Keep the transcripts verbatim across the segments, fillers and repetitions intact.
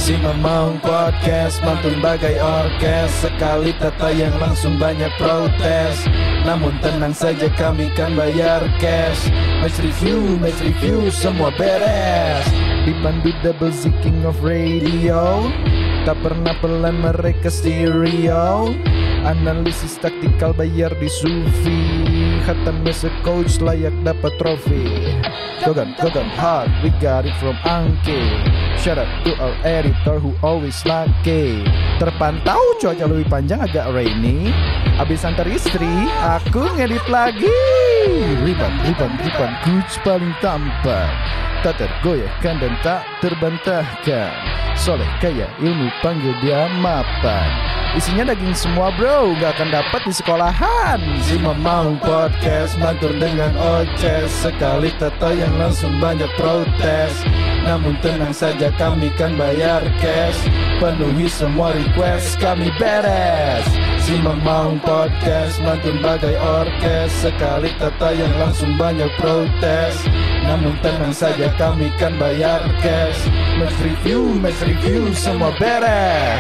Si Mamang Podcast mantun bagai orkes. Sekali tata yang langsung banyak protes. Namun tenang saja kami kan bayar cash. Match review, match review semua beres. Dipandu double Z King of Radio. Tak pernah pelan mereka stereo. Analisis taktikal bayar di Sufi. Khatam mesa coach layak dapat trofi. Gogan, Gogan hard, we got it from Angke. Shout out to our editor who always lucky. Terpantau cuaca lebih panjang agak rainy. Abis antar istri, aku ngedit lagi. Riban, riban, riban, coach paling tampan. Tak tergoyahkan dan tak terbantahkan. Soleh kaya ilmu panggil dia mapan. Isinya daging semua bro, gak akan dapat di sekolahan. Si Mamang Podcast mantur dengan oces. Sekali tata yang langsung banyak protes. Namun tenang saja kami kan bayar cash. Penuhi semua request kami beres. Si Mamang Podcast mantun bagai orkes. Sekali tata yang langsung banyak protes. Namun tenang saja kami kan bayar cash. Match review, match review semua beres.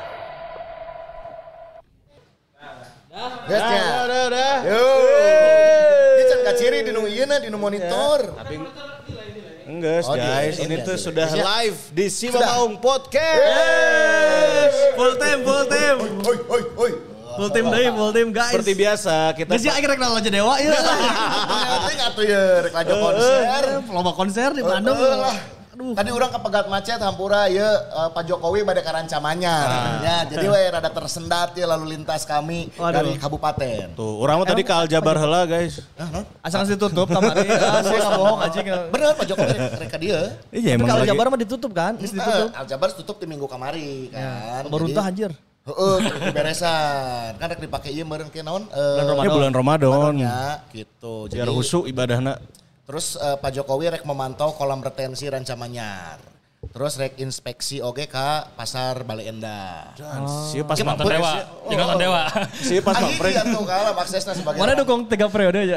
Gasnya. Udah, udah, udah. Yo. Ini can kaciri di nu ieu na di nu monitor. Tapi enggak Oh, guys, di- ini di- tuh di- sudah di- live di Si Sudah. Mamang Podcast. Full team, full team. Oi, oi, oi. Full team deui, full team guys. Seperti biasa kita Geus aing rek nalaja dewa ieu. Penting atuh ye rek lajo konser. Lomba konser di Bandung. Heeh lah. Tadi orang ke Pegat Macet hampura ya uh, Pak Jokowi pada karancamannya. Ya, jadi we rada tersendat ya lalu lintas kami Waduh. dari kabupaten. tuh, orang mah tadi ke Aljabar heula guys. Asal ditutup kamari. Ah, saya ngabohong anjing. Bener Pak Jokowi rek rek ka dieu. Iya Tapi emang kalau lagi. Jabar mah ditutup kan? Geus ditutup. Eh, Aljabar tutup di minggu kamari kan. Beruntah anjir. Heeh, beresan. Kan rek dipake ieu meureun ke naon? Eh, Ini bulan Ramadan. ya, gitu. Biar husu ibadahna. Terus eh, Pak Jokowi rek memantau kolam retensi Rancamanyar. Terus rek inspeksi oge ka pasar Bale Endah. Sih pas Mantan mampres. dewa, tinggalkan dewa. Sih pas Akhirnya mampres. tuh kalah aksesnya sebagai Mana dukung tiga periode aja?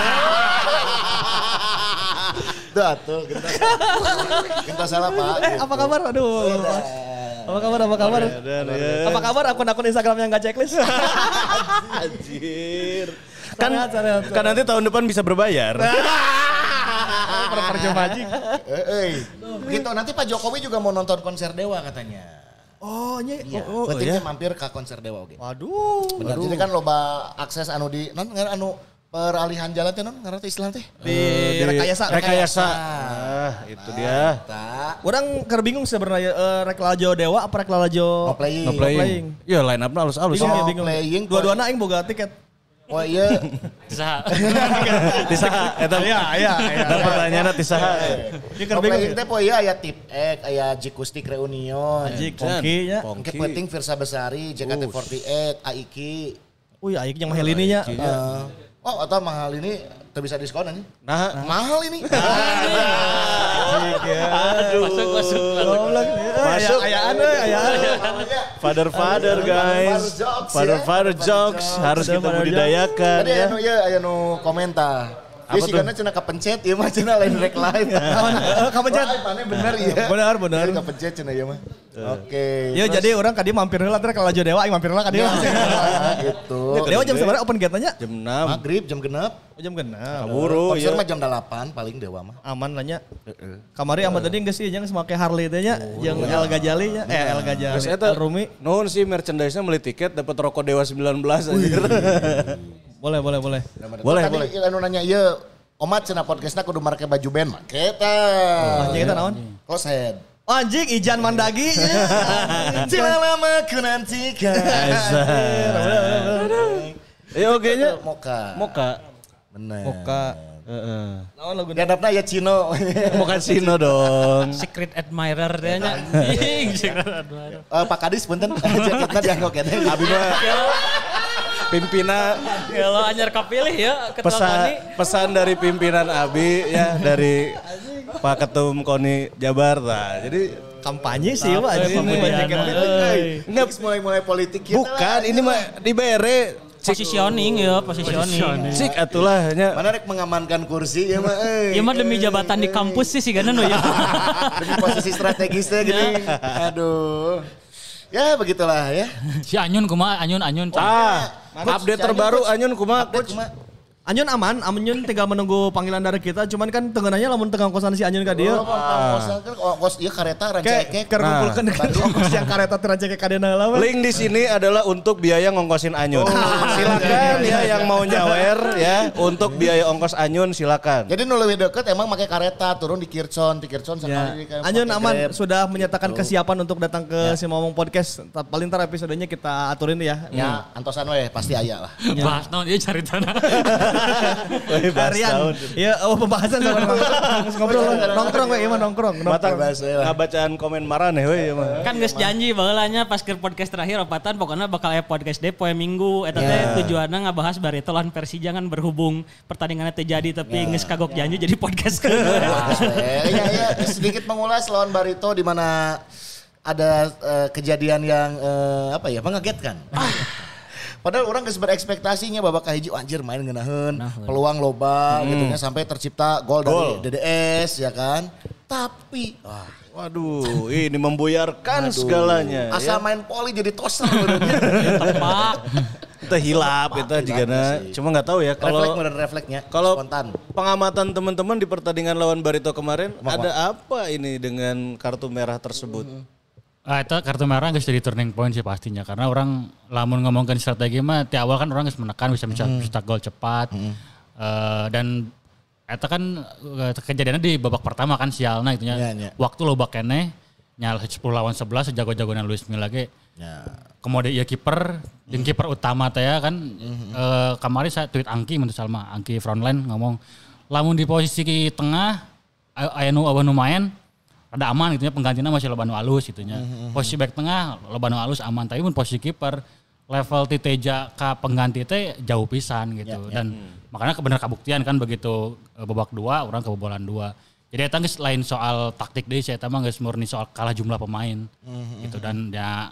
Tuh atuh, genta. Genta salah Pak. Eh, apa kabar? Aduh. Apa kabar? Apa kabar? Dan ya. Apa kabar akun-akun Instagram yang gak checklist? Anjir. Kan, Sangat, sangat. kan nanti tahun depan bisa berbayar. Percuma anjing. Eh, eh. Begitu nanti Pak Jokowi juga mau nonton konser Dewa katanya. Oh, nya. Iya, Oh, oh, pentingnya iya? mampir ke konser Dewa oge. Waduh. Benar, jadi kan loba akses anu di non ngan anu peralihan jalan teh non ngarana teh istilah teh. Di rekayasa. Rekayasa. Ah, itu dia. Tak. Orang keur bingung sebenarnya eh, rek lajo dewa apa rek lajo No playing. No playing. Ya line up-nya halus-halus. Bingung ya, No bingung. playing. Dua-duana aing boga tiket. Oh iya. Bisa. Tisaha eta Iya, iya, iya. eta pertanyaanna tisaha. Ieu No keur bingung. playing teh poe ieu aya tip ek, aya Jikustik Reunion. Anjing, Pongki nya. Engke penting Virsa Besari, J K T empat delapan, Aiki. Uy, aing yang mahal ini nya. Eh, oh, atau mahal ini teu bisa diskon anjing. Nah, Mahal ini. Masuk, masuk. Masuk. Ayaan euy, ayaan. father father guys. Father jokes, Father ya. father jokes harus Father kita jokes. budidayakan Tadi ya. anu ya aya nu komentar. Apa Dia sih tuh? karena cina kepencet ya mah cina lain rek live. Eh, kepencet. Wah, mana bener ya. Benar, benar. Dia kepencet cina ya mah. Oke. Ya jadi orang kadi mampir heula teh ka lajo dewa aing mampir heula ka dieu. Gitu. Dewa jam sabaraha open gate nya? Jam enam. Maghrib jam genep. Jam genep. Kaburu Konser ya. mah jam delapan paling Dewa mah. Aman lah nya. Kamari Ahmad tadi geus ieu jeung make Harley teh nya, jeung El Gajali nya, eh El Gajali. Terus eta El Rumi. nuhun sih merchandise-nya beli tiket dapat rokok Dewa sembilan belas anjir. Boleh, boleh, boleh. Boleh, Tadi boleh. anu nanya ieu Omat cenah podcastna kudu make baju band mah. Kita. Anjing eta naon? Koset. Oh, anjing Ijan Mandagi. Cila lama ku nantikan. Ya oke nya. Moka. Moka. Bener. Moka. Heeh. Naon lagu Gadapna ya Cino. Moka Sino dong. Secret admirer dia nya. Anjing, secret admirer. Eh, Pak Kadis punten jaketna dianggo kene. Abi mah pimpinan Kalau anyar kapilih ya ketua pesan Koni. pesan dari pimpinan Abi ya dari Pak Ketum Koni Jabar lah. Jadi kampanye sih Pak Apa anjing. pemilihan, Banyak yang- euy. enggak mulai-mulai politik kita. bukan ini mah di B R E Positioning ya, positioning. Cik atulah nya. Mana rek mengamankan kursi ya mah euy. Ya mah demi jabatan di kampus sih sih kan ya. Demi posisi strategisnya gini. Aduh. Ya begitulah ya. Si Anyun kumaha Anyun Anyun. Ah, update terbaru Anyun kumaha coach? Anyun aman, Anyun tinggal menunggu panggilan dari kita. Cuman kan tengenanya lamun tengah kosan si Anyun ka dieu. Oh, kosan kan kos ieu kareta rancakek. Keur ngumpulkeun ongkos yang kareta teh rancakek ka deuna heula. Link di sini adalah untuk biaya ngongkosin Anyun. Oh. Silakan ya yang mau nyawer ya untuk biaya ongkos Anyun silakan. Jadi nu leuwih deukeut emang make kareta turun di Kircon, di Kircon sekali ya. Anyun aman sudah menyatakan gitu. Kesiapan untuk datang ke ya. Si Momong Podcast. Paling ntar episodenya kita aturin ya. Ya, hmm. antosan we pasti aya lah. Ya. Bahas naon ieu caritana. Harian. Ya, oh pembahasan sama ngobrol nongkrong we ieu nongkrong. Mata ngabacaan komen marane we ieu mah. Kan geus janji baheulanya pas ke podcast terakhir opatan pokoknya bakal aya podcast deh poe Minggu eta teh tujuanna ngabahas Barito lawan Persija kan berhubung pertandingannya terjadi tapi geus kagok janji jadi podcast ke. Iya iya sedikit mengulas lawan Barito di mana ada uh, kejadian yang uh, apa ya mengagetkan. Ah. Padahal orang geus berekspektasinya babak kahiji anjir main ngeunaheun, nah, peluang loba hmm. gitu nya sampai tercipta gol dari D D S ya kan. Tapi wah, waduh, ini membuyarkan aduh, segalanya. Asa ya? Main poli jadi toser benernya. Tepak. Kita hilap itu jigana. Cuma enggak tahu ya kalau refleks refleksnya kalau pengamatan teman-teman di pertandingan lawan Barito kemarin Mak ada apa ini dengan kartu merah tersebut? Hmm. Ah, itu kartu merah gak jadi turning point sih pastinya. Karena orang lamun ngomongkan strategi mah di awal kan orang harus menekan bisa bisa hmm. bisa gol cepat. Hmm. Uh, dan itu kan kejadiannya di babak pertama kan sialna gitu ya. Ya. Waktu loba keneh nyal sepuluh lawan sebelas sejago-jagoan Luis Milla ge. Ya. Kemudian ieu kiper, jeung hmm. kiper utama teh kan hmm. uh, kemarin saya tweet Angki menurut Salma, Angki frontline ngomong lamun di posisi tengah aya nu nu main ada aman gitu ya penggantinya masih loba nu alus gitu nya. Mm-hmm. Posisi back tengah loba nu alus aman tapi mun posisi kiper level ti Teja ka pengganti teh jauh pisan gitu. Yeah, dan yeah. makanya bener kabuktian kan begitu babak dua orang kebobolan dua. Jadi eta geus lain soal taktik deui saya eta mah geus murni soal kalah jumlah pemain. Mm-hmm. Gitu dan ya,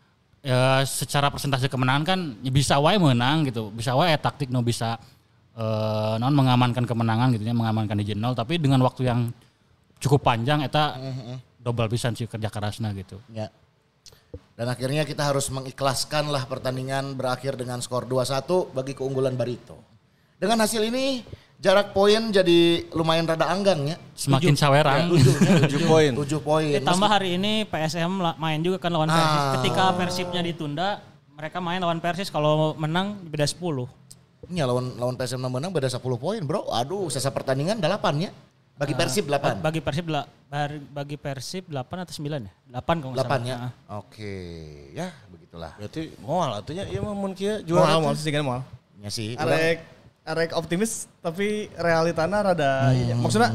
ya secara persentase kemenangan kan ya bisa wae menang gitu. Bisa wae taktik nu bisa uh, non mengamankan kemenangan gitu ya, mengamankan di nol tapi dengan waktu yang cukup panjang eta mm-hmm. double pisan sih kerja kerasna gitu. Ya. Dan akhirnya kita harus mengikhlaskan lah pertandingan berakhir dengan skor dua satu bagi keunggulan Barito. Dengan hasil ini jarak poin jadi lumayan rada anggang ya. Semakin sawerang. tujuh poin. tujuh poin. Ditambah hari ini P S M main juga kan lawan Persis. Ah. Ketika Persibnya ditunda, mereka main lawan Persis kalau menang beda sepuluh. Iya lawan lawan P S M menang beda sepuluh poin, Bro. Aduh, sisa pertandingan delapan ya. Bagi Persib delapan. Bagi Persib bagi Persib delapan atau sembilan ya? delapan kalau enggak salah. delapan ya. Oke, ya begitulah. Berarti moal atunya ieu mah mun kieu juara. Moal sih kan moal. Ya sih. Arek arek optimis tapi realitana rada hmm. ya. Maksudnya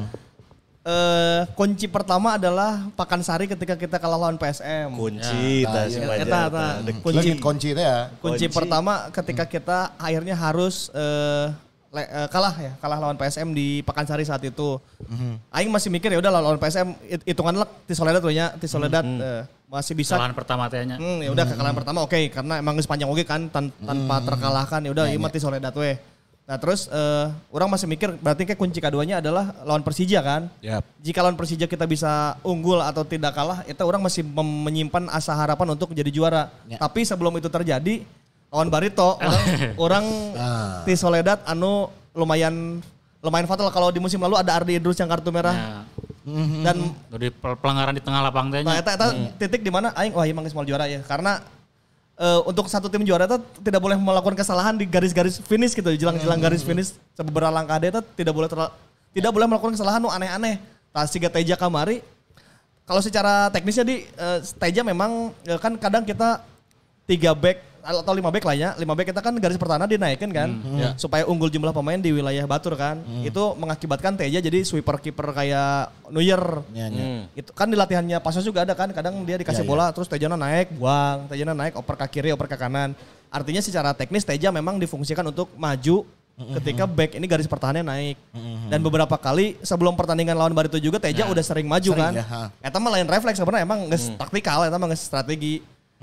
eh, kunci pertama adalah Pakansari ketika kita kalah lawan P S M. Kunci ya, si ya, eta eta kunci kunci itu ya. Kunci, kunci pertama ketika kita akhirnya harus eh, Le, uh, kalah ya, kalah lawan P S M di Pakansari saat itu. Mm-hmm. Aing masih mikir ya udah lawan P S M hitungan lek ti Soledad we nya, ti Soledad mm-hmm. uh, masih bisa. Kekalahan pertama teh nya. Hmm, ya udah mm-hmm. kekalahan pertama oke okay, karena emang sepanjang oge kan tan- tanpa mm-hmm. terkalahkan ya udah ieu mah ti Soledad we. Nah, terus uh, orang masih mikir berarti kayak kunci keduanya adalah lawan Persija kan? Yep. Jika lawan Persija kita bisa unggul atau tidak kalah, itu orang masih mem- menyimpan asa harapan untuk jadi juara. Yep. Tapi sebelum itu terjadi lawan Barito, orang orang ah. ti Soledad anu lumayan lumayan fatal kalau di musim lalu ada Ardi Idrus yang kartu merah. Ya. Dan dari pelanggaran di tengah lapang teh. Nah, eta eta hmm. titik di mana aing wah ieu mah geus moal juara ya. Karena uh, untuk satu tim juara itu tidak boleh melakukan kesalahan di garis-garis finish gitu, jelang-jelang garis finish beberapa langkah itu tidak boleh terla, tidak boleh melakukan kesalahan nu aneh-aneh. Tah siga Teja kamari kalau secara teknisnya di uh, Teja memang uh, kan kadang kita tiga back atau lima back lah ya, lima back kita kan garis pertahanan dinaikkan kan, hmm, ya. Supaya unggul jumlah pemain di wilayah Batur kan, hmm. itu mengakibatkan Teja jadi sweeper kiper kayak Neuer, ya, ya. Hmm. Itu kan di latihannya Pasos juga ada kan, kadang dia dikasih ya, bola ya. Terus Tejana naik, buang, Tejana naik, oper ke kiri, oper ke kanan, artinya secara teknis Teja memang difungsikan untuk maju mm-hmm. ketika back ini garis pertahanannya naik, mm-hmm. dan beberapa kali sebelum pertandingan lawan Barito juga Teja nah, udah sering maju sering, kan, ya, eta mah lain refleks sebenarnya emang nggak hmm. taktikal, eta mah nggak strategi.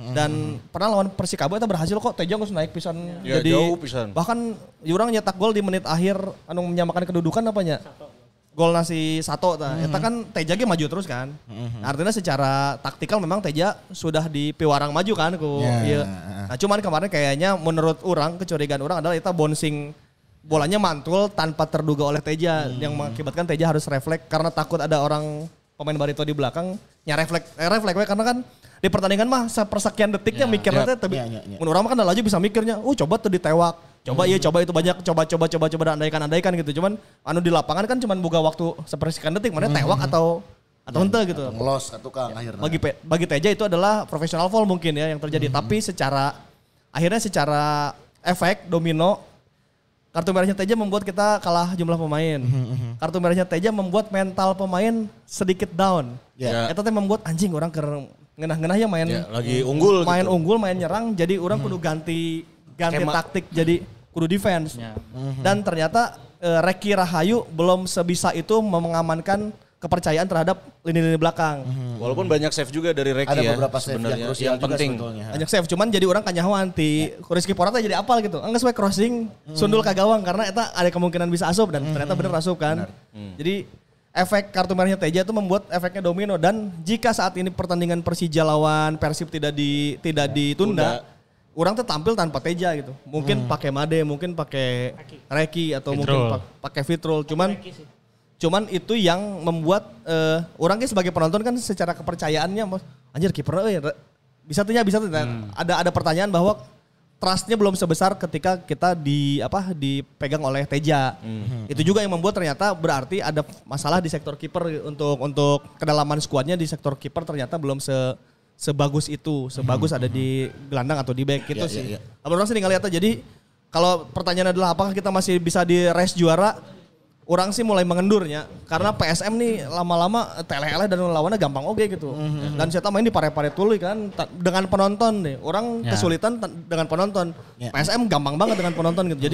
Dan pernah lawan Persikabo itu berhasil kok Teja geus naik pisan Ya, jadi jauh pisan. bahkan urang nyetak gol di menit akhir anu menyamakan kedudukan apa nya? Gol nasi Sato tah. Eta kan Teja ge maju terus kan. Artinya secara taktikal memang Teja sudah di piwarang maju kan ku Ya. ieu. Nah, cuman kemarin kayaknya menurut orang kecurigaan orang adalah eta bouncing bolanya mantul tanpa terduga oleh Teja yang mengakibatkan Teja harus refleks karena takut ada orang pemain Barito di belakang nya refleks eh, refleks we karena kan di pertandingan mah sepersekian detiknya mikirnya teh tapi Ya, ya, ya. mun urang mah kan laju bisa mikirnya, "Oh, coba tuh ditewak. Coba iya coba itu banyak coba coba coba coba andaikan andaikan gitu." Cuman anu di lapangan kan cuman boga waktu sepersekian detik mana tewak atau atau henteu gitu. Ngelos satu kang akhirnya. Bagi Pe- bagi Teja itu adalah professional foul mungkin ya yang terjadi, tapi secara akhirnya secara efek domino kartu merahnya Teja membuat kita kalah jumlah pemain. Kartu merahnya Teja membuat mental pemain sedikit down. Ya. Eta teh membuat anjing orang keur ngeunah-ngeunah ya main Ya, lagi unggul main gitu. unggul, main nyerang, jadi orang kudu ganti ganti Skema. taktik jadi kudu defense. Ya. Dan ternyata eh, Reki Rahayu belum sebisa itu mengamankan kepercayaan terhadap lini-lini belakang. Walaupun banyak save juga dari Reki Ada ya. beberapa save yang sebenarnya, krusial juga penting. sebetulnya. Banyak save, cuman jadi orang kanyahoan ti Rizky Porata jadi apal gitu. Enggak sesuai crossing, sundul ke gawang karena eta ada kemungkinan bisa asup dan ternyata bener asup kan. Jadi efek kartu merahnya Teja itu membuat efeknya domino dan jika saat ini pertandingan Persija lawan Persib tidak di tidak ditunda, orang tuh tampil tanpa Teja gitu. Mungkin pakai Made, mungkin pakai Reki atau mungkin Fitrul. pak- pakai Fitrul. Cuman cuman itu yang membuat eh, orang kayak sebagai penonton kan secara kepercayaannya mas, anjir kiper euy re- bisa tuh ya bisa tuh. Ada ada pertanyaan bahwa trustnya belum sebesar ketika kita di apa dipegang oleh Teja. Itu juga yang membuat ternyata berarti ada masalah di sektor kiper untuk untuk kedalaman skuadnya di sektor kiper ternyata belum se sebagus itu, sebagus ada di gelandang atau di back gitu Ya, sih. ya, ya. Abang orang sih ngeliatnya jadi kalau pertanyaan adalah apakah kita masih bisa di race juara? Orang sih mulai mengendurnya karena P S M nih lama-lama tele-ele dan lawannya gampang oke gitu. Dan saya main di pare-pare tuluy kan ta- dengan penonton nih. Orang Ya. kesulitan ta- dengan penonton. Ya. P S M gampang banget dengan penonton gitu. Jadi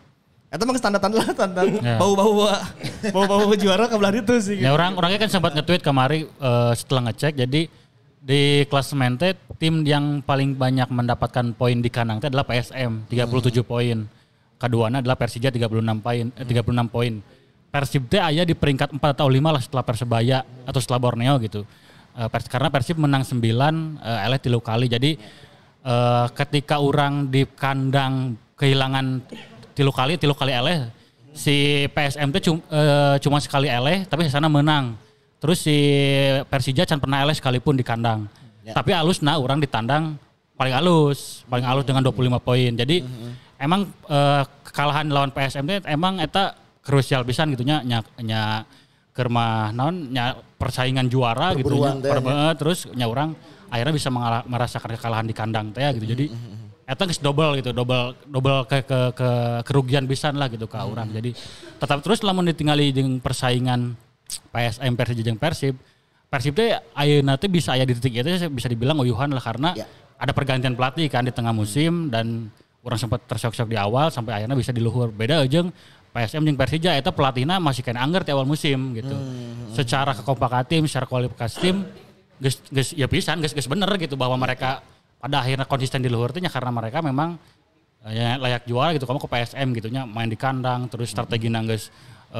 itu emang tanda-tanda lah tanda Ya. bau-bau bau-bau juara kebelah itu sih. Ya orang orangnya kan sempat nge-tweet kemarin eh, setelah ngecek jadi di klasemen teh tim yang paling banyak mendapatkan poin di kandang teh adalah P S M tiga puluh tujuh poin. Keduanya adalah Persija tiga puluh enam poin eh, tiga puluh enam poin. Persib teh aya di peringkat empat atau lima lah setelah Persebaya atau setelah Borneo gitu. Eh, Pers karena Persib menang sembilan, eh, eleh tilu kali. Jadi eh, ketika orang di kandang kehilangan tilu kali, tilu kali eleh, si P S M teh cum- eh, cuma sekali eleh tapi di sana menang. Terus si Persija can pernah eleh sekalipun di kandang. Tapi alus nah orang di tandang paling alus, paling alus dengan dua puluh lima poin. Jadi emang eh, kekalahan lawan P S M teh emang eta krusial pisan gitu nya nya nya keur mah naon nya persaingan juara gitu nya Perburuan teh, per- eh, terus nya urang akhirnya bisa mengalah- merasakan kekalahan di kandang teh gitu. Jadi eta geus double gitu, double double ke ke, ke kerugian pisan lah gitu ka urang. Jadi tetap terus lamun ditinggali jeung persaingan P S M Persija jeung Persib, Persib teh ayeuna teh bisa aya di titik itu bisa dibilang uyuhan lah karena Ya. ada pergantian pelatih kan di tengah musim dan orang sempat tersok-sok di awal sampai akhirnya bisa di luhur. Beda jeung P S M jeung Persija eta pelatihna masih kena anggar di awal musim gitu. Secara kekompakan tim, secara kualifikasi tim geus geus ya pisan geus geus bener gitu bahwa mereka pada akhirnya konsisten di luhur teh nya karena mereka memang eh, ya, layak juara gitu. Kamu ke P S M gitu nya main di kandang terus strategi geus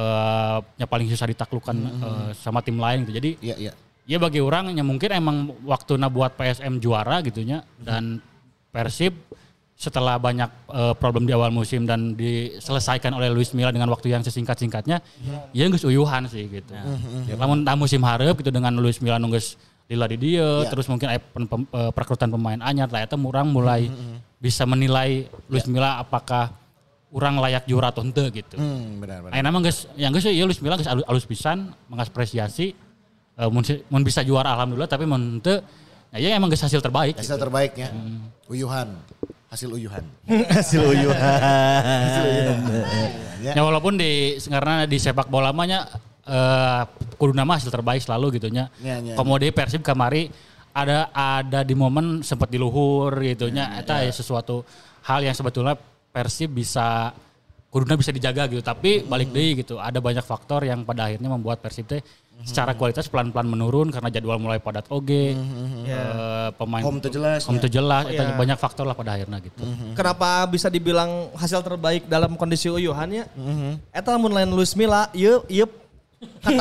eh nya paling susah ditaklukkan eh, sama tim lain gitu. Jadi Iya, iya. ya bagi orang yang mungkin emang waktunya buat P S M juara gitu nya dan Persib setelah banyak eh, problem di awal musim dan diselesaikan oleh Luis Milla dengan waktu yang sesingkat-singkatnya, ya geus uyuhan sih gitu. Ya. Lamun da musim hareup gitu dengan Luis Milla nu geus lila di dieu, Ya. terus mungkin aya pen- pem- eh, perekrutan pemain anyar lah eta urang mulai bisa menilai Luis Milla apakah urang layak juara atau henteu gitu. Hmm, benar benar. Ayeuna mah geus yang geus ya Luis Milla geus alus, alus pisan mengapresiasi eh, mun, si- mun bisa juara alhamdulillah tapi mun henteu ya emang geus hasil terbaik. Hasil terbaiknya. Uyuhan. Hasil uyuhan. Hasil uyuhan. Ya. Ya walaupun di karena di sepak bola mah nya eh kudu nama hasil terbaik selalu gitu nya. Ya, ya, Komode Persib kamari ada ada di momen sempat di luhur gitu nya eta ya, sesuatu hal yang sebetulnya Persib bisa kuduna bisa dijaga gitu. Tapi balik deui gitu, ada banyak faktor yang pada akhirnya membuat Persib teh secara kualitas pelan-pelan menurun karena jadwal mulai padat oge. Uh, pemain Home teu jelas. home teu jelas, Oh, eta iya. banyak faktor lah pada akhirnya gitu. Kenapa bisa dibilang hasil terbaik dalam kondisi uyuhan ya? Eta lamun lain Luis Milla, ieu ieu kata,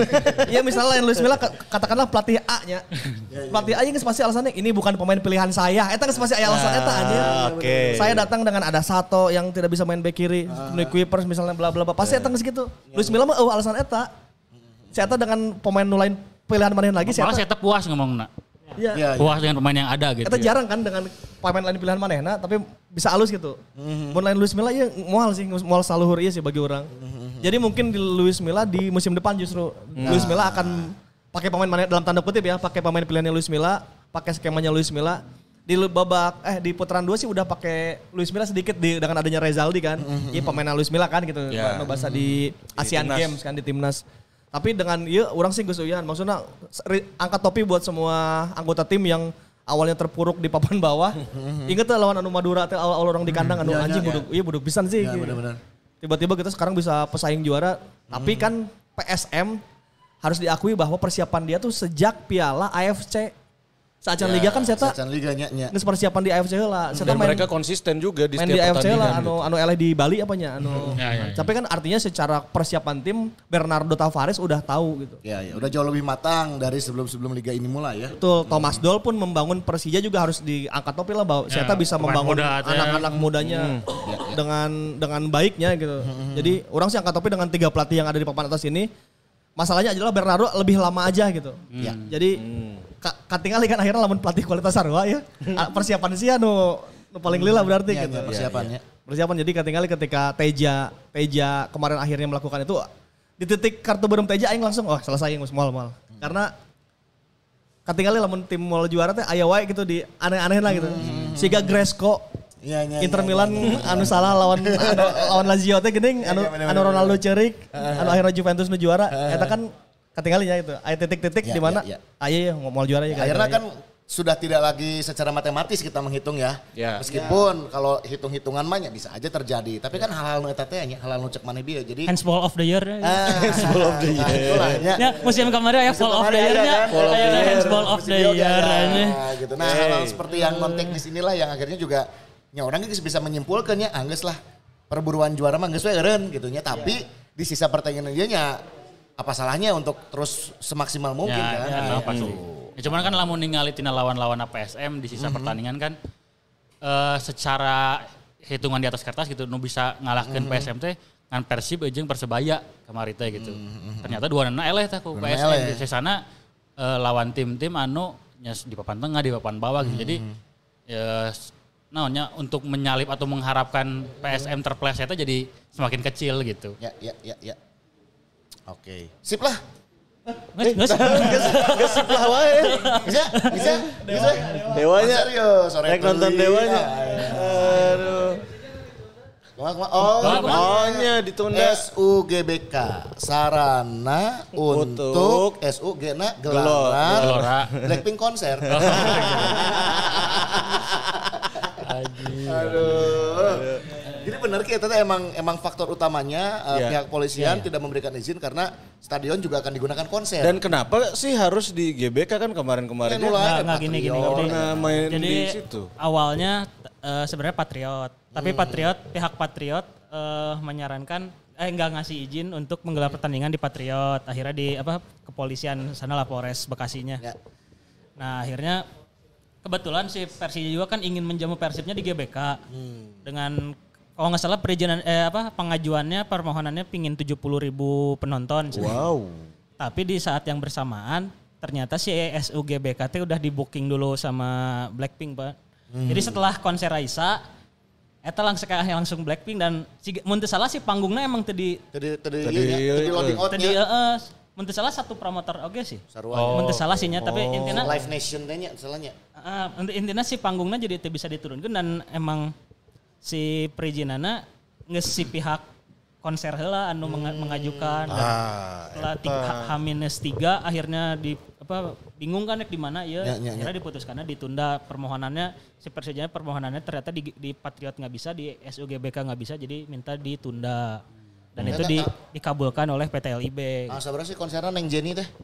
ya misalnya lain Luis Milla katakanlah pelatih A-nya. Pelatih A geus pasti alasannya ini bukan pemain pilihan saya. Eta geus pasti aya alasan eta anjir. Oke. Saya datang dengan ada Sato yang tidak bisa main back kiri, Nick Kuipers misalnya bla bla bla. Pasti eta geus gitu. Luis Milla mah eueuh alasan eta. Saya dengan pemain nu lain pilihan mana lagi Malah saya saya puas ngomongna. Iya. Iya, Puas dengan pemain yang ada gitu. Eta ya. jarang kan dengan pemain lain pilihan manehna tapi bisa halus gitu. Mun lain Luis Milla ieu moal sih moal saluhur ieu sih bagi orang. Jadi mungkin di Luis Milla di musim depan justru Luis Milla akan pakai pemain maneh dalam tanda kutip ya, pakai pemain pilihannya Luis Milla, pakai skemanya Luis Milla. Di babak eh di putaran dua sih udah pakai Luis Milla sedikit di, dengan adanya Rezaldi kan. Iya pemainnya Luis Milla kan gitu. Ya. Yeah. Bahasa di Asian timnas. Games kan di timnas. Tapi dengan iya orang sih Gus Uyan maksudnya re- angkat topi buat semua anggota tim yang awalnya terpuruk di papan bawah. Ingat tuh lawan anu Madura teh awal orang di kandang anu Iya, anjing iya. buduk iya buduk pisan sih. Iya, benar-benar. Tiba-tiba kita sekarang bisa pesaing juara. Tapi kan P S M harus diakui bahwa persiapan dia tuh sejak Piala A F C. Saat Liga kan saya Sacan Liga nya nya. geus persiapan di A F C heula. Dan mereka konsisten juga di main setiap di A F C pertandingan. lah anu gitu. anu eleh di Bali apanya anu. Ya, ya, ya. Tapi kan artinya secara persiapan tim Bernardo Tavares udah tahu gitu. Ya, ya, udah jauh lebih matang dari sebelum-sebelum liga ini mulai ya. Betul, Thomas Doll pun membangun Persija juga harus diangkat topi lah bahwa Ya, Seta bisa pemain membangun muda, ya. anak-anak mudanya dengan dengan baiknya gitu. Jadi orang sih angkat topi dengan tiga pelatih yang ada di papan atas ini. Masalahnya adalah Bernardo lebih lama aja gitu. Ya. Jadi ka- katingali kan akhirnya lamun pelatih kualitas sarua ya. Ah, persiapan sih anu nu paling lila berarti Ya, gitu. ya, persiapannya. Persiapan jadi katingali ketika Teja Teja kemarin akhirnya melakukan itu di titik kartu berem Teja aing langsung oh selesai aing mal mal. Karena katingali lamun tim mau juara teh aya wae gitu di aneh-aneh lah gitu. Siga Gresco Iya, iya, Inter iya, Milan iya, iya. anu salah lawan anu, lawan Lazio teh geuning anu Iya, bener, anu bener, Ronaldo ceurik, anu akhirnya Juventus nu juara. Eta kan katinggalinya itu. Aya titik-titik Ya, di mana ya, ya. aya ya mau juara ya. Akhirnya kan sudah tidak lagi secara matematis kita menghitung ya. Ya. Meskipun kalau hitung-hitungan mah nya bisa aja terjadi. Tapi kan hal-hal nu eta teh nya, hal-hal nu cek maneh bieu. Jadi Handsball of the year. ah, handsball of the year. Nah, itulah nya. Ya, musim kemarin ya Musim fall of the kemarin ada year-nya. kan, fall of the Aya year. handsball of the Musim yoga, year. ya, aja. gitu. Nah, hal-hal seperti yang non teknis inilah yang akhirnya juga nya orang geus bisa menyimpulkan ya, anggeus lah perburuan juara mah geus we eureun gitu nya. Tapi di sisa pertandingan dia nya apa salahnya untuk terus semaksimal mungkin Ya, kan. ya, Gitu. apa sih. Ya, cuman kan lamun ningali tina lawan-lawan A P S M di sisa pertandingan kan eh, secara hitungan di atas kertas gitu nu bisa ngalahkeun P S M teh ngan Persib jeung Persebaya kemarin teh gitu. Ternyata dua nana eleh teh ku P S M eleh. di sana eh, lawan tim-tim anu nya di papan tengah di papan bawah gitu. Jadi ya naonnya untuk menyalip atau mengharapkan P S M terpleset teh jadi semakin kecil gitu. Ya, ya, ya, ya. Oke. Sip lah. Geus, geus. Geus sip lah wae. Bisa? Bisa? Bisa? Dewanya. Serius, sore Rek nonton teuing. Dewanya. Ah, Aduh. Kumaha, kumaha? Oh, Oh nya ditunda. S U G B K sarana Untuk untuk S U G na Gelora. gelaran Gelora. Blackpink konser. Aduh. Jadi benar kita teh emang emang faktor utamanya uh, Iya. pihak polisian tidak memberikan izin karena stadion juga akan digunakan konser. Dan kenapa sih harus di G B K kan kemarin-kemarin? Ya, nu lain, Nggak, nggak gini, gini, Patriot. gini. Nah, main Jadi di situ. awalnya eh, sebenarnya Patriot, tapi Patriot pihak Patriot eh, menyarankan eh nggak ngasih izin untuk menggelar pertandingan di Patriot. Akhirnya di apa kepolisian sana lah Polres Bekasinya. Ya. Nah akhirnya kebetulan si Persija juga kan ingin menjamu Persibnya di G B K dengan kalau nggak salah perizinan eh apa pengajuannya permohonannya pingin tujuh puluh ribu penonton. Wow. Tapi di saat yang bersamaan ternyata si S U G B K T udah di booking dulu sama Blackpink, Pak. Jadi setelah konser Raisa, eta langsung kayak langsung Blackpink dan si mun teu salah si panggungnya emang tadi Tadi tadi Tadi, ieu nya, tadi ieu, loading out tadi heeh mun teu salah satu promotor oge sih. sarua. Mun teu salah sih nya tapi intinya Live Nation teh nya salahnya. uh, intinya si panggungnya jadi teu bisa diturunkan dan emang si perizinanna geus si pihak konser heula anu menga- mengajukan dan Ah, setelah tiga, H minus tiga akhirnya di apa bingung kan di mana ya, Ya, ya, ya. akhirnya diputuskannya ditunda permohonannya si Persija permohonannya ternyata di, di Patriot nggak bisa, di S U G B K nggak bisa, jadi minta ditunda dan itu di, dikabulkan oleh P T L I B. Ah, sabar sih konsernya neng Jenny teh.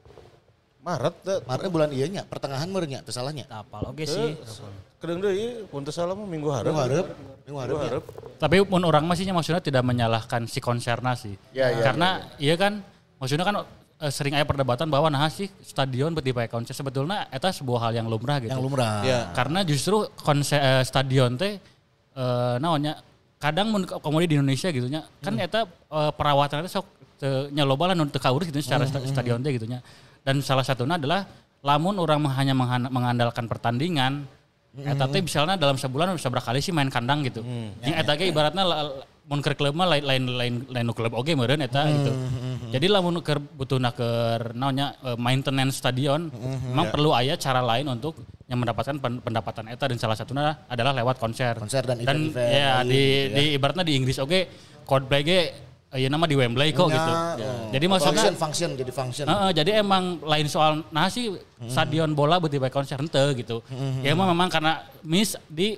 Maret teh. Maret bulan iya nya, pertengahan merenya teu salahnya. Apal oke sih. Kadang deui pun teu salah mah minggu hareup. Minggu hareup. Minggu hareup. Minggu hareup. Tapi pun orang masih maksudnya tidak menyalahkan si konserna sih. Ya, ya, Karena iya kan maksudnya kan eh, sering ada perdebatan bahwa nah sih stadion berarti pakai konser sebetulnya itu sebuah hal yang lumrah gitu. Yang lumrah. Ya. Karena justru konser eh, stadion teh eh naonnya kadang mun komodi di Indonesia gitu nya kan eta eh, perawatannya sok teu nya loba lah nu teu kaurus gitu secara sta- stadion teh gitu nya. Dan salah satunya adalah lamun orang hanya menghan- mengandalkan pertandingan eta teh misalnya dalam sebulan bisa berapa kali sih main kandang gitu. Yang eta ge ibaratnya la- mun keur klub mah lain lain lain lain nu klub oge meureun eta gitu. Jadi lamun keur butuhna keur naonnya eh, maintenance stadion memang perlu aya cara lain untuk yang mendapatkan pen- pendapatan eta dan salah satunya adalah lewat konser. Konser dan event-event ya lain di gitu ya. di ibaratnya di Inggris oge Coldplay ge ya nama di Wembley kok Ya, gitu. oh. Jadi maksudnya function, function jadi function. Heeh, jadi emang lain soal nah sih stadion bola berarti baik konser henteu gitu. Ya emang memang karena miss di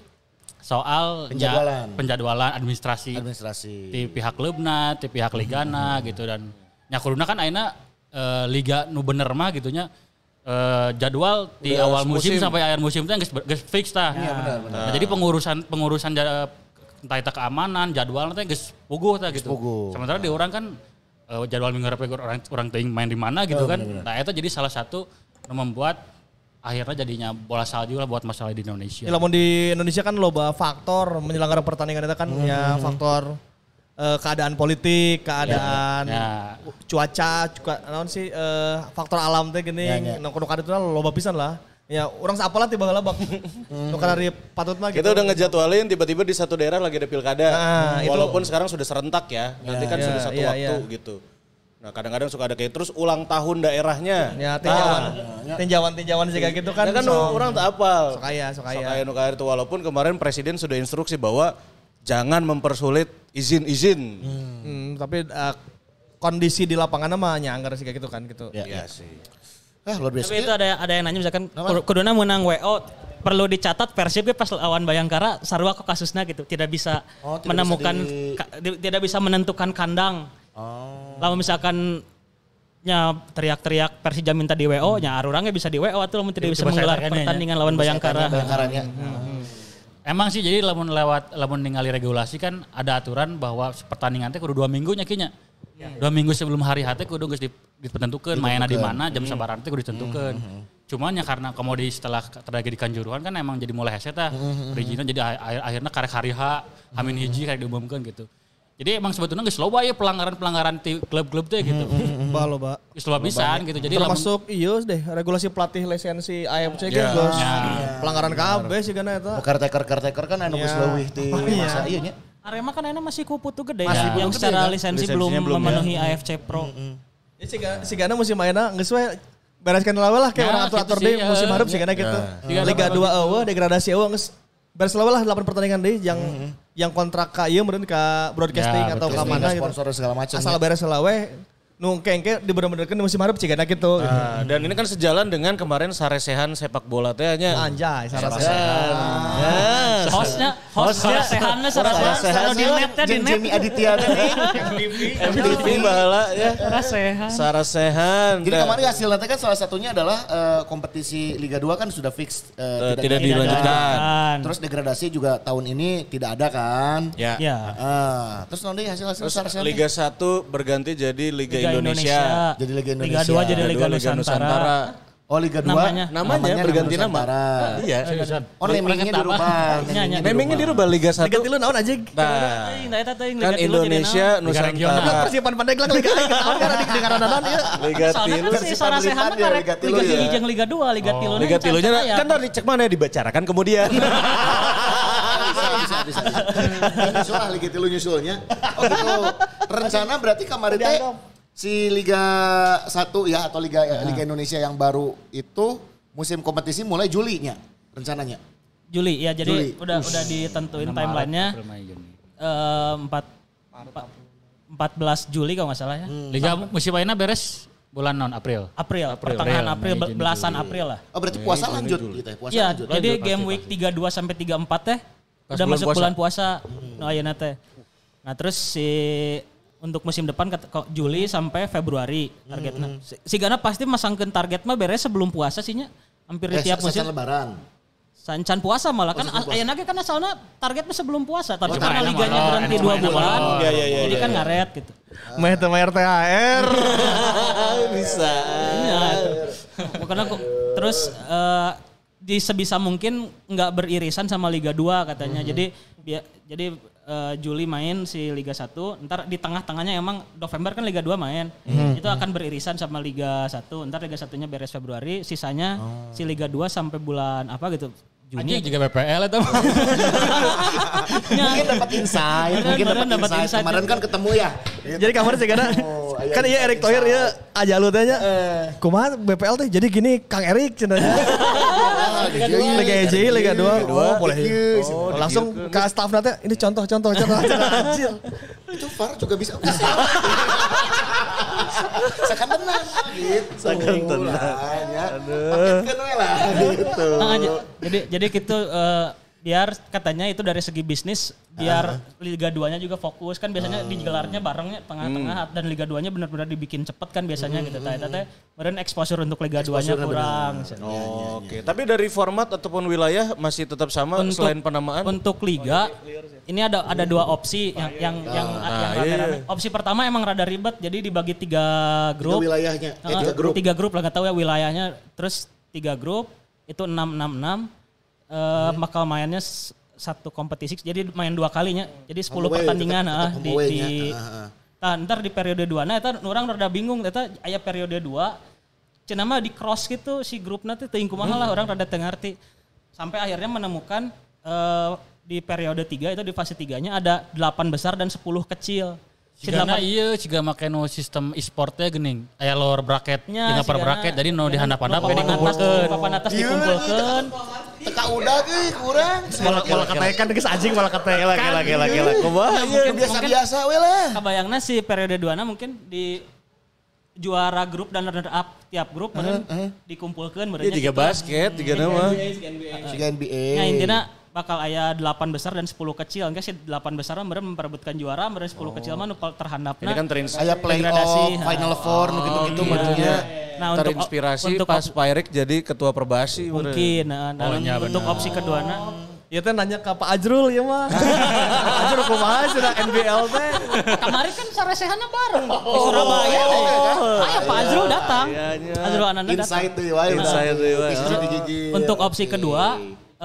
soal Penjadwalan. ya, penjadwalan administrasi Administrasi. di pihak klubna, di pihak ligana gitu dan nyakuduna kan ayeuna eh, liga nu bener mah gitunya eh, jadwal di Udah awal musim, musim. sampai akhir musim teh geus geus fix tah. Iya, benar, benar. Nah, jadi pengurusan pengurusan ja- entah itu keamanan, jadwal teh geus puguh tah gitu. puguh. Sementara di orang kan eh, jadwal minggu hareup orang orang teuing main di mana gitu Oh, kan. benar-benar. Nah, itu jadi salah satu yang membuat akhirnya jadinya bola salju lah buat masalah di Indonesia. Ya, lamun di Indonesia kan loba faktor menyelenggara pertandingan itu kan ya faktor eh, keadaan politik, keadaan Ya. cuaca, juga naon sih eh, faktor alam teh gini, Ya, ya. nu kudu itu loba pisan lah. Ya orang sapalah tiba heula bak. Nu kana di patut mah gitu. Kita udah ngejadwalin tiba-tiba di satu daerah lagi ada pilkada. Nah, itu- Walaupun sekarang sudah serentak ya. Nanti kan Ya, sudah satu iya, waktu iya. gitu. Nah kadang-kadang suka ada kayak terus ulang tahun daerahnya. Ya tinjauan, tinjauan-tinjauan sih kayak gitu kan. Nah, kan so- orang tak apal. sok aya, sok aya. Sok aya nu kaeur itu walaupun kemarin presiden sudah instruksi bahwa jangan mempersulit izin-izin. Hmm, tapi eh, kondisi di lapangan mah nyanggar sih kayak gitu kan gitu. Ya. Iya sih. Ah, luar biasa. Tapi itu ada ada yang nanya misalkan kuduna menang W O perlu dicatat Persib ge pas lawan Bayangkara sarua kok kasusnya gitu tidak bisa Oh, tidak menemukan bisa di- ka- di- tidak bisa menentukan kandang. Oh. Lalu misalkan nya teriak-teriak Persija minta di W O nya arurangnya bisa di W O atau lamun tidak bisa Coba saya menggelar tanyakan ya, pertandingan lawan Bayangkara. Bayangkaranya. Emang sih jadi lamun lewat lamun ningali regulasi kan ada aturan bahwa pertandingan teh kudu dua minggu nya kinya. Dua minggu sebelum hari H teh kudu geus ditentukeun mainna di mana, jam sabaraha teh kudu ditentukeun. Cuman ya karena komodi setelah terjadi di Kanjuruhan kan emang jadi mulai hese tah. Perizinan jadi akhir- akhirnya karek hari H, Hamin hiji karek diumumkeun gitu. Jadi emang sebetulnya geus loba ya pelanggaran-pelanggaran ti klub-klub teh gitu. Bah loba. Geus loba pisan gitu. Jadi lamun Termasuk iya deh regulasi pelatih lisensi A F C kan geus pelanggaran K B sih kana eta. Caretaker-caretaker kan anu geus Ya. leuwih ti masa ieu nya. Arema kan enak masih kupu tuh gede Masih ya, yang kupu gede, secara kan? lisensi Lisensinya belum, belum, ya. memenuhi A F C Pro. Ya si Ga- si Gana musim mainna geus we bereskan lawe lah kayak Nah, orang atur-atur gitu sih, deui musim ya. hareup sih Gana gitu. Ya. Liga dua eueuh degradasi eueuh geus beres lawe lah delapan pertandingan deui yang yang kontrak ka ieu meureun ka broadcasting Ya, atau ka Broadcasting, mana gitu. sponsor segala macam. Asal beres lawe nu kengke dibener-benerkeun di musim hareup sih Gana gitu. Nah, dan ini kan sejalan dengan kemarin saresehan sepak bola teh nya. Anjay, sarasa. Ya. Hostnya, hostnya sehannya Sehat sarasa di net teh di Jeung net. Jamie Aditya teh. M T V bahala ya. Sarasehan. Sarasehan. Jadi Dan- kemarin hasilnya teh kan salah satunya adalah eh, kompetisi Liga dua kan sudah fix Eh, eh, tidak dilanjutkan. Terus degradasi juga tahun ini tidak ada kan? Ya. Ya. Ah, terus nanti hasil-hasil Terus Sarsen Liga satu berganti jadi Liga, Liga Indonesia. Jadi Liga Liga Indonesia. dua jadi Liga Liga dua, Liga Nusantara. Oh Liga dua Namanya. Namanya berganti nama. Nusantara. Iya. Oh namingnya dirubah. Nya, nya. Namingnya dirubah Liga Liga satu. tilu naon aja? Nah, Teuing da eta teuing kan Liga tilu jadi Indonesia naon. Nusantara. Persiapan Pandeglang Liga aing ketahuan kan di dengaran naon ieu. Liga Soalnya tilu. kan si Sarasehan Liga karek Liga tilu Liga ya. hiji jeung Liga dua, Liga tilu. Liga tilunya kan tadi cek mana dibicarakan kemudian. bisa, bisa, bisa, bisa. Nyusul lah Liga tilu nyusulnya. Oh gitu. Rencana berarti kemarin teh si Liga satu ya atau Liga Liga Indonesia yang baru itu musim kompetisi mulai Julinya rencananya. Juli ya, jadi Juli. udah udah ditentuin Maret, timelinenya April, Mei, Juni. eh, empat empat belas Juli kalau nggak salah ya. Liga musim ayeuna beres bulan non April. April, pertengahan April, Mei, Juni, belasan Juli. April lah. Oh berarti puasa lanjut gitu ya? Puasa Iya, lanjut. jadi Lanjut, game pasti, week pasti. tiga puluh dua sampai tiga puluh empat teh Pas udah bulan masuk puasa. bulan puasa. No ayeuna teh. Nah, terus si untuk musim depan ket- ko- Juli sampai Februari targetnya. Si, si Gana pasti masangkeun target mah beres sebelum puasa sih nya. Hampir di Eh, tiap musim. sasan lebaran. Sancan puasa malah kan Oh, ayeuna ge kan asalna targetnya sebelum puasa, tapi Oh, karena enak liganya molor, berhenti enak dua molor. bulan. Iya, iya, iya, Jadi iya, kan iya. ngaret gitu. Meh teu mayar T H R. Bisa. Iya. Makanya aku terus eh, di sebisa mungkin nggak beririsan sama Liga dua katanya. Jadi bia- jadi eh, Juli main si Liga satu, ntar di tengah-tengahnya emang November kan Liga dua main. Itu akan beririsan sama Liga satu. Ntar Liga satunya beres Februari, sisanya si Liga dua sampai bulan apa gitu. Juni. Anjing juga B P L itu. Mungkin dapat insight, Beneran, mungkin beneran dapat dapat insight. insight. Kemarin kan ketemu ya. Jadi kamar sih karena Oh, aya kan iya Erick Thohir ya aja lu tanya. Eh. Kumaha B P L teh jadi gini Kang Erik cenanya. Liga E J, Liga dua. Oh, boleh. Oh, langsung ke staff nanti ini contoh contoh contoh. Anjir. Itu V A R juga bisa. Sekan tenang gitu. Sekan tenang. Aduh. Paketkan we lah gitu. Nah, j- jadi jadi gitu eh, biar katanya itu dari segi bisnis biar Liga dua-nya juga fokus kan biasanya digelarnya barengnya tengah-tengah dan Liga dua-nya benar-benar dibikin cepet kan biasanya gitu. Tah teh meureun exposure untuk Liga dua-nya Exposure-nya kurang. Oke, tapi dari format ataupun wilayah masih tetap sama Untuk- selain penamaan? Untuk liga ini ada ada dua opsi yang yang yang, yang iya, rame-rame. Opsi pertama emang rada ribet jadi dibagi tiga Tiga grup. wilayahnya, eh, Heeh, tiga grup. Tiga grup lah nggak tahu ya wilayahnya. Terus tiga grup itu enam enam enam. Eh, bakal mainnya s- satu kompetisi jadi main dua kalinya. Jadi sepuluh Home away, pertandingan tetep- ah, tetep di home di away-nya. Ah, ah. Tah, ntar di periode dua nah eta orang rada bingung eta aya periode dua cenah mah di cross gitu si grup nanti teuing kumaha lah orang rada teu ngarti. Sampai akhirnya menemukan eh, di periode tiga itu di fase tiganya ada delapan besar dan sepuluh kecil. Si Karena delapan- iya jika make no sistem e-sportnya geuning. Aya lower bracketnya nya, dengan per sigana- bracket jadi no dihandap-handap nu jadi papan atas dikumpulkeun. papan atas Iya, dikumpulkeun. Teka udah euy kurang. Malah malah ketekan geus anjing malah ketekan. Gila, gila, gila, gila. Kumaha? Mungkin Biasa-biasa we lah. Kabayangna si periode dua na mungkin di juara grup dan runner up tiap grup meureun dikumpulkeun meureun. Iya, tiga basket, tiga nama. Siga N B A. Ya intinya bakal aya delapan besar dan sepuluh kecil. Enggak sih delapan besar mah meureun memperebutkan juara, meureun sepuluh kecil mah nu terhandapna. Ini kan terins- Aya degradasi. playoff, final four nu gitu-gitu iya. maksudnya. Nah, untuk terinspirasi untuk pas Pak Erik jadi ketua perbasi. bener. mungkin nah, nah, Oh, iya, untuk benar. opsi kedua na Ieu teh nanya ke Pak Ajrul ya mah. Ajrul kumaha cenah N B L teh. kemarin kan saresehana bareng di Surabaya teh. Aya Pak Azrul datang. Azrul Ananda datang. Insight tuh wae. Insight tuh, wae. Insight. Untuk opsi kedua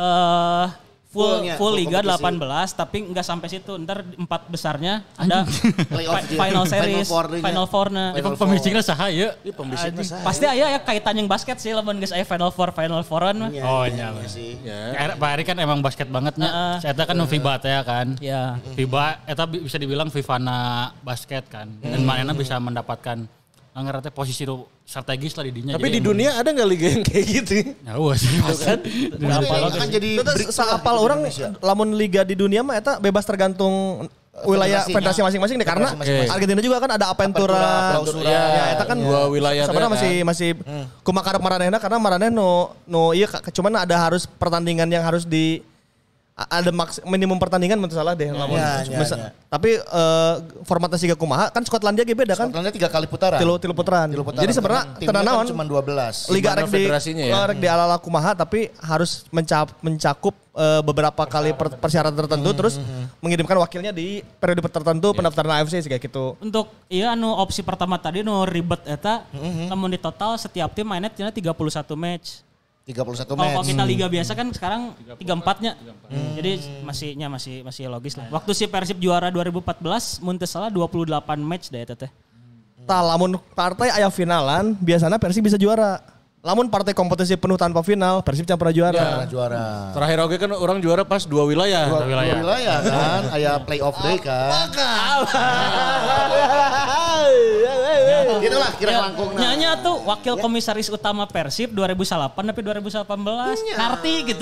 eh full Fullnya, full full liga kompetisi. delapan belas tapi enggak sampai situ. Ntar empat besarnya ada Playoff fi- dia. final Final series, four-nya. final four-na. Ya, pemisiknya saha ya? Ini pembisiknya sah. Pasti aya ya kaitan yang basket sih lamun geus aya final four, final four-an mah. Oh iya. sih. Ya. Pak Erik kan emang basket bangetnya. Saya kan FIBA teh kan. Ya. FIBA eta bi- bisa dibilang Vivana basket kan. Dan manehna bisa mendapatkan anggar teh posisi nu strategis lah di dinya. Tapi di dunia ada nggak liga yang kayak gitu? Ya wah sih kan. Akan jadi Itu breakthrough saapal lah di orang Indonesia. lamun liga di dunia mah eta bebas tergantung wilayah Federasinya. federasi masing-masing deh karena Federasi masing-masing. Argentina juga kan ada Apentura, Apentura, Clausura. ya eta kan Dua wilayah teh sebenarnya kan. masih masih kumakarep maranehna karena maraneh no no iya ka- cuman ada harus pertandingan yang harus di a- ada maks, minimum pertandingan menurut salah deh lamun. Ya, ya, Mesa- ya. Tapi eh, formatnya siga kumaha kan Skotlandia ge beda kan Skotlandia tiga kali putaran. tilu tilu putaran. Tilu putaran. Jadi sebenarnya Timnya tenan naon kan cuma dua belas. Liga Gimana rek di federasinya ya? rek di ala-ala kumaha tapi harus mencap, mencakup eh, beberapa kali per- persyaratan tertentu terus mengirimkan wakilnya di periode tertentu pendaftaran A F C sih kayak gitu. Untuk iya anu opsi pertama tadi nu ribet eta namun di total setiap tim mainnya tina tiga puluh satu match. tiga puluh satu Kalau match. kita liga biasa kan sekarang tiga puluh empat-nya. Jadi masihnya masih masih logis lah. Waktu si Persib juara dua ribu empat belas mun teu salah dua puluh delapan match deh eta teh. Tah lamun partai aya finalan biasanya Persib bisa juara. Lamun partai kompetisi penuh tanpa final Persib can pernah juara. Juara, juara. Terakhir oke kan orang juara pas dua wilayah. Dua, dua wilayah kan, aya playoff day kan. Iya Gitu lah kira Ya, langkung. Nyanya tuh wakil komisaris utama Persib dua ribu delapan tapi dua ribu delapan belas ngerti gitu.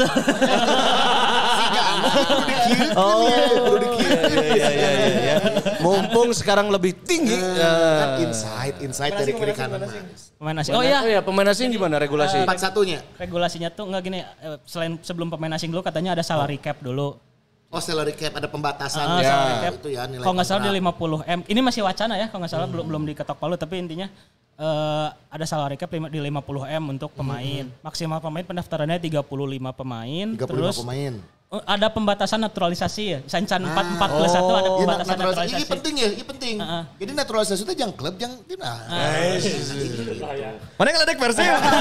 Oh, iya, iya, iya, iya. Mumpung sekarang lebih tinggi. Kan insight, insight dari kiri kanan. Pemain asing. Oh iya, Oh iya, pemain asing gimana regulasi? Empat satunya. regulasinya tuh enggak gini, eh, selain sebelum pemain asing dulu katanya ada salary cap dulu. Oh salary cap ada pembatasan Ah, ya. salary cap. Itu ya nilai. Kalau nggak salah di kontrak. lima puluh M. Ini masih wacana ya, kalau nggak salah belum belum diketok palu tapi intinya eh, ada salary cap lima- di lima puluh M untuk pemain. Maksimal pemain pendaftarannya tiga puluh lima pemain. tiga puluh lima Terus pemain. eh, ada pembatasan naturalisasi ya. Sancan empat empat plus satu ada Iya, pembatasan naturalisasi. naturalisasi. Ini penting ya, ini penting. Heeh. Jadi naturalisasi itu jangan klub, jangan timnas. Mana yang ledek Persib?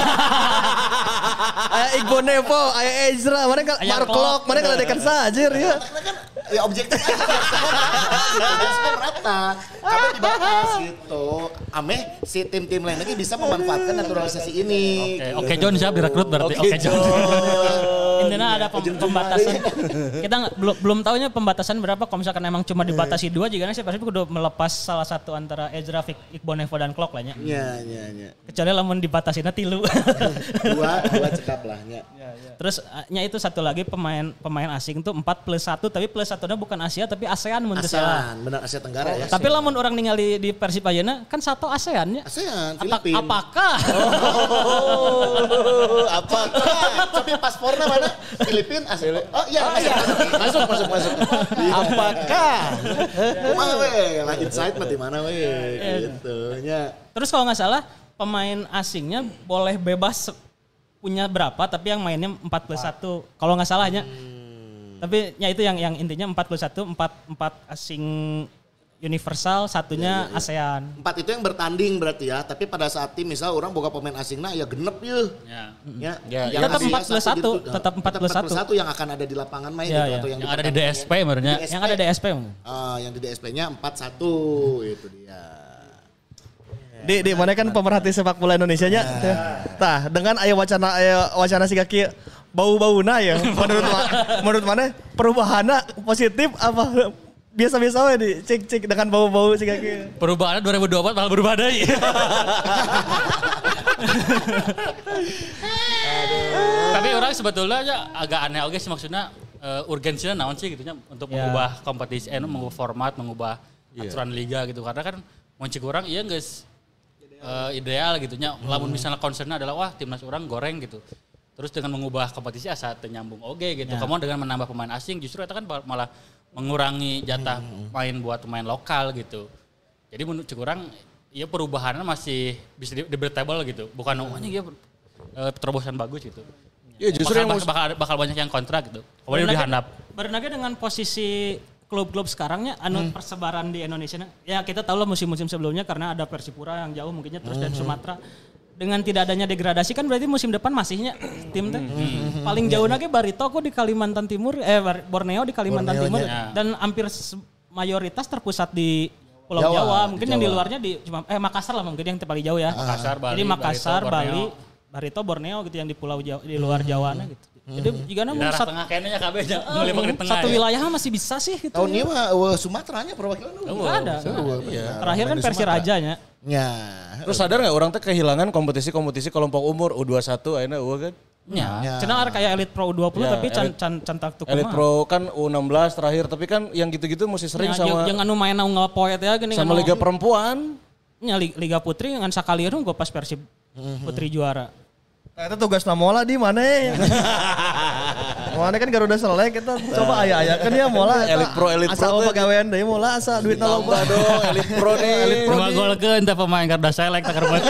Aya Igbo Nevo, aya Ezra, mana yang Aya Mark Klok, mana yang ledekan sajir ya. Karena kan ya objektif aja. Semua semua merata. Kamu dibatas gitu. Ameh si tim-tim lain lagi bisa memanfaatkan naturalisasi ini. Oke, oke John siap direkrut berarti. Oke John. Intinya ada pem- pembatasan. Kita nggak- belum belum tahunya pembatasan berapa. Kalau misalkan emang cuma dibatasi dua, jika sih pasti udah melepas salah satu antara Ezra, Fik- Iqbal Nevo dan Klok lah nya. Iya, iya, iya. Kecuali lamun dibatasinya tilu. Dua, dua cekap lah. Ya. Terus eh, nya itu satu lagi pemain pemain asing tuh empat plus satu tapi plus satunya bukan Asia tapi ASEAN mun teu salah. ASEAN, benar Asia Tenggara ya. Tapi lamun orang ningali di Persib ayeuna kan satu ASEAN nya. ASEAN, Apa- Filipina. apakah Oh, apakah? Tapi paspornya mana? Filipina, ASEAN. Oh iya, masuk, masuk, masuk, masuk. Apakah? Kumaha we? Lah insight mah di mana we? Gitu nya. Terus kalau nggak salah pemain asingnya boleh bebas punya berapa tapi yang mainnya empat plus satu. Kalau nggak salahnya. Tapi ya itu yang yang intinya empat plus satu, empat empat asing universal, satunya ASEAN. Empat itu yang bertanding berarti ya. Tapi pada saat tim misal orang boga pemain asingna ya genep ya. Ya. Ya, Ya, yang tetap Asia empat plus satu, gitu. tetap empat plus satu. yang akan ada di lapangan main Ya, gitu, ya. atau yang, Yang ada di D S P sebenarnya. Yang ada di S P. Ah, yang di D S P-nya empat satu itu dia. Di di mana kan pemerhati sepak bola Indonesia nya. Tah, dengan aya wacana aya wacana siga kieu bau-bauna ya. Menurut ma- menurut mana perubahannya positif apa biasa-biasa we di cek-cek dengan bau-bau siga kieu. Perubahannya dua ribu dua puluh empat malah berubah deui. Tapi orang sebetulnya aja agak aneh oke sih maksudnya uh, urgensinya naon sih gitunya untuk Ya. mengubah kompetisi, eh, mengubah format, mengubah aturan liga gitu. Karena kan muncul orang iya guys uh, ideal gitunya. Lamun misalnya concernnya adalah wah timnas orang goreng gitu. Terus dengan mengubah kompetisi asa ternyambung oke gitu. Ya. Kemudian dengan menambah pemain asing justru itu kan malah mengurangi jatah main buat pemain lokal gitu. Jadi menurut orang ya perubahannya masih bisa di- debatable gitu. Bukan oh ini dia uh, terobosan bagus gitu. Ya justru bakal, yang bakal, bakal, bakal banyak yang kontrak gitu. Kemudian dihandap. Berenangnya dengan posisi klub-klub sekarangnya anu persebaran di Indonesia. Ya kita tahu lah musim-musim sebelumnya karena ada Persipura yang jauh mungkinnya terus dari Sumatera. Dengan tidak adanya degradasi kan berarti musim depan masihnya tim teh. Paling jauh lagi Barito kok di Kalimantan Timur, eh Bar- Borneo di Kalimantan Borneo Timur nya. dan hampir se- mayoritas terpusat di Pulau Jawa, Jawa. di Mungkin yang di Jawa. luarnya di cuma eh Makassar lah mungkin yang paling jauh ya. Makassar, Bali, Jadi Makassar, Barito, Borneo. Bali, Barito, Borneo gitu yang di Pulau Jawa, di luar Jawa gitu. Jadi jika namun Daerah satu, tengah kayaknya kabehnya eh, ngelimpang di tengah. satu ya. wilayah masih bisa sih gitu. Tahun ini mah uh, Sumateranya perwakilan lu. Nggak ada. Terakhir kan Persirajanya. Ya. Terus sadar nggak orang teh kehilangan kompetisi-kompetisi kelompok umur U dua puluh satu akhirnya eueuh kan? Ya. Cenah ada kayak Elite Pro U dua puluh Ya, tapi can Elite- can can tak tuh Elite Pro kan U enam belas terakhir, tapi kan yang gitu-gitu mesti sering Ya, sama yang anu main unggal poet ya gini sama anu- Liga Perempuan. Ya, Li- Liga Putri dengan sakalieu gue pas Persib Putri juara. Nah, itu tugas namola di mana ya? Mana kan Garuda Selek kita coba aya-aya kan ya mola Elite Pro, Elite asa Pro oh teh. pagawean deui mola asa duitna loba. Tambah dong Elite Pro nih. Elite Dua gol ke entah pemain Garda Select tak kerbeuti.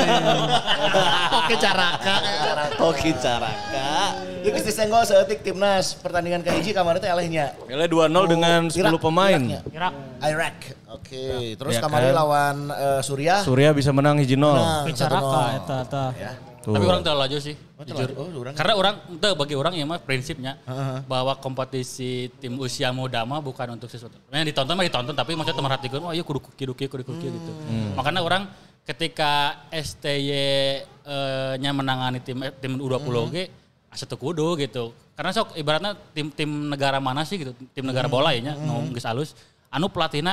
Oke caraka. Toki Caraka. Ieu geus disenggol saeutik timnas pertandingan kahiji kemarin teh elehnya. Ele dua nol dengan sepuluh Irak, pemain. Iraknya. Irak. Irak. Oke, terus Ya kemarin kan? lawan eh, Suriah. Surya bisa menang hiji nol. Menang. Bicaraka eta eta. Tapi orang terlalu laju sih, jujur. Oh, orang. Karena orang, itu bagi orang ya mah prinsipnya bahwa kompetisi tim usia muda mah bukan untuk sesuatu. Yang ditonton mah ditonton, tapi maksudnya merhatikan, wah iya kudu kuki kuki kudu kuki gitu. Makanya orang ketika S T Y eh, nya menangani tim tim U dua puluh ge asa teu kudu gitu. Karena sok ibaratnya tim tim negara mana sih gitu, tim negara bola ya nya, nu geus alus. Anu pelatihna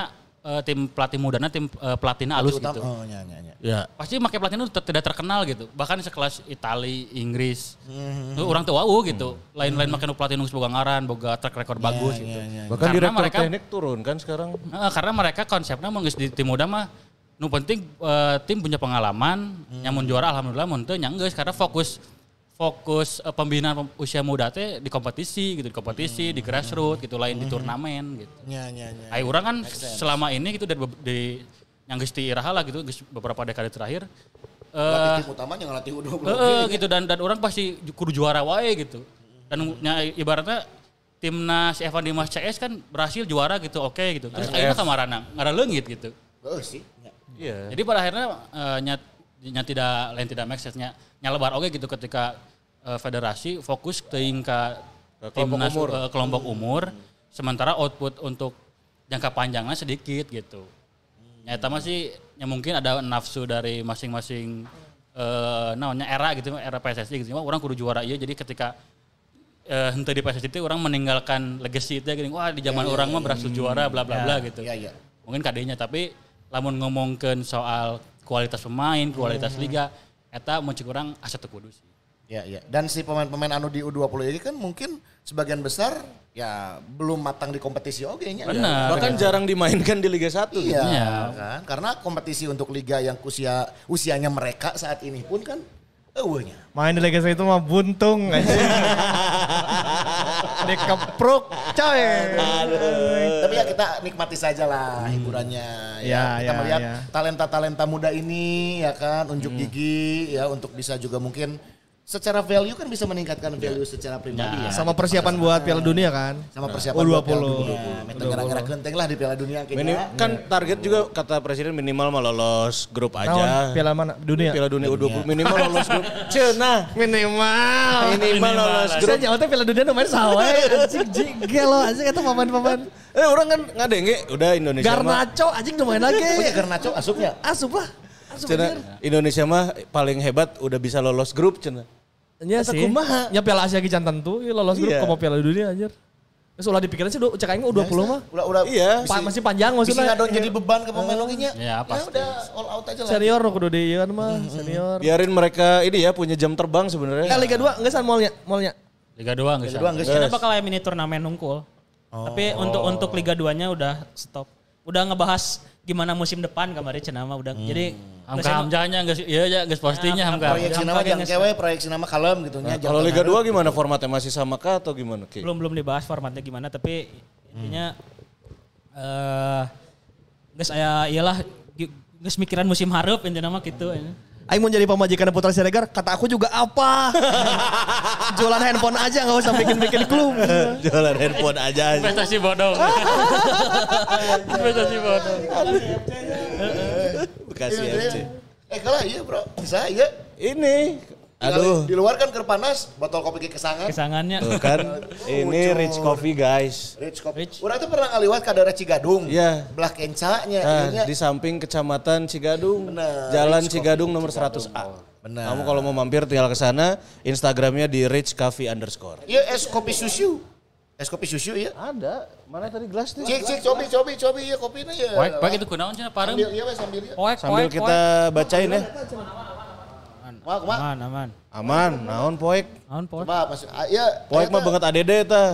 uh, tim pelatih mudanya, tim uh, pelatihnya halus Utama- gitu. Oh, nya nya nya. Ya. Pasti pakai pelatih itu ter- tidak terkenal gitu. Bahkan sekelas Itali, Inggris. Hmm. Tuh, orang tuh wow gitu. Lain-lain makin pelatih nunggu boga ngaran, boga track record bagus gitu. Bahkan Karena direktur mereka- teknik turun kan sekarang. Nah, karena mereka konsepnya mau geus di tim muda mah nu penting uh, tim punya pengalaman, nyamun juara alhamdulillah mun teu nya geus karena fokus fokus uh, pembinaan pem- usia muda teh di kompetisi gitu, di kompetisi, di grassroots gitu, lain di turnamen gitu. Nya nya nya. Ai urang kan selama ini gitu dari be- di yang geus ti iraha lah gitu, geus beberapa dekade terakhir Pelatih eh tim utamanya ngelatih U dua puluh. Heeh gitu dan dan orang pasti kudu juara wae gitu. Dan nya, ibaratnya timnas Evan Dimas C S kan berhasil juara gitu, oke gitu. Terus akhirnya kamarana ngaraleungit gitu. Heeh sih. Nya. Iya. Jadi pada akhirnya uh, nya, nya tidak lain tidak make sense-nya nyalebar oke gitu ketika uh, federasi fokus teuing ka timnas umur. uh, kelompok umur sementara output untuk jangka panjangnya sedikit gitu. Nyata masih ya mungkin ada nafsu dari masing-masing uh, namanya era gitu, era P S S I gitu. Wah, orang kudu juara iya jadi ketika uh, henteu di P S S I itu orang meninggalkan legacy itu gitu. Wah, di zaman orang mah berhasil juara bla bla bla gitu. Iya iya. Mungkin kadenya tapi lamun ngomongkeun soal kualitas pemain, kualitas liga eta mun cik urang asa teu kudu sih. Ya, ya. Dan si pemain-pemain anu di U dua puluh ini kan mungkin sebagian besar ya belum matang di kompetisi oke nya. Benar. Bahkan jarang dimainkan di Liga satu. Iya, Iya. kan? Karena kompetisi untuk liga yang usia usianya mereka saat ini pun kan eueuhnya. Main di Liga satu itu mah buntung aja. Dikepruk coy. Tapi ya kita nikmati saja lah hiburannya. Ya, Ya, kita ya, melihat ya. talenta-talenta muda ini ya kan unjuk gigi ya untuk bisa juga mungkin secara value kan bisa meningkatkan value secara pribadi ya. Sama persiapan buat Piala Dunia kan. Sama persiapan U dua buat Piala puluh. Dunia. Meta gara-gara genteng lah di Piala Dunia Minim, kayaknya. kan target juga kata presiden minimal mah lolos grup Naon, aja. Piala mana? Dunia. Piala Dunia U dua puluh minimal lolos grup. Cenah. Minimal. Minimal lolos Saya grup. jawabnya Piala Dunia nu main sawe. Anjing jigel lo anjing eta pemain-pemain. Eh orang kan ngadenge udah Indonesia mah. Garnacho anjing nu main lagi. Oh ya Garnacho asupnya. Asup lah. Asup Cenah anjir. Indonesia mah paling hebat udah bisa lolos grup cenah. Nya Eta sih. kumaha? Ya Piala Asia Gican tentu, ya lolos grup Iya. ke Piala Dunia anjir. Terus ulah dipikirin sih cek aing U dua puluh mah. Udah udah Iya. Pa- masih panjang Bisa maksudnya. ngadon jadi beban ke pemain lagi nya. Ya, pasti. udah all out aja lah. Senior kudu di ieu mah, senior. Biarin mereka ini ya punya jam terbang sebenarnya. Eh Liga dua enggak san malnya, malnya. Liga dua geus. Liga dua geus. Kita bakal aya mini turnamen nungkul. Tapi untuk untuk Liga dua-nya udah stop. Udah ngebahas gimana musim depan kemarin cenah mah udah. Jadi Hamka hamjanya geus ieu ya geus pastinya Hamka. Proyeksi nama Hamka yang geus- kewe, proyeksi nama kalem gitu nya. Kalau Liga dua gimana formatnya masih sama kah atau gimana Ki? belum belum dibahas formatnya gimana tapi intinya eh geus aya iyalah geus mikiran musim hareup intinya mah gitu. Aing mau jadi pemajikan Putra Siregar, kata aku juga apa? Jualan handphone aja nggak usah bikin-bikin klub. Jualan handphone aja. Investasi bodong. Investasi bodong. Bekasi F C. Eh kalah iya bro, bisa iya. Ini, aduh, Di luar kan keur panas, botol kopi ke kesangan. Kesangannya tuh kan, ini Rich Coffee guys. Rich kopi. Urang tuh pernah ngaliwat ka daerah Cigadung. Iya. Belah kencanya. Nah, ieunya. di samping Kecamatan Cigadung, Bener, Jalan Rich Cigadung Coffee nomor Cigadung. seratus A. Benar. Kamu kalau mau mampir tinggal ke sana, Instagramnya di Rich Coffee underscore. Iya es kopi susu. Es kopi susu iya. Ada, mana tadi gelasnya? Cik cik cobi cobi cobi iya kopinya ya. Poek poek itu kunaon cenah parem. Sambil iya we sambil iya. poek Sambil poek kita bacain ya. Wah, kumaha? aman aman. Aman, naon poek. Naon poek? Coba pas ah, iya. Poek mah banget A D D eta.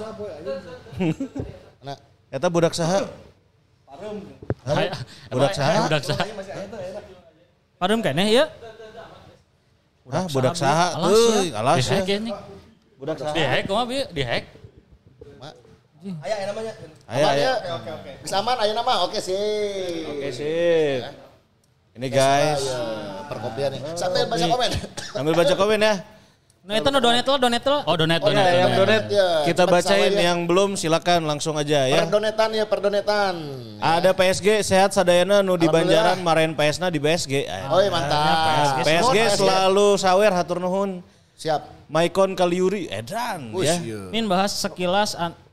Nah, Eta budak saha? Hai, Budak saha? Budak saha? Parem keneh ieu. Hah, budak saha? Alas Tuh, ya. alas Di ya. hack ya nih. Budak saha? Di hack kumaha bi? Di hack. Aya namanya. Ayo, aman ayo. ya. Bisa aman ayo nama. Oke sih. Oke, sip. Ini guys, Ya, perkopian nih. Sambil baca komen. sambil baca komen ya. Nah itu no donate lo donate lo. Oh, donate Oh donate. ya, yang donate Ya, kita cepat bacain sama ya. yang belum silakan langsung aja ya. Perdonetan ya, perdonetan. Ada P S G sehat sadayana nu di Alhamdulillah. Banjaran marahin P S na di B S G. Oh iya mantap. P S G Nuhun, selalu sawer hatur nuhun. Siap. Maicon Kaliuri edan Wush, ya. iya. Min bahas sekilas an-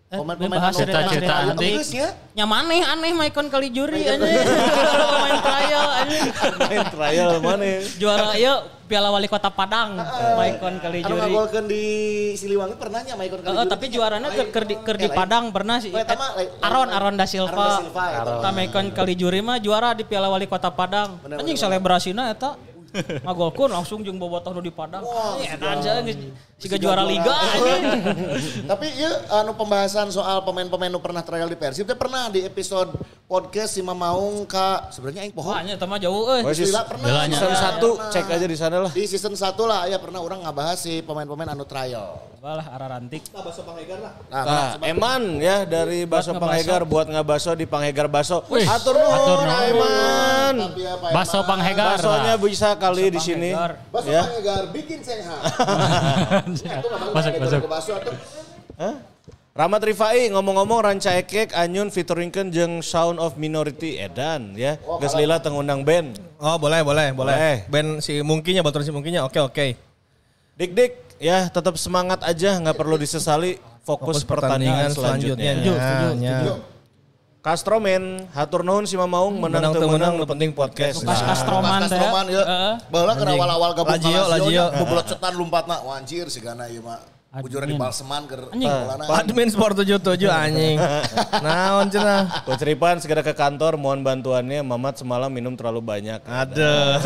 Pemain-pemain bahas anu cerita-cerita anu antik. geus nya. Nya maneh aneh maikon kali juri aja. Main trial aja. Main trial mana? Juara ieu Piala Wali Kota Padang. Maikon kali Anu juri. ngagolkeun di Siliwangi pernah nya Maikon kali Heeh, juri. tapi juaranya keur keur di, keur di Eh, lain. Padang pernah sih. Oh, eta mah lain- Aron lain- Aron da Aron da Silva. Silva, eta. Eta maikon kali juri mah juara di Piala Wali Kota Padang. Bener, Anjing bener, selebrasina eta ngagolkeun langsung jeung bobotoh nu di Padang. Wah, Eta aja geus siga Siga juara liga. anjing. Tapi ya anu pembahasan soal pemain-pemain nu pernah trial di Persib teh pernah di episode podcast si Mamaung ka sebenarnya aing poho. Wah, nya eta mah jauh euy. Oh, sis- Lila pernah. Belanya. Season Pernah. satu cek aja di sana lah. Di season satu lah ya pernah orang ngabahas si pemain-pemain anu trial. Balah ararantik. Nah, Nah, Eman ya dari Baso Buat Panghegar buat ngabaso di Panghegar Baso. Wih, Atur atur nuhun nuhun. Eman. Tapi apa ya, Baso Panghegar. Basonya bisa kali di sini. Panghegar. Baso Ya. Panghegar bikin sehat. Masuk, masuk. Baso atuh. Hah? Rahmat Rifai ngomong-ngomong Ranca Ekek Anyun featuringkeun jeung Sound of Minority edan ya. Geus lila teu ngundang band. Oh boleh boleh boleh. Boleh. Band si Mungkinya, baturan si Mungkinya oke oke. Dik-dik ya tetap semangat aja nggak perlu disesali fokus, pertandingan, selanjutnya. Setuju, Iya, setuju. Castromen, hatur nuhun si Mamaung menang Menang teu teu menang menang, nu penting podcast. Kas Kastroman teh. Kastroman ya. Heeh. Baheula keur awal-awal gabung Lazio, ka Lazio. bubulot cetan lompatna. Wah anjir sigana ieu mah. Bujur di Admin. Balseman keur Anjing. bolana. Admin Sport tujuh puluh tujuh anjing. Naon cenah? Coach Ripan segera ke kantor mohon bantuannya. Mamat semalam minum terlalu banyak. Aduh.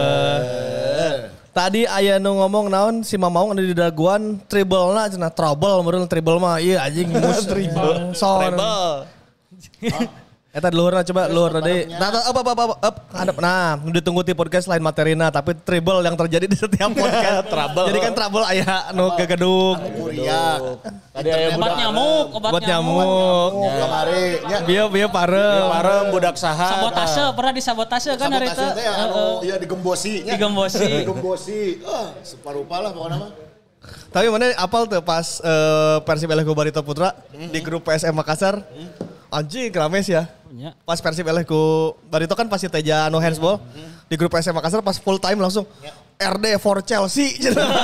Tadi aya nu ngomong naon si Mamaung ada di daguan triple-na cenah trouble meureun triple mah ieu anjing mus triple. Treble. Eta di luhurna coba luhur tadi. Nah, nah, up, up, up, up, up. Hadap. Nah, ditunggu di podcast lain materina tapi trouble yang terjadi di setiap podcast. Trouble. Jadi kan trouble aya nu gegedug. Kuriak. Tadi aya Obat budak nyamuk, obat Buat nyamuk. nyamuk. Kamari nya. Bieu bieu parem. parem budak saha. Sabotase, pernah disabotase kan hari itu. Sabotase teh anu ieu digembosi nya. Digembosi. Digembosi. Ah, separupa lah pokoknya mah. Tapi mana apal tuh pas eh, Persib Elehku Barito Putra di grup P S M Makassar. Anjing rames ya. Punya. Pas Persib Elehku Barito kan pasti Teja no handsball. Di grup P S M Makassar pas full time langsung R D for Chelsea.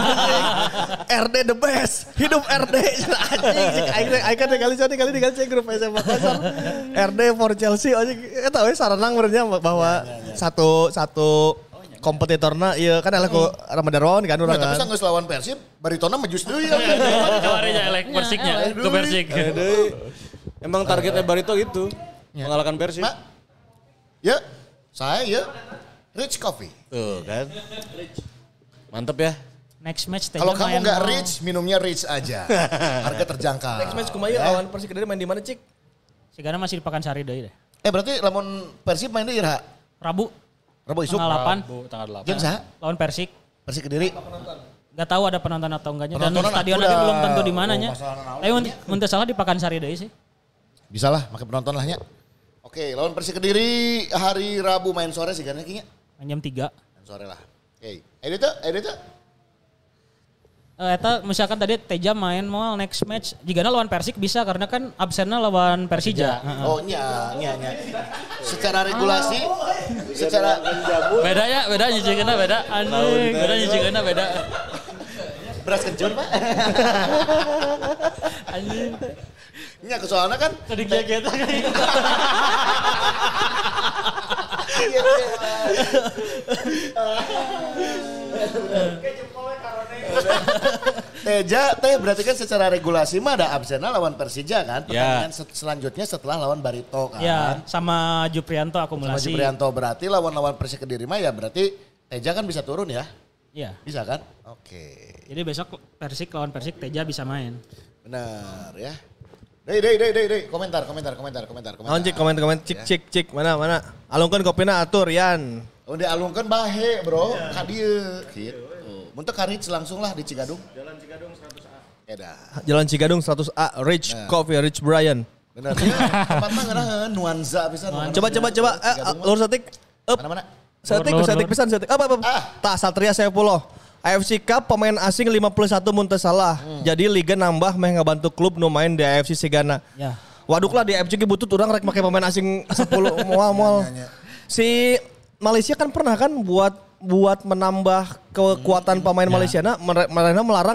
R D the best. Hidup R D. Anjing cik aing aing kan kali kali kali diganti cek grup P S M Makassar. R D for Chelsea anjing eta we saranang benernya bahwa satu satu kompetitorna ieu kan Elehku Ramadaron kan urang Nah, tapi kan. sanggeus lawan Persib, baritona mejus deui ya. Kemarinnya elek Persiknya ke Persik. Emang targetnya Barito gitu. Mengalahkan Persib. Mak. Ya, saya ya Rich Coffee. Tuh kan. Mantep ya. Next match teh Kalau kamu main nggak mau- rich, minumnya rich aja. Harga terjangkau. Next match kumaha lawan Persik Kediri main di mana cik? Sigana masih di Pakansari deui deh. Eh berarti lamun Persib main di Ira. Rabu Rabu isuk. tanggal delapan Bu, tanggal delapan. Jeung saha? lawan Persik. Persik Kediri. Gak tahu ada penonton atau enggaknya dan Penontonan stadion udah. lagi belum tentu di mananya. Oh, masalah naon Tapi mun- mun teu salah di Pakansari deui sih. Bisa lah, pakai penonton lahnya. Oke, lawan Persik Kediri hari Rabu main sore sih kan kayaknya. Main jam tiga. Main sore lah. Oke. Eh itu, eh itu. Eh, eta misalkan tadi Teja main mau next match jika lawan Persik bisa karena kan absennya lawan Persija. Heeh. Oh nya, nya, nya. Secara regulasi, secara Beda ya, beda nyicikeunna beda. Anjing, beda nyicikeunna beda. beras kencur pak. Anjing. Nya soalnya kan. Tadi kita Teja teh berarti kan secara regulasi mah ada absennya lawan Persija kan. Ya. Pertandingan se- selanjutnya setelah lawan Barito kan. Ya, sama Juprianto Sama akumulasi. Jibrianto berarti lawan-lawan Persik Kediri mah ya berarti Teja kan bisa turun ya. Iya. Bisa kan? Oke. Jadi besok Persik lawan Persik Teja bisa main. Benar ya. Dei, dei, dei, dei, dei. Komentar, komentar, komentar, komentar, komentar. Naon cik komen-komen cik cik cik mana mana. Alungkeun kopina atur Yan. Oh, dialungkeun bahe, Bro. Ka dieu. Gitu. Mun teu ka Rich langsung lah di Cigadung. Jalan Cigadung seratus A. Eda. Jalan Cigadung seratus A Rich Nah. Coffee Rich Brian. Benar. Tempat mah ngeunaheun nuansa pisan. Coba coba coba eh lur setik. Up. Mana-mana? Setik Lur, lur, setik lur. pisan setik. Apa apa. Ah. Tah Satria sepuluh. A F C Cup pemain asing lima puluh satu mun teu salah. Jadi liga nambah meh ngabantu klub nu main di A F C Sigana. Ya. Waduk lah di A F C ge butut urang rek make pemain asing sepuluh moal moal. Si Malaysia kan pernah kan buat buat menambah kekuatan pemain Malaysia na mereka melarang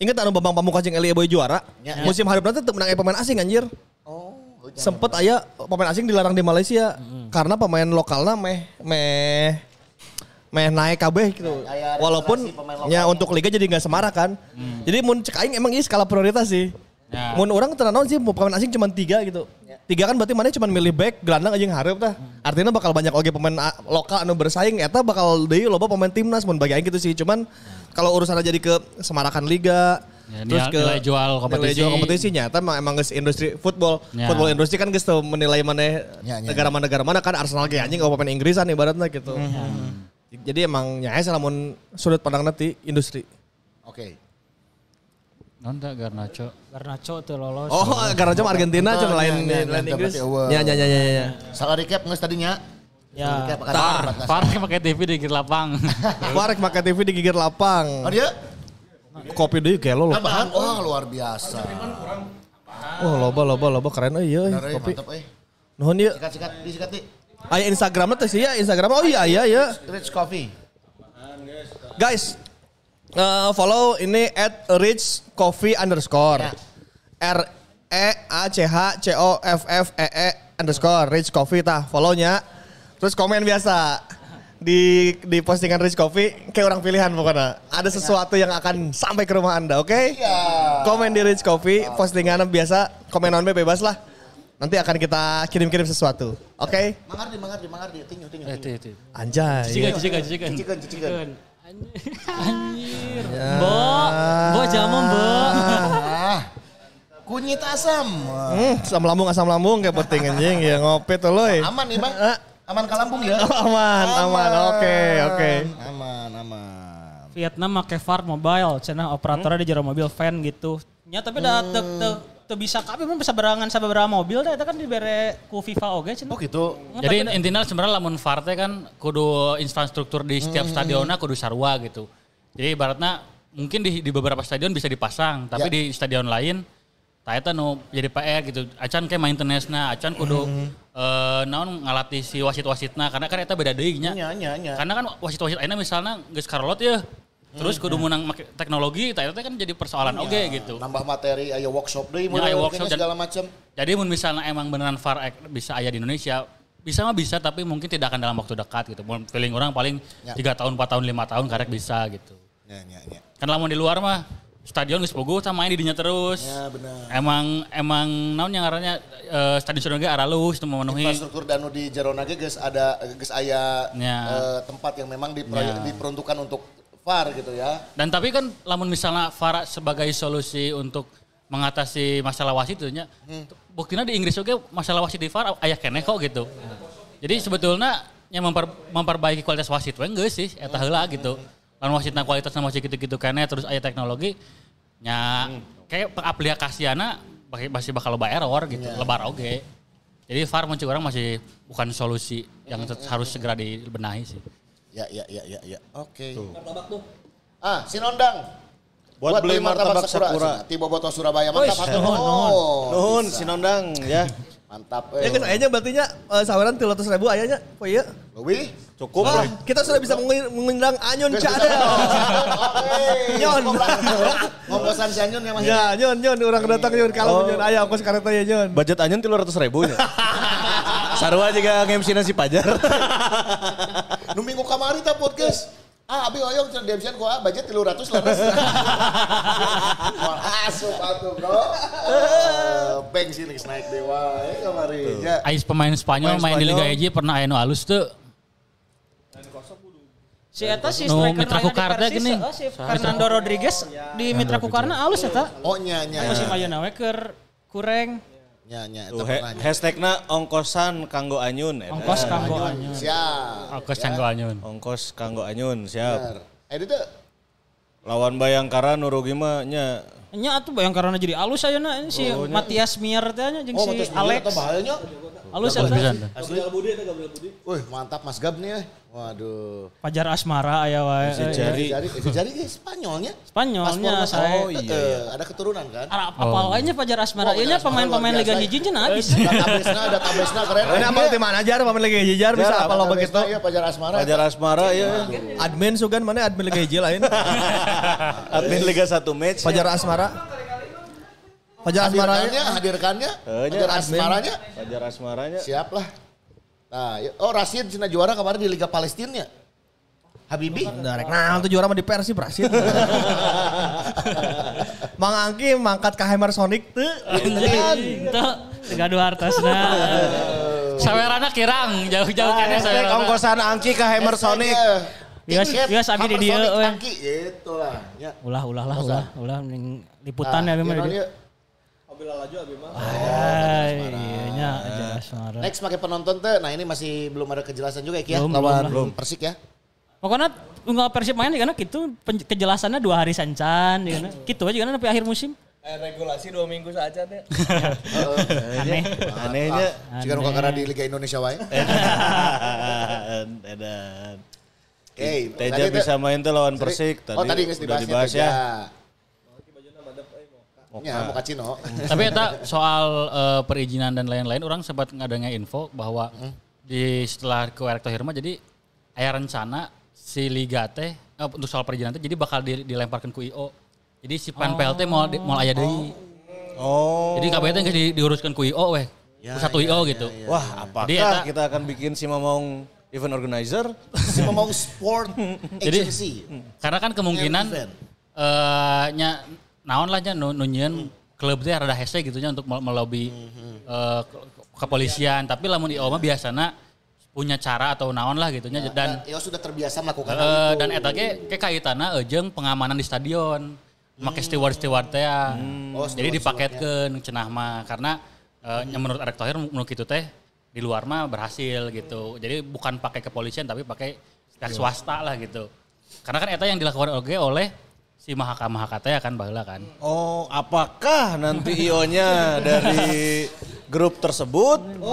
Ingat anu Bambang Pamungkas jeung Elie Boy juara? Ya. Musim hareup nanti teu menang pemain asing anjir. Oh. Sempet aya pemain asing dilarang di Malaysia hmm. karena pemain lokalna meh meh meh naik kabeh gitu. Ya, walaupun ya untuk liga jadi enggak semarak kan. Hmm. Jadi mun cek aing emang ini skala prioritas sih. Ya. Mun orang teu naon sih pemain asing cuma tiga gitu. Ya. Tiga kan berarti mana cuma milih back, gelandang aja yang hareup tah. Hmm. Artinya bakal banyak oge pemain lokal anu bersaing eta bakal deui loba pemain timnas mun bagi aing gitu sih. Cuman hmm. kalau urusan jadi ke semarakan liga ya, terus ke nilai jual kompetisi. Nilai jual kompetisinya eta emang emang geus industri football. Ya. Football industri kan geus teu menilai maneh ya, ya, negara mana negara mana kan Arsenal ge anjing pemain Inggrisan ibaratna gitu. Hmm. Hmm. Jadi emang nyahe lamun sudut pandang nanti industri. Oke. Okay. Nonton Garnacho. Garnacho tuh lolos. Oh, Garnacho Argentina cuma lain lain Inggris. Ya ya ya ya ya. Salah recap geus tadinya. Ya. Farek pakai T V di gigir lapang. Farek pakai T V di gigir lapang. Oh dia? Kopi deui gelo loh. Tambahan oh luar biasa. Oh loba loba loba keren euy euy kopi. Mantap euy. Nuhun ieu. Sikat-sikat disikat di. Aya Instagramna teh sih ya, Instagram. Oh iya iya ya. Rich Coffee. Guys, uh, follow ini at rich coffee underscore. Ya. R E A C H C O F F E E underscore rich coffee tah follownya. Terus komen biasa di di postingan Rich Coffee kayak orang pilihan pokoknya. Ada sesuatu yang akan sampai ke rumah Anda, oke? Okay? Ya. Komen di Rich Coffee, postingan biasa, komen on bebas lah. Nanti akan kita kirim-kirim sesuatu, oke? Okay? Mangardi, mangardi, mangardi, tinju, tinju. tinju. Anjay. Cicikan, cicikan, cicikan. Cicikan, cicikan. Anjir. Bo, bo jamu bo. Kunyit asam. Hmm, asam lambung, asam lambung kayak penting anjing ya ngopi tuh loy. Aman nih bang. Aman ke lambung ya? Oh, aman, aman, oke, oke. Aman, aman. Vietnam make V A R mobile, cenah operatornya di jero mobil van gitu. Ya tapi dah teu teu teu bisa kabeh mun bisa berangan sababaraha mobil dah eta kan dibere ku FIFA oge cenah. Oh gitu. Jadi intinya sebenarnya lamun V A R teh kan kudu infrastruktur di setiap hmm. stadionna kudu sarua gitu. Jadi ibaratnya mungkin di, di beberapa stadion bisa dipasang, tapi ya. Di stadion lain tah eta nu jadi P R gitu. Acan kayak maintenance-na, acan kudu mm-hmm. uh, naon ngalatih si wasit-wasitna karena kan eta beda deui nya. Nya nya nya. Karena kan wasit-wasit ayeuna misalnya geus karolot ya. Terus kudu meunang make teknologi, tah eta kan jadi persoalan oge okay, gitu. Nambah materi aya workshop deui mun aya workshop segala macam. Jadi mun misalnya emang beneran V A R bisa aya di Indonesia, bisa mah bisa tapi mungkin tidak akan dalam waktu dekat gitu. Mun feeling orang paling tiga tahun, empat tahun, lima tahun karek bisa gitu. Nya nya nya. Kan lamun di luar mah stadion geus bogo sama main di dinya terus. Ya benar. Emang emang naon yang ngarannya uh, stadion ge aralus teu memenuhi. Infrastruktur danu di Jarona ge geus ada geus aya ya. uh, tempat yang memang diproyek, ya. diperuntukkan untuk V A R gitu ya. Dan tapi kan lamun misalnya V A R sebagai solusi untuk mengatasi masalah wasit itu nya. Hmm. Buktina di Inggris oge masalah wasit di V A R aya keneh kok gitu. Hmm. Jadi sebetulnya yang memper, memperbaiki kualitas wasit we geus sih eta heula gitu. Lalu wasitna kualitasnya masih gitu-gitu kene terus aya teknologi nya hmm. kayak aplikasiana masih bakal loba error gitu, yeah. lebar oge. Jadi V A R muncul orang masih bukan solusi yang hmm. harus segera dibenahi sih. Ya ya ya ya ya. Oke. Okay. Ah, Sinondang. Buat, Buat beli martabak Sakura. Sakura. Tiba Boto Surabaya mantap atuh. Nuhun. Nuhun Sinondang ya. Mantap. Ya guys, ayahnya berartinya uh, saweran tiga ratus ribu ayahnya. Oh iya. Lebih? Cukup. Oh, kita sudah bisa mengundang Anyun Cadel. Nyon. Ngongkosan si Anyun ya Mas. Ya, Nyon, Nyon. Orang datang Nyon. Kalau Nyon, ayo ongkos kareta ya Nyon. Budget Anyun tiga ratus ribu nya. Sarua juga nge-M C nasi Pajar. Nu minggu kamari ta podcast. Ah, abi oyong cenah D M C-an gua budget tiga ratus lah. Asup atuh, Bro. Bank sih naik dewa eh kamari. Ya. Ais pemain Spanyol main di Liga E J pernah aya nu alus teu. Si eta si striker Mitra Kukarna gini. Oh, si Fernando Rodriguez di Mitra Kukarna alus eta. Oh nya nya. Musim ayeuna we keur kureng. Nya nya eta pernah. Hashtagna ongkosan kanggo Anyun eta. Ongkos kanggo Anyun. Siap. Ongkos kanggo Anyun. Ongkos kanggo Anyun, siap. Eh itu lawan Bayangkara nu rugi mah nya. Nya atuh Bayangkara jadi alus ayeuna si Matias Mier teh nya jeung si Alex. Oh, bahayanya. Halus ya. Asli. Wih, mantap Mas Gab nih. Waduh. Fajar Asmara aya wae. Isi jari. Itu jadi guys, Spanyolnya. Spanyolnya Paspornya, saya. oh iya, ada keturunan kan? Ara apa lainnya Fajar Asmara. Oh, Ieu nya Fajar Asmara pemain-pemain luar Liga biasa. hiji cenah habis. Database-na, database-na keren. Ini apa tim manajer pemain Liga hiji jar bisa apa lo begitu? Iya, Fajar Asmara. Fajar Asmara ya. Admin sugan mana admin Liga hiji lain. Admin Liga satu match. Fajar Asmara. Fajar Asmara Hadirkannya, hadirkannya. Eh, nya, Fajar Asmaranya. Fajar Asmaranya. Siap lah. Nah, yuk. Oh Rashid cina juara kemarin di Liga Palestina. Habibi. Darek. Nah, itu juara mah di Persib Rashid. Mang Angki mangkat ka Hammer Sonic teu. Itu gaduh hartosna. Sawerana kirang, jauh-jauh kene Hashtag sawerana. ongkosan Angki ke Hammer Sonic. Bias bias abi di dieu euy. Angki gitu lah. Ya. Ulah ulah lah ulah ulah mending liputan ya Nah, mah di dieu. iya, Bila laju abi mah. Ay, iya nya Fajar Asmara. Next pakai penonton tuh. Nah ini masih belum ada kejelasan juga ya Ki ya. Belum, Lawan belum Persik ya. Pokoknya unggal Persib main karena gitu pen- kejelasannya dua hari sancan ya kan. Gitu aja kan sampai akhir musim. Eh, regulasi dua minggu saja teh. Aneh. Anehnya. Jika nu kakara di Liga Indonesia wae. Edan. Edan. Oke, Teja tadi bisa teh- main tuh lawan tadi- Persik. Tadi Oh tadi geus udah dibahas, dibahas ya. ya. Ya, mau kacino. Tapi eta soal eh, perizinan dan lain-lain, orang sempat ngadanya info bahwa di setelah ke Erik Thohir mah jadi aya rencana si Liga teh eh, untuk soal perizinan teh jadi bakal di- dilemparkan ku I O. Jadi si P N P L teh mau di- mau aya deui. Oh. Jadi K B T teh geus di- diuruskan ku I O weh. Ya, Satu I O gitu. Wah, apakah Jadi eta- kita akan bikin si Mamong event organizer? Si ngomong sport Jadi- agency. Karena kan kemungkinan Event. eh nya naon lah nya nu nu nyieun klub teh rada hese gitu nya untuk mel- melobi eh, ke- kepolisian, tapi lamun I O mah biasana punya cara atau naon lah gitu nya dan Ya sudah terbiasa melakukan hal eh, itu. dan eta ge ke kaitanna jeung pengamanan di stadion. Make steward-steward teh ya. Oh, Jadi steward-stewardnya. dipaketkeun cenah mah karena eh, nya menurut Erik Thohir menurut kitu teh di luar mah berhasil gitu. Jadi bukan pakai kepolisian tapi pakai pihak swasta lah gitu. Karena kan eta yang dilakukan oge oleh si Mahaka Mahaka teh kan baheula kan. Oh, apakah nanti I O-nya dari grup tersebut?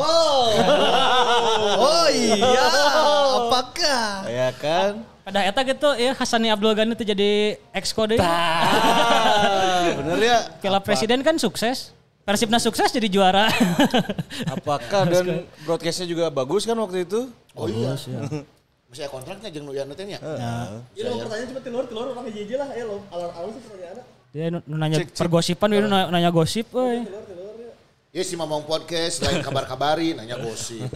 Oh iya, apakah? Ya kan? Pada eta gitu ya Hasani Abdul Ghani itu jadi exco deui. Ah, bener ya? Piala Presiden kan sukses. Persibna sukses jadi juara. Apakah dan broadcastnya juga bagus kan waktu itu? Oh iya. Masih ada kontraknya jeung nu ya teh nya. Ini mau pertanyaan cuma telur, telur orang hiji lah. Ya lo, alur-alur sih pertanyaannya. Dia nu- nu nanya pergosipan dia nu na- nanya gosip euy. Ya si Mamong podcast lain kabar-kabari nanya gosip.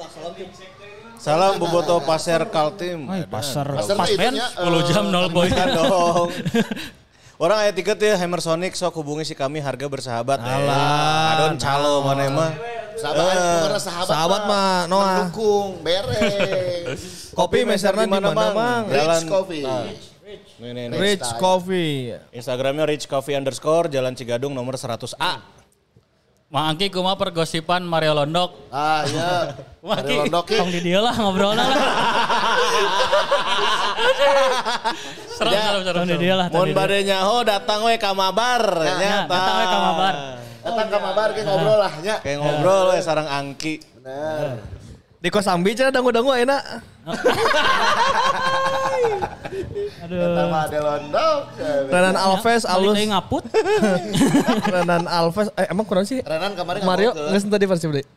Salam Boboto Pasir Kaltim. Ay, pasar Pasar pas teh ben itunya, sepuluh jam nol poin. Bukan dong. Orang aya tiket ya Hammer Sonic sok hubungi si kami harga bersahabat. Alah. Adon calo mana mah. Sahabat, bukan sahabat, Sahabat mah, Noah. mendukung, beres. Kopi meserna di mana, Mang? Rich Coffee. Nih, nih, nih. Rich Coffee. Instagramnya Rich Coffee underscore Jalan Cigadung nomor seratus A. Mang Angki kumaha pergosipan Mario Londok. Ah iya. Wah, Ada Ki. londok Ki. tong di dieu lah ngobrolna lah. Serem serem serem. Tong di dieu lah. tong Mun di dieu. bade nyaho datang we ka mabar. Nah, nya, nah, datang we ka mabar. Datang ke mabar ke ngobrol lah nya. Kayak ngobrol we sarang Angki. Bener. Di Kosambi cenah dangu-dangu enak. Aduh. Pertama ada londok. Renan Alves Balik alus. deui ngaput. Renan Alves eh emang kurang sih? Renan kemarin Mario ngomong ke- geus tadi Persib deui.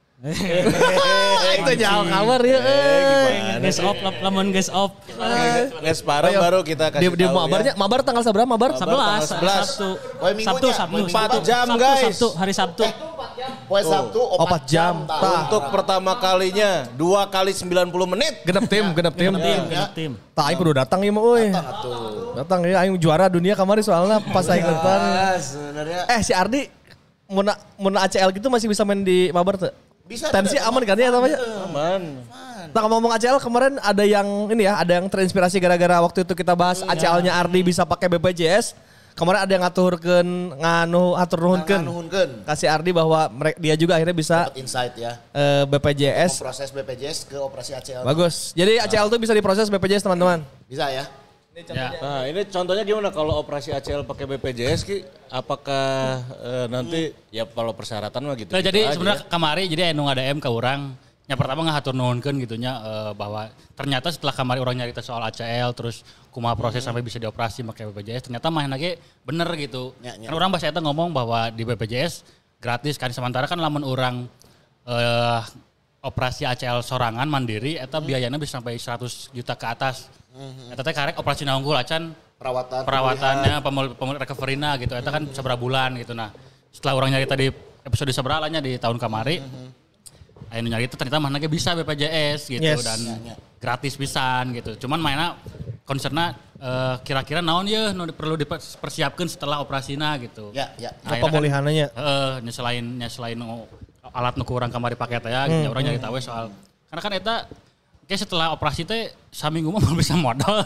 Itu jauh kabar ya. Guys op lamun guys op. Guys bareng baru kita Di kasih di tahu mabarnya, ya. mabar tanggal seberapa mabar? sebelas sebelas. Sabtu. Oh, minggunya. Sabtu Sabtu. Oh, empat Sabtu, jam, Sabtu, guys. Sabtu, hari Sabtu. Poe Sabtu Opat jam. Tah. Tah. Untuk pertama kalinya dua kali sembilan puluh menit. Genep tim, genep tim. Tim, genep tim. Tak aing kudu datang ieu mah euy. Datang ya aing juara dunia kemarin soalnya pas aing datang. Ah, sebenarnya Eh si Ardi mun mun A C L gitu masih bisa main di mabar tuh? bisa Tensi tidak? aman kan ya namanya? Aman. Nah ngomong A C L kemarin ada yang ini ya, ada yang terinspirasi gara-gara waktu itu kita bahas A C L-nya Ardi bisa pakai B P J S. Kemarin ada yang ngaturkeun nganu atur nuhunkeun. Nganuhunkeun. Kasih Ardi bahwa mereka dia juga akhirnya bisa Dapat insight ya. eh, B P J S. Proses B P J S ke operasi A C L. Bagus. Jadi A C L tuh bisa diproses B P J S teman-teman. Bisa ya. Ya. Nah ini contohnya gimana kalau operasi A C L pakai B P J S Ki? Apakah eh, nanti ya kalau persyaratan mah gitu. Nah, gitu jadi aja sebenarnya ya. kamari jadi anu ngadem ke orang. Yang pertama ngahatur nuhunkeun gitunya eh, bahwa ternyata setelah kamari orang nyarita soal A C L terus kumaha proses hmm. sampai bisa dioperasi pakai B P J S ternyata mah lagi bener gitu. Ya, ya. Karena orang bahasa eta ngomong bahwa di B P J S gratis kan sementara kan lamun orang eh, operasi A C L sorangan mandiri eta hmm. biayanya bisa sampai seratus juta ke atas. Hmm. Eta teh karek operasi unggul acan perawatan perawatannya pemul pemul recovery-na gitu eta kan seberapa bulan gitu. Nah, setelah orang nyarita di episode seberapa nya di tahun kamari hmm. anu nyarita ternyata mah ge bisa B P J S gitu Yes. dan Ya, ya. gratis pisan gitu. Cuman mainnya concernnya uh, kira-kira naon ya nu perlu dipersiapkan setelah operasina gitu. Ya, ya. Nah, pemulihannya. Heeh, nya selain nya selain oh, alat nu kurang kamari pakai teh ya, hmm, orang nyari tahu soal karena kan eta kayak setelah operasi teh saminggu mah bisa modal.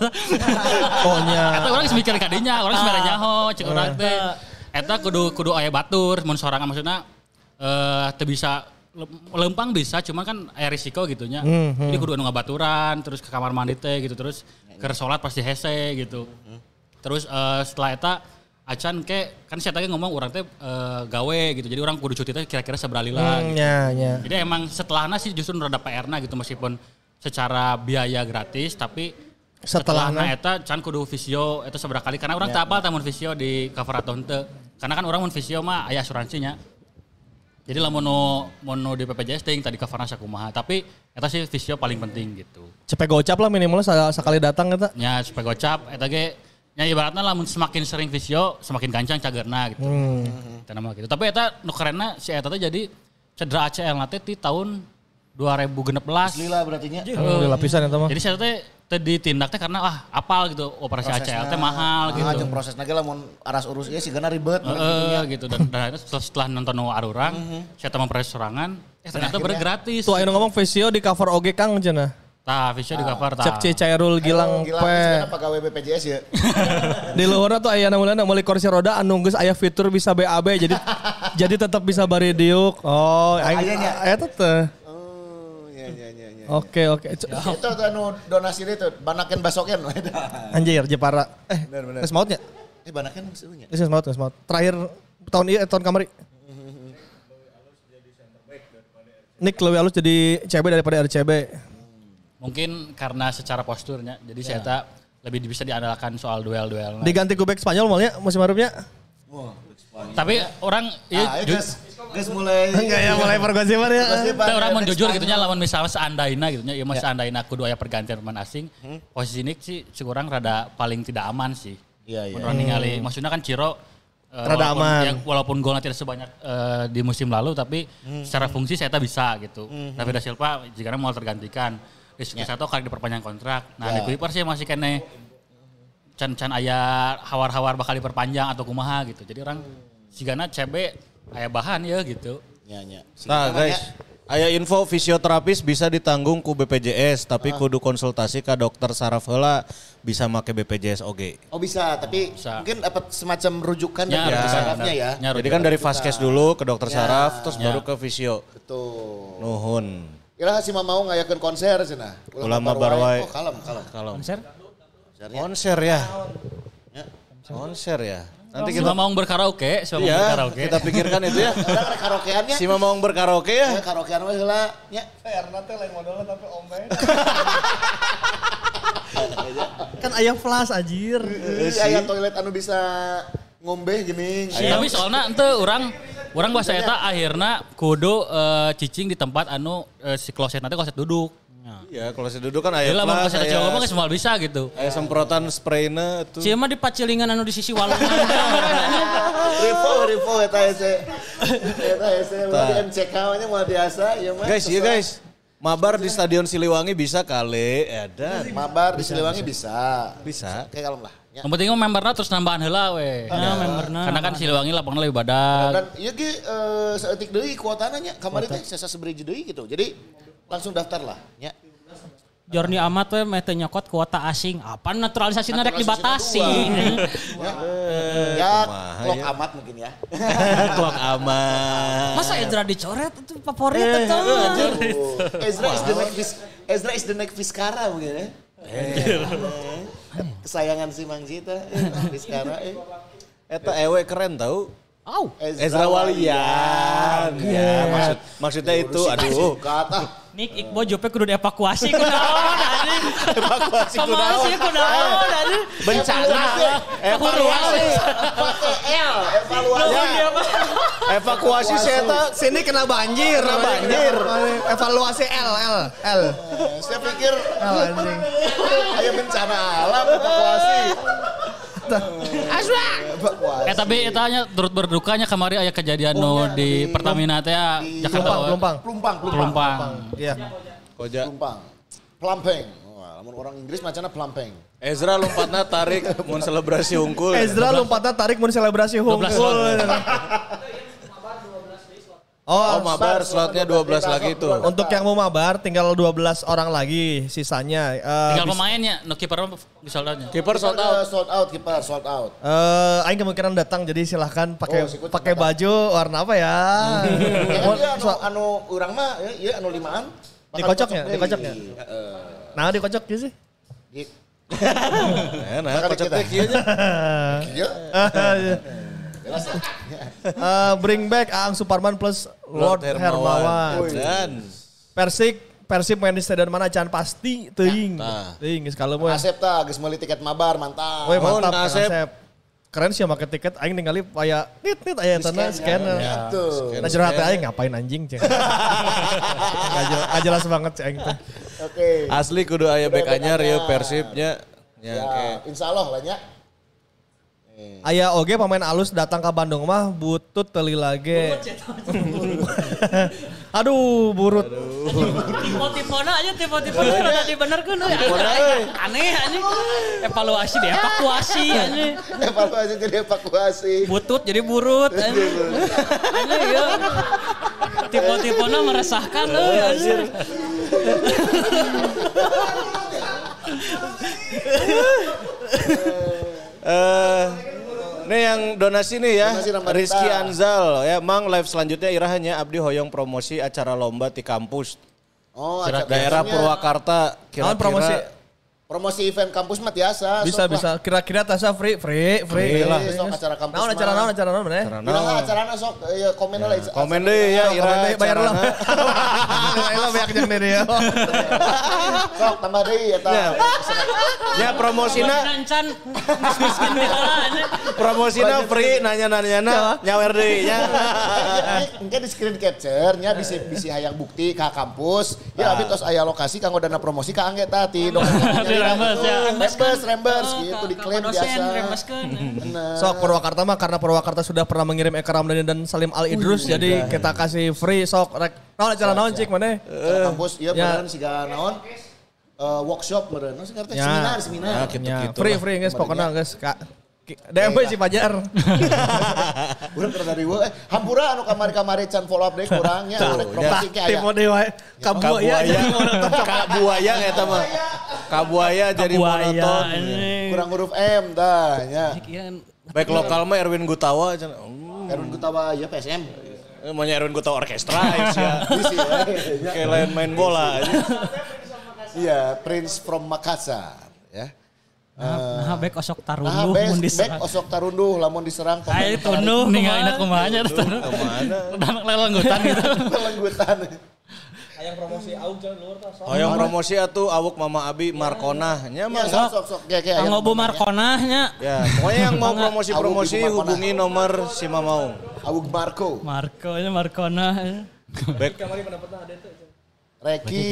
Oh nya. Eta orang geus mikir kadinya, orang sebenarnya nyaho cek urang teh. Eta kudu kudu aya batur mun sorangan maksudna eh teu bisa lempang bisa cuma kan aya risiko gitunya. Hmm, hmm. Jadi kudu anu ngabaturan terus ke kamar mandi teh gitu terus keur salat pasti hese gitu. Terus uh, setelah eta acan ke kan saya tadi ngomong orang teh uh, gawe gitu. Jadi orang kudu cuti teh kira-kira seberalila. Hmm, gitu. ya, ya. Jadi emang setelahnya sih justru rada P R-na gitu meskipun secara biaya gratis tapi Setelahna. setelahna eta can kudu visio eta seberapa kali karena orang Ya, teu apal teh mun visio di cover atau henteu. Karena kan orang mun visio mah aya asuransinya. Jadi lamun nu mun nu di B P J S teh tadi coverna sakumaha tapi eta sih visio paling penting gitu. Cepet gocap lah minimal sekali datang eta. Nya supaya gocap eta ge nya ibaratna lamun semakin sering visio semakin gancang cagerna gitu. Hmm. Eta nama gitu. Tapi eta nu kerenna si eta teh jadi cedera A C L na teh di tahun dua ribu enam belas. Lila berarti nya. Oh, lapisan eta mah. Jadi saya teh teh ditindak teh karena ah apal gitu operasi A C L teh mahal gitu. Ah, jeung prosesna ge lamun aras urus ieu sigana ribet. Heeh gitu dan, dan akhirnya setelah, setelah nonton nu arurang saya teh memproses sorangan eh ternyata bener gratis. Tuh anu ngomong visio di cover oge Kang cenah. Tah visio di cover tah. Cek C Cairul Gilang Gilang P. sigana pegawai B P J S ya. Di luhurna tuh aya namanya meuli kursi roda anu geus aya fitur bisa B A B jadi jadi tetap bisa bari diuk. Oh, Aya nya. eta teh. Oh, ya ya ya ya. Oke oke. Itu tuh anu donasi itu banakeun basoken. Anjir Jepara. Eh, Bener, bener. geus mautnya? Eh banakeun maksudnya. Geus maut, geus maut. Terakhir tahun ieu tahun kamari. Nick lebih halus jadi C B daripada R C B. Mungkin karena secara posturnya jadi saya tak lebih bisa diandalkan soal duel-duel. Diganti ku back Spanyol malnya musim harupnya. Wah, Tapi orang ah, iya itu guys mulai Enggak ya mulai pergosipan ya. Tapi orang mau jujur gitunya lawan misalnya seandaina gitunya ya mas seandaina kudu aya pergantian pemain asing. Posisi ini sih kurang rada paling tidak aman sih. Iya iya. Menurut ningali maksudnya kan Ciro eh, Rada walaupun, aman. ya, walaupun golnya tidak sebanyak eh, di musim lalu tapi secara fungsi saya tak bisa gitu. David Da Silva jika mau tergantikan. Rizky Satu kali diperpanjang kontrak. Nah, Ya. di Kuipers sih masih kene can-can aya hawar-hawar bakal diperpanjang atau kumaha gitu. Jadi orang sigana C B aya bahan ya gitu. Ya ya. Nah guys, aya info fisioterapis bisa ditanggung ku B P J S tapi kudu konsultasi ke dokter saraf heula bisa make B P J S oge. Oh bisa, tapi Bisa. mungkin dapat semacam rujukan Ya, dari ya, sarafnya ya. Ya, Jadi kan dari vaskes dulu ke dokter Ya. saraf terus Ya. baru ke fisio. Betul. Nuhun. Iraha si mau ngayakeun konser cenah. Ulama Barwai. Oh, kalem kalem. Kalau Konser? konser ya. Konser ya. Nanti Si kita Mamaung berkaraoke, si Mamaung Iya, berkaraoke. kita pikirkan itu ya. Ada karaokeannya. Si Mamaung berkaraoke ya. Ya karaokean we heula nya. Erna teh lain modalnya tapi ombe. Kan aya flash anjir. Aya toilet anu bisa ngombe geuning. Tapi soalnya ente orang orang bahasa eta akhirna kudu eh, cicing di tempat anu eh, si kloset nanti kloset duduk. Iya, kalau saya duduk kan aya Jadi lah mau flash, kloset aya- Jawa mah semua bisa gitu. aya semprotan sprayna tuh. Cia mah di pacilingan anu di sisi walungan. Revo revo eta ese. Eta ese mau di M C K nya mau biasa ya mah. Guys, iya guys. Mabar di Stadion Siliwangi bisa kali, ada. Mabar di Siliwangi bisa. Bisa. Kayak kalem lah. Ya. Yang penting mah memberna terus nambahan heula we. Ya, memberna. Karena kan Siliwangi lapangna lebih badak. Dan ieu ge eh, saeutik deui kuotana nya. Kamari teh sesa sabeureje deui gitu. Jadi langsung daftar lah nya. Jorni Amat we meh teu nyokot kuota asing. Apa naturalisasinya rek dibatasi. Ya, ya kumaha klok ya. amat mungkin ya. Klok aman. Masa Ezra dicoret itu favorit itu. Oh, Ezra is the next Vis- Ezra is the next Vizcara mungkin ya. Kesayangan si Mang Zita. Di sekarang eh. Eta ewe keren tau. Au. Ezra Walian. Ya, maksud maksudnya itu aduh. Kata. Nik Iqbal jope kudu dievakuasi ku naon anjing. Evakuasi ku naon. Evakuasi ku naon anjing. Bencana. Evakuasi. Pakai L. Evaluasi. Evakuasi saya Sini kena banjir. Kena banjir. Evaluasi L, L, L. Saya pikir L anjing. kayak bencana alam evakuasi. Aswa. Evakuasi. Eh tapi etanya turut berdukanya kemarin aya kejadian nu di Pertamina teh ya Jakarta. Pelumpang, Pelumpang, pelumpang. Pelumpang. Iya. Koja. Pelumpang. Pelampeng. Wah, lamun orang Inggris macana pelampeng. Ezra lompatna tarik mun selebrasi hungkul. Ezra lompatnya tarik mau selebrasi dua belas hungkul. Oh, mabar slotnya dua belas lagi tuh. Untuk yang mau mabar tinggal dua belas orang lagi sisanya. Eh, Tinggal bis- pemainnya, no kiper bisa soldanya. Kiper sold out. Sold out, kiper sold out. Eh, aing kemungkinan datang jadi silahkan pakai Oh, sikut pakai datang. baju warna apa ya? Ya kan Mau- dia anu, so- anu urang mah ya, ya anu limaan. Dikocoknya, Bakal dikocoknya. deui. Heeh. Nah, dikocok gitu sih. Di- Nah, nah Bakal kocok kita. teh kieu nya. Iya. Jelas lah. Eh, bring back Aang Suparman plus Lord Hermawan. Dan Persik Persib main di stadion mana can pasti teuing. Nah. Teuing geus kalem we. Asep tah geus meuli tiket mabar mantap. Weh mantap Mohon, Kang Asep. Asep. Keren sih make tiket aing ningali aya nit nit aya tanda scan. Tuh. Nah jero hati aing ngapain anjing ceng. Gak jelas, gak jelas banget ceng teh. Oke. asli kudu aya back anyar ya Persibnya. Ya, Ya, oke. insya Allah lah nya. Aya oge pemain alus datang ke Bandung mah butut teli lage. Aduh, burut. Tipe-tipena aja tipe-tipena rada dibenerkeun euy. Aneh anjing. Evaluasi deh, evakuasi anjing. Evaluasi jadi evakuasi. Butut jadi burut anjing. Anjing ya. Tipe-tipena meresahkan euy anjing. Eh, ini yang donasi nih ya, Donasi Ramadita. Rizky Anzal ya, Mang live selanjutnya irahannya abdi hoyong promosi acara lomba di kampus Oh, Daerah acara biasanya Purwakarta Naon kira-kira promosi? promosi event kampus mah biasa. Bisa sok bisa lah. kira-kira tasa free free free Free lah. sok acara kampus. Naon acara naon acara naon bener? Karena Bilang acarana sok ya komen lah. komen deh ya Komen ira deh, bayar lah. acarana. Ayo banyak jeung diri ya. Sok tambah deui eta. Ya. Ya promosina Nancan miskin heula anjing. promosina free nanya-nanya nyawer deui nya. Mungkin di screen capture nya bisa bisa hayang bukti ka kampus. Ya abi tos aya lokasi kanggo dana promosi ka angge tadi. Dirembes ya. Rembes, rembes Oh, gitu ka- diklaim ka dosen, biasa. rembeskeun. Bener. Sok Purwakarta mah karena Purwakarta sudah pernah mengirim Eka Ramdhani dan Salim Al Idrus jadi kita kasih free sok rek. Naon acara naon cik mana? Acara kampus iya Ya. beneran siga naon eh, workshop beneran. Naon sih ngarteh? Ya. Seminar, seminar. Ya, gitu. Ya, gitu free lah. free guys pokoknya guys kak. D M W si Pajar. Urang keur dari weu eh hampura anu kamari-kamari can follow up deui kurangnya arek promosi ke aya. Tim dewa kabuaya Kabuaya, jadi monoton. kabuaya eta mah. Kabuaya jadi Buaya monoton. anjing. Kurang huruf M dah nya. Kian Baik lokal mah Erwin Gutawa cenah. Hmm. Erwin Gutawa ya P S M. Eh, Maunya Erwin Gutawa orkestra ya. Bisi ya. Kayak lain main bola aja. Iya, Prince from Makassar ya. Nah, bek osok Nah, tarunduh best, mun back diserang. osok tarunduh lamun diserang Ayo tunduh Ninggalin kumaha. aku mahanya Kemana? Dan lelenggutan gitu. pelenggutan. Hoyong promosi atuh awuk Mama Abi Markona nya Ya, mah. sok sok sok kayak kayak Kanggo Bu Markonahnya. Ya, pokoknya yang mau promosi-promosi Awuk Ibu Markona. hubungi nomor si Mamaung. Awuk Marco, Marko ini Markonah. Baik. Reki,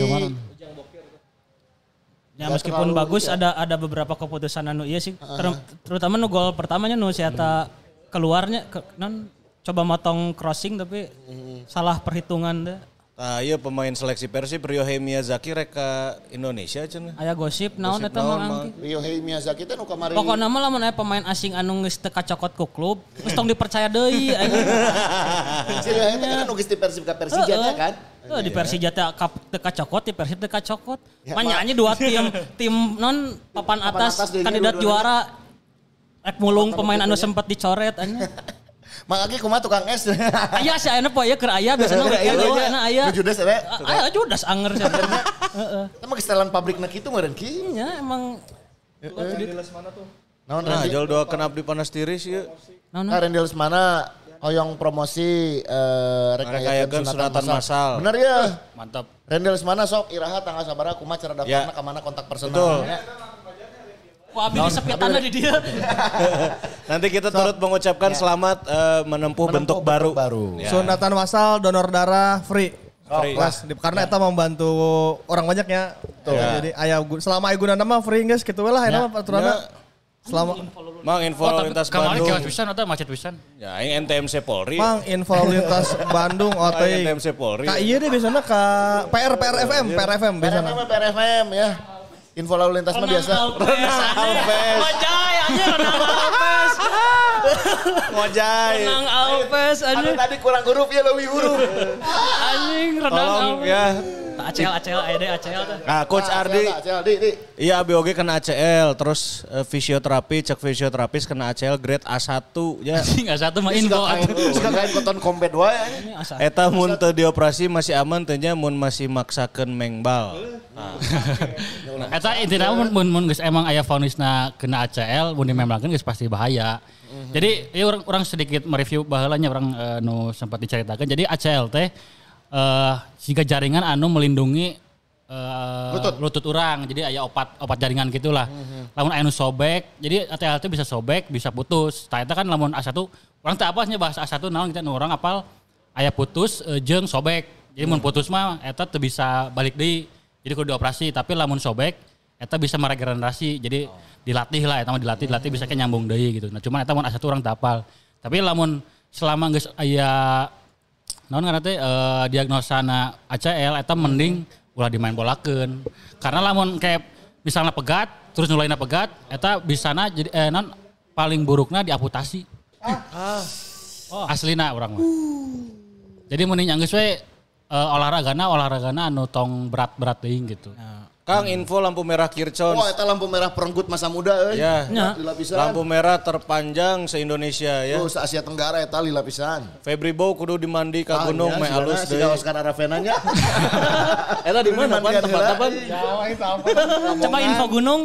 Ya Nggak meskipun terlalu, bagus ya. ada ada beberapa keputusan anu iya sih. Ter- terutama nu gol pertamanya nu si eta keluarnya ke, non coba motong crossing tapi salah perhitungan deh. Nah, iya pemain seleksi Persib Ryohei Miyazaki rek ka Indonesia cenah. Aya gosip naon Gosip eta naon, mah Mang? angki. Ryohei Miyazaki teh nu kamari. Pokokna mah lamun aya pemain asing anu geus teu kacokot ku klub, geus tong dipercaya deui anjing. Si Ryohei teh kan nu geus di Persib ka Persija nya kan. Heeh, di Persija teh kap- teu kacokot, di Persib teu kacokot. Ya, Manyanya dua tim tim non papan Papan atas atas deui kandidat dua-duanya. juara. Rek mulung pemain anu sempat dicoret anjing. Mang Agi kumaha tukang es. Aya sih ayeuna poe aya keur aya biasana Aya, aya aya. aya aya. Nu judes ere. Aya judas anger sih. Heeh. Emang setelan pabrikna kitu meureun ki. Iya emang Randy Lesmana tuh. Naon Nah, Randy? jual doakeun abdi panas tiris ieu. Nah, Nah, Randy Lesmana hoyong promosi eh Rekayakeun sunatan massal. Bener ya. Mantap. Randy Lesmana sok iraha tanggal sabaraha kumaha cara daftarna Ya. ka mana kontak Betul. personalnya. Wah, abdi disepitanna di dia. Nanti kita turut mengucapkan selamat eh, menempuh, bentuk, baru. baru. Ya. Sunatan massal, donor darah free. Free. Kelas, di- karena eta membantu orang banyak ya. Ya. Jadi aya gu- selama aya gunana mah free geus kitu we lah eta mah aturanna. Selama Mang info Oh, lalu tapi lintas kemarin Bandung. kios pisan atau macet pisan? Ya, ini N T M C Polri. Mang info lalu lintas Bandung Ah, O T I. N T M C Polri. Ka ieu deh biasana ka P R P R F M, P R F M P R F biasana. M, P R F M ya. Info lalu lintas mah biasa. Alves. Ngojay aja renang Alves. Ngojay. Renang Alves Anu anjing. tadi kurang huruf ya leuwih huruf. Anjing renang Tolong Alves. ya. Acel acel ede acel tuh. Nah, Coach Ardi. Acel, di, di. Iya, B O G kena A C L, terus eh, fisioterapi, cek fisioterapis kena A C L grade A satu ya. Enggak satu mah Ini info. suka kain, suka kain koton kompet wae anjing. Ini asa. Eta mun teu dioperasi masih aman teh nya mun masih maksakeun mengbal. Eta intinya mun mun mun geus emang aya vonisna kena A C L, mun dimemangkeun geus pasti bahaya. Jadi ya orang orang sedikit mereview baheula nya orang eh, nu sempat diceritakan. Jadi A C L teh eh siga jaringan anu melindungi eh, Lutut. lutut orang. Jadi aya opat opat jaringan gitulah. Lamun aya nu sobek, jadi A C L teh bisa sobek, bisa putus. Tah eta kan lamun A satu orang teh apasnya bahas A satu naon kita nu orang apal aya putus eh, jeung sobek. Jadi mun putus mah eta teu bisa balik deui. Jadi kudu dioperasi, tapi lamun sobek eta bisa meregenerasi. Jadi dilatih lah eta mah dilatih, dilatih bisa kayak nyambung deui gitu. Nah, cuman eta mun A satu orang teu apal. Tapi lamun selama geus aya naon ngaranna teh eh, diagnosana A C L eta mending ulah dimain bolakeun. Karena lamun kayak misalnya pegat, terus nulaina pegat, eta bisana jadi eh naon paling burukna diamputasi. Ah. Oh. Aslina urang mah. Jadi mending geus we eh, olahragana olahragana anu tong berat-berat teuing gitu. Kang info lampu merah Kircon. Wah, eta lampu merah perenggut masa muda euy. Ya. Nya. Lila pisan. Lampu merah terpanjang se-Indonesia ya. Tuh, se-Asia Tenggara eta lila pisan. Febri Bow kudu dimandi ka gunung Ah, meh nya, alus si deui. Oscar Aravena nya. Eta di mana pan tempat apa? Coba info gunung.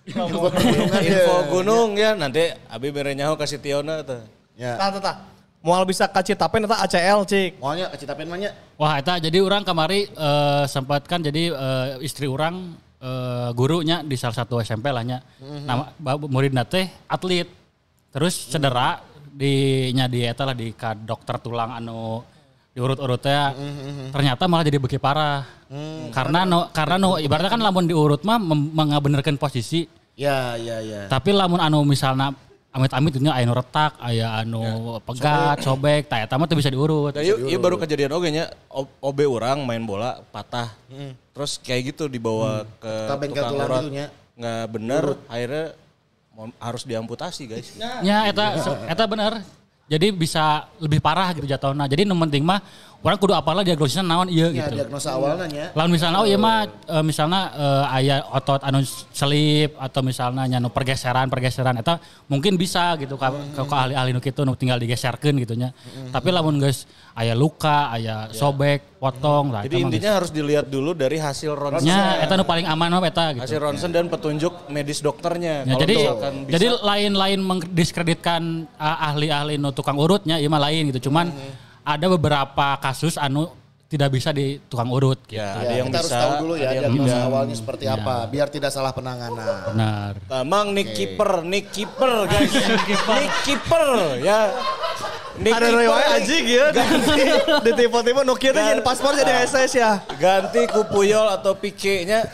Info gunung ya nanti abi bere nyaho ka si Tiona teh. Ya. Tah tah tah. Moal bisa ka Citapen eta A C L cik. Moalnya ke Citapen mah nya. Wah, eta jadi orang kemari eh, sempat kan jadi eh, istri orang eh, gurunya di salah satu S M P lah nya. Nama ba- muridna teh atlet. Terus cedera di nya di eta lah di ka dokter tulang anu diurut-urutnya. Ternyata malah jadi beki parah. Karena no, karena no ibaratnya kan lamun diurut mah mem- mengabenerkeun posisi. Ya, ya, ya. Tapi lamun anu misalnya amit-amit itu aya nu retak, aya anu pegat, sobek, tah eta mah teu bisa diurut. Nah, ieu ieu baru kejadian oge nya O- OB urang main bola patah. Terus kayak gitu dibawa ke Ka bengkel tukang tulang urat. gitu nya. Nggak bener, akhirnya mau- harus diamputasi guys. Ya eta eta bener. Jadi bisa lebih parah gitu jatuhna. Jadi nu penting mah orang kudu apalah diagnosisna naon ieu Ya, gitu. diagnosa awalnya nya. Lamun misalnya oh iya mah e, misalnya e, aya otot anu selip atau misalnya nya nu pergeseran-pergeseran eta mungkin bisa gitu ka, ka, ka ahli-ahli nu kitu nu tinggal digeserkeun gitu nya. Tapi lamun geus aya luka, aya sobek, potong lah Jadi eta mah intinya geus. harus dilihat dulu dari hasil ronsen. nya eta nu paling aman mah eta gitu. Hasil ronsen dan petunjuk medis dokternya. Ya, Kalau jadi misalkan bisa, jadi lain-lain mendiskreditkan uh, ahli-ahli nu tukang urutnya ieu mah lain gitu. Cuman ada beberapa kasus anu tidak bisa di tukang urut gitu. ya, Ya, ada yang kita harus bisa, tahu dulu ya ada yang diagnosa tidak. awalnya seperti apa biar tidak salah penanganan. Benar. Nah, Mang Nick Keeper, Nick Keeper guys. Nick Keeper ya. Nick Ada Keeper rewai anjing ya. Di tipe-tipe Nokia teh jadi paspor jadi S S ya. ganti ku Puyol atau Pique-nya.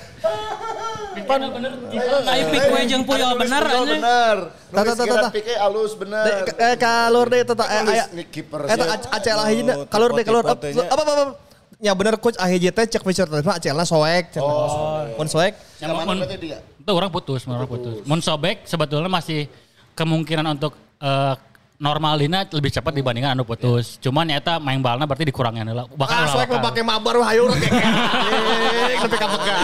Pan bener. Ai pik we jeung Puyol bener Puyol anjing. bener. Tata, Nulis tata, Gerard tata. Pique alus bener. De- Eh kalur deh tata eh Nulis aya. Nick Keeper. Eta siap. A C L ahijna kalur deh kalur. Apa Tipe-tipenya. apa apa. Ya bener coach ahiji teh cek fisioterapis A C L-na soek. Oh, Mun soek. Yang mana Mun- berarti dia? Itu orang putus, orang putus. Mun sobek sebetulnya masih kemungkinan untuk eh, normal dina lebih cepat dibandingkan anu putus. Cuman ya eta main balna berarti dikurangin heula. Bakal Ah ulah soek mah bakal. pake mabar wah hayu urang kayak tapi ka pegat.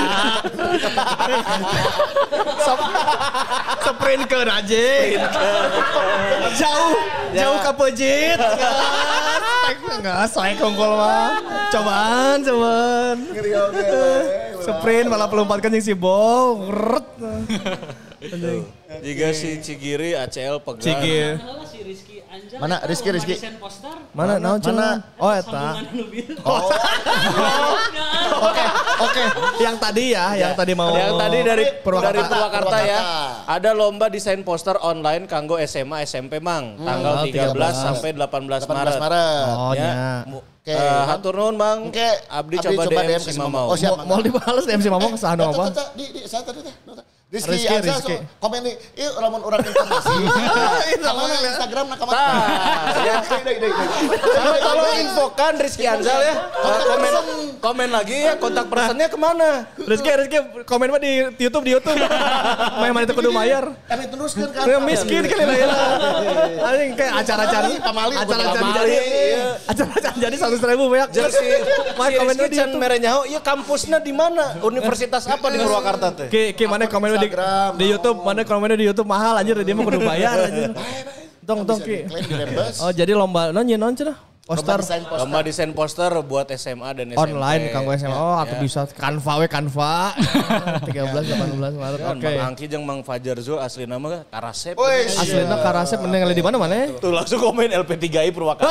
Sprintkeun anjing. Jauh, jauh ka pejit. Enggak, soek kongkol mah. Cobaan, cobaan. Sprint malah pelompatkan yang si Bow. Ngeret. Jika si Cigiri A C L pegang. Cigir. Si Rizky Anjal. Mana? eta Rizky, lomba Rizky. desain poster. Mana naon cenah? Oh eta. Sambungan anu bieu. Oh. Oke, oke. Yang tadi ya, yang tadi mau Yang tadi dari Purwakarta. dari Purwakarta ya. Purwakarta. Ada lomba desain poster online kanggo S M A S M P Mang. Tanggal tiga belas sampai delapan belas delapan belas Maret. Maret. Oh Ya. nya. Oke. Eh, hatur nuhun Bang. Oke. Abdi, coba D M si Mamau. Oh siap. Mau dibales M C Mamong kesana apa? Tata, Di, di, saya tadi teh. Rizky, Rizky, Rizky, Rizky. komen nih, iya lamun orang informasi. Kamana Instagram nak kamana. ya. Sampai tolong infokan Rizky Anzal ya. Komen komen lagi ya kontak personnya kemana? Rizky, Rizky komen mah di YouTube, di YouTube. Main mana itu kudu mayar. Kami teruskan kan. Ya miskin kali lah ya. Anjing kayak acara-acara Pamali, acara-acara Pamali, jadi. iya. Acara-acara jadi seratus ribu banyak. Jeung si Main si komen Rizky di can YouTube. mere nyaho, ieu kampusna di mana? Universitas apa di Purwakarta teh? Ki, ki mana komen di, Instagram, di YouTube, mana komennya di YouTube mahal anjir dia mah kudu bayar anjir. Tong tong ki. Klaim di Rembes. Oh jadi lomba non nyeun non cenah. Poster Lomba desain poster. Lomba desain poster buat S M A dan S M P. online kanggo S M A. Oh atuh Ya. bisa Canva we Canva. tiga belas delapan belas Maret. Kan Oke. Mang Angki jeung Mang Fajar Zul asli nama Karasep. Woi, Aslina Karasep mending di mana mana? Tuh langsung komen L P tiga I Purwakarta.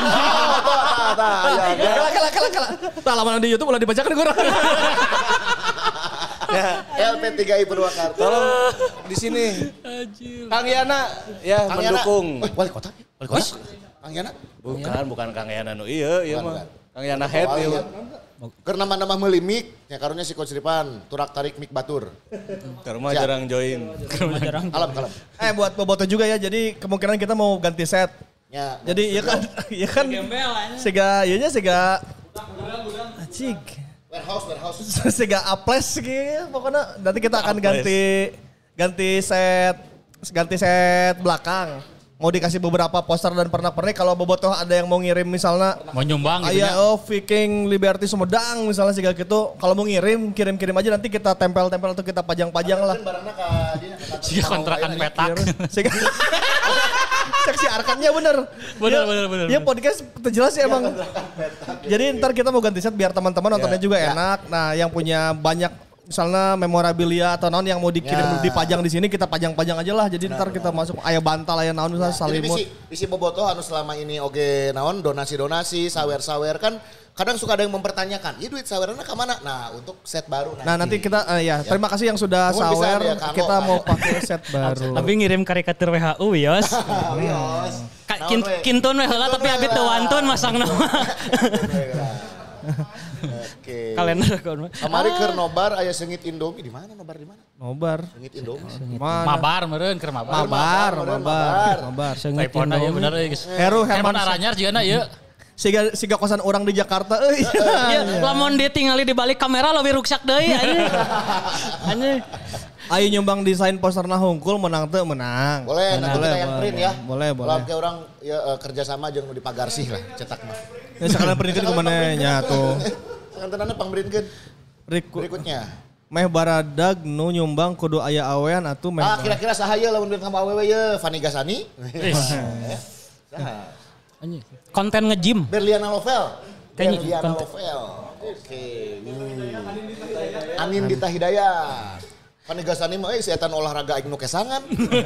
Kala kala kala kala. Tah lamun di YouTube ulah dibacakeun kurang. L P tiga I Purwakarta. Tolong di sini. Kang Yana ya Kang Yana. mendukung. Eh, wali kota. Wali kota. Kang Yana. Bukan, bukan Kang Yana nu ieu, ieu Bukan, mah. bukan. Kang Yana head Wali ieu. ya. Keur nama-nama meuli mik, nya karunya si Coach Ripan, turak tarik mik batur. Keur mah Siap. jarang join. Jarang. Kalem kalem. Eh buat Boboto juga ya. Jadi kemungkinan kita mau ganti set. Ya. Jadi iya kan, iya kan. Gembel aja. Sega, iya nya sega. Acik. Warehouse warehouse. Sega aples gitu. Pokoknya nanti kita akan ganti ganti set ganti set belakang. Mau dikasih beberapa poster dan pernak-pernik. Kalau Bobotoh ada yang mau ngirim misalnya Mau nyumbang gitu Aya ya. oh Viking Liberty Sumedang misalnya segala gitu. Kalau mau ngirim, kirim-kirim aja nanti kita tempel-tempel atau kita pajang-pajang lah. Barangna ka dinya ka kantor. Siga kontrakan petak. Sehingga cek si Arkannya bener. Bener, Dia- bener, bener, Dia bener. podcast terjelas ya emang. Jadi ntar kita mau ganti set biar teman-teman nontonnya juga enak. Nah yang punya banyak misalnya memorabilia atau naon yang mau dikirim Ya. dipajang di sini kita pajang-pajang aja lah. Jadi ntar kita masuk aya bantal aya naon misalnya Jadi salimut. bisi, bisi Bobotoh anu selama ini oge naon donasi-donasi, sawer-sawer kan kadang suka ada yang mempertanyakan, "Iya duit sawerna ka mana?" Nah, untuk set baru Nah nanti kita eh, ya terima kasih yang sudah Mohon bisa sawer ya, Kang kita Lo. mau pakai set baru. Tapi ngirim karikatur W H U Yos. Wios. Ka- kin- Kintun we heula tapi abis teu wantun masang nama. Oke. Kalender akun mah. Kamari keur nobar aya seungit Indomie di mana nobar di mana? Nobar. Seungit Indomie. Mana? Mabar meureun keur mabar. Mabar, Mabar, mabar, mabar. Telepon aja bener euy geus. Heru Herman Herman Aranyar juga na ieu. Siga siga kosan orang di Jakarta euy. Ya, lamun dia tinggali di balik kamera lebih ruksak deui anjing. Anjing. Ayo nyumbang desain posterna hungkul menang teu menang. Boleh, nanti Boleh, kita yang boleh. print ya. Boleh, boleh. Kalau kayak orang ya eh, kerjasama jeung nu di Pagarsih lah cetak mah. Ya sekalian printkeun ke mana nya tuh. Kantonana pangbrintkeun Riku, berikutnya. meh baradag nu nyumbang kudu aya awean atuh meh. Ah kira-kira saha ye lamun bintang awewe ye Fani Gasani? Saha? Anjing. Konten nge-gym. Berliana Novel. Kayaknya Berliana konten- Novel. Oke. Hmm. Anin Dita Hidayat. Fani Gasani mah euy si etan olahraga aing nu kesangan.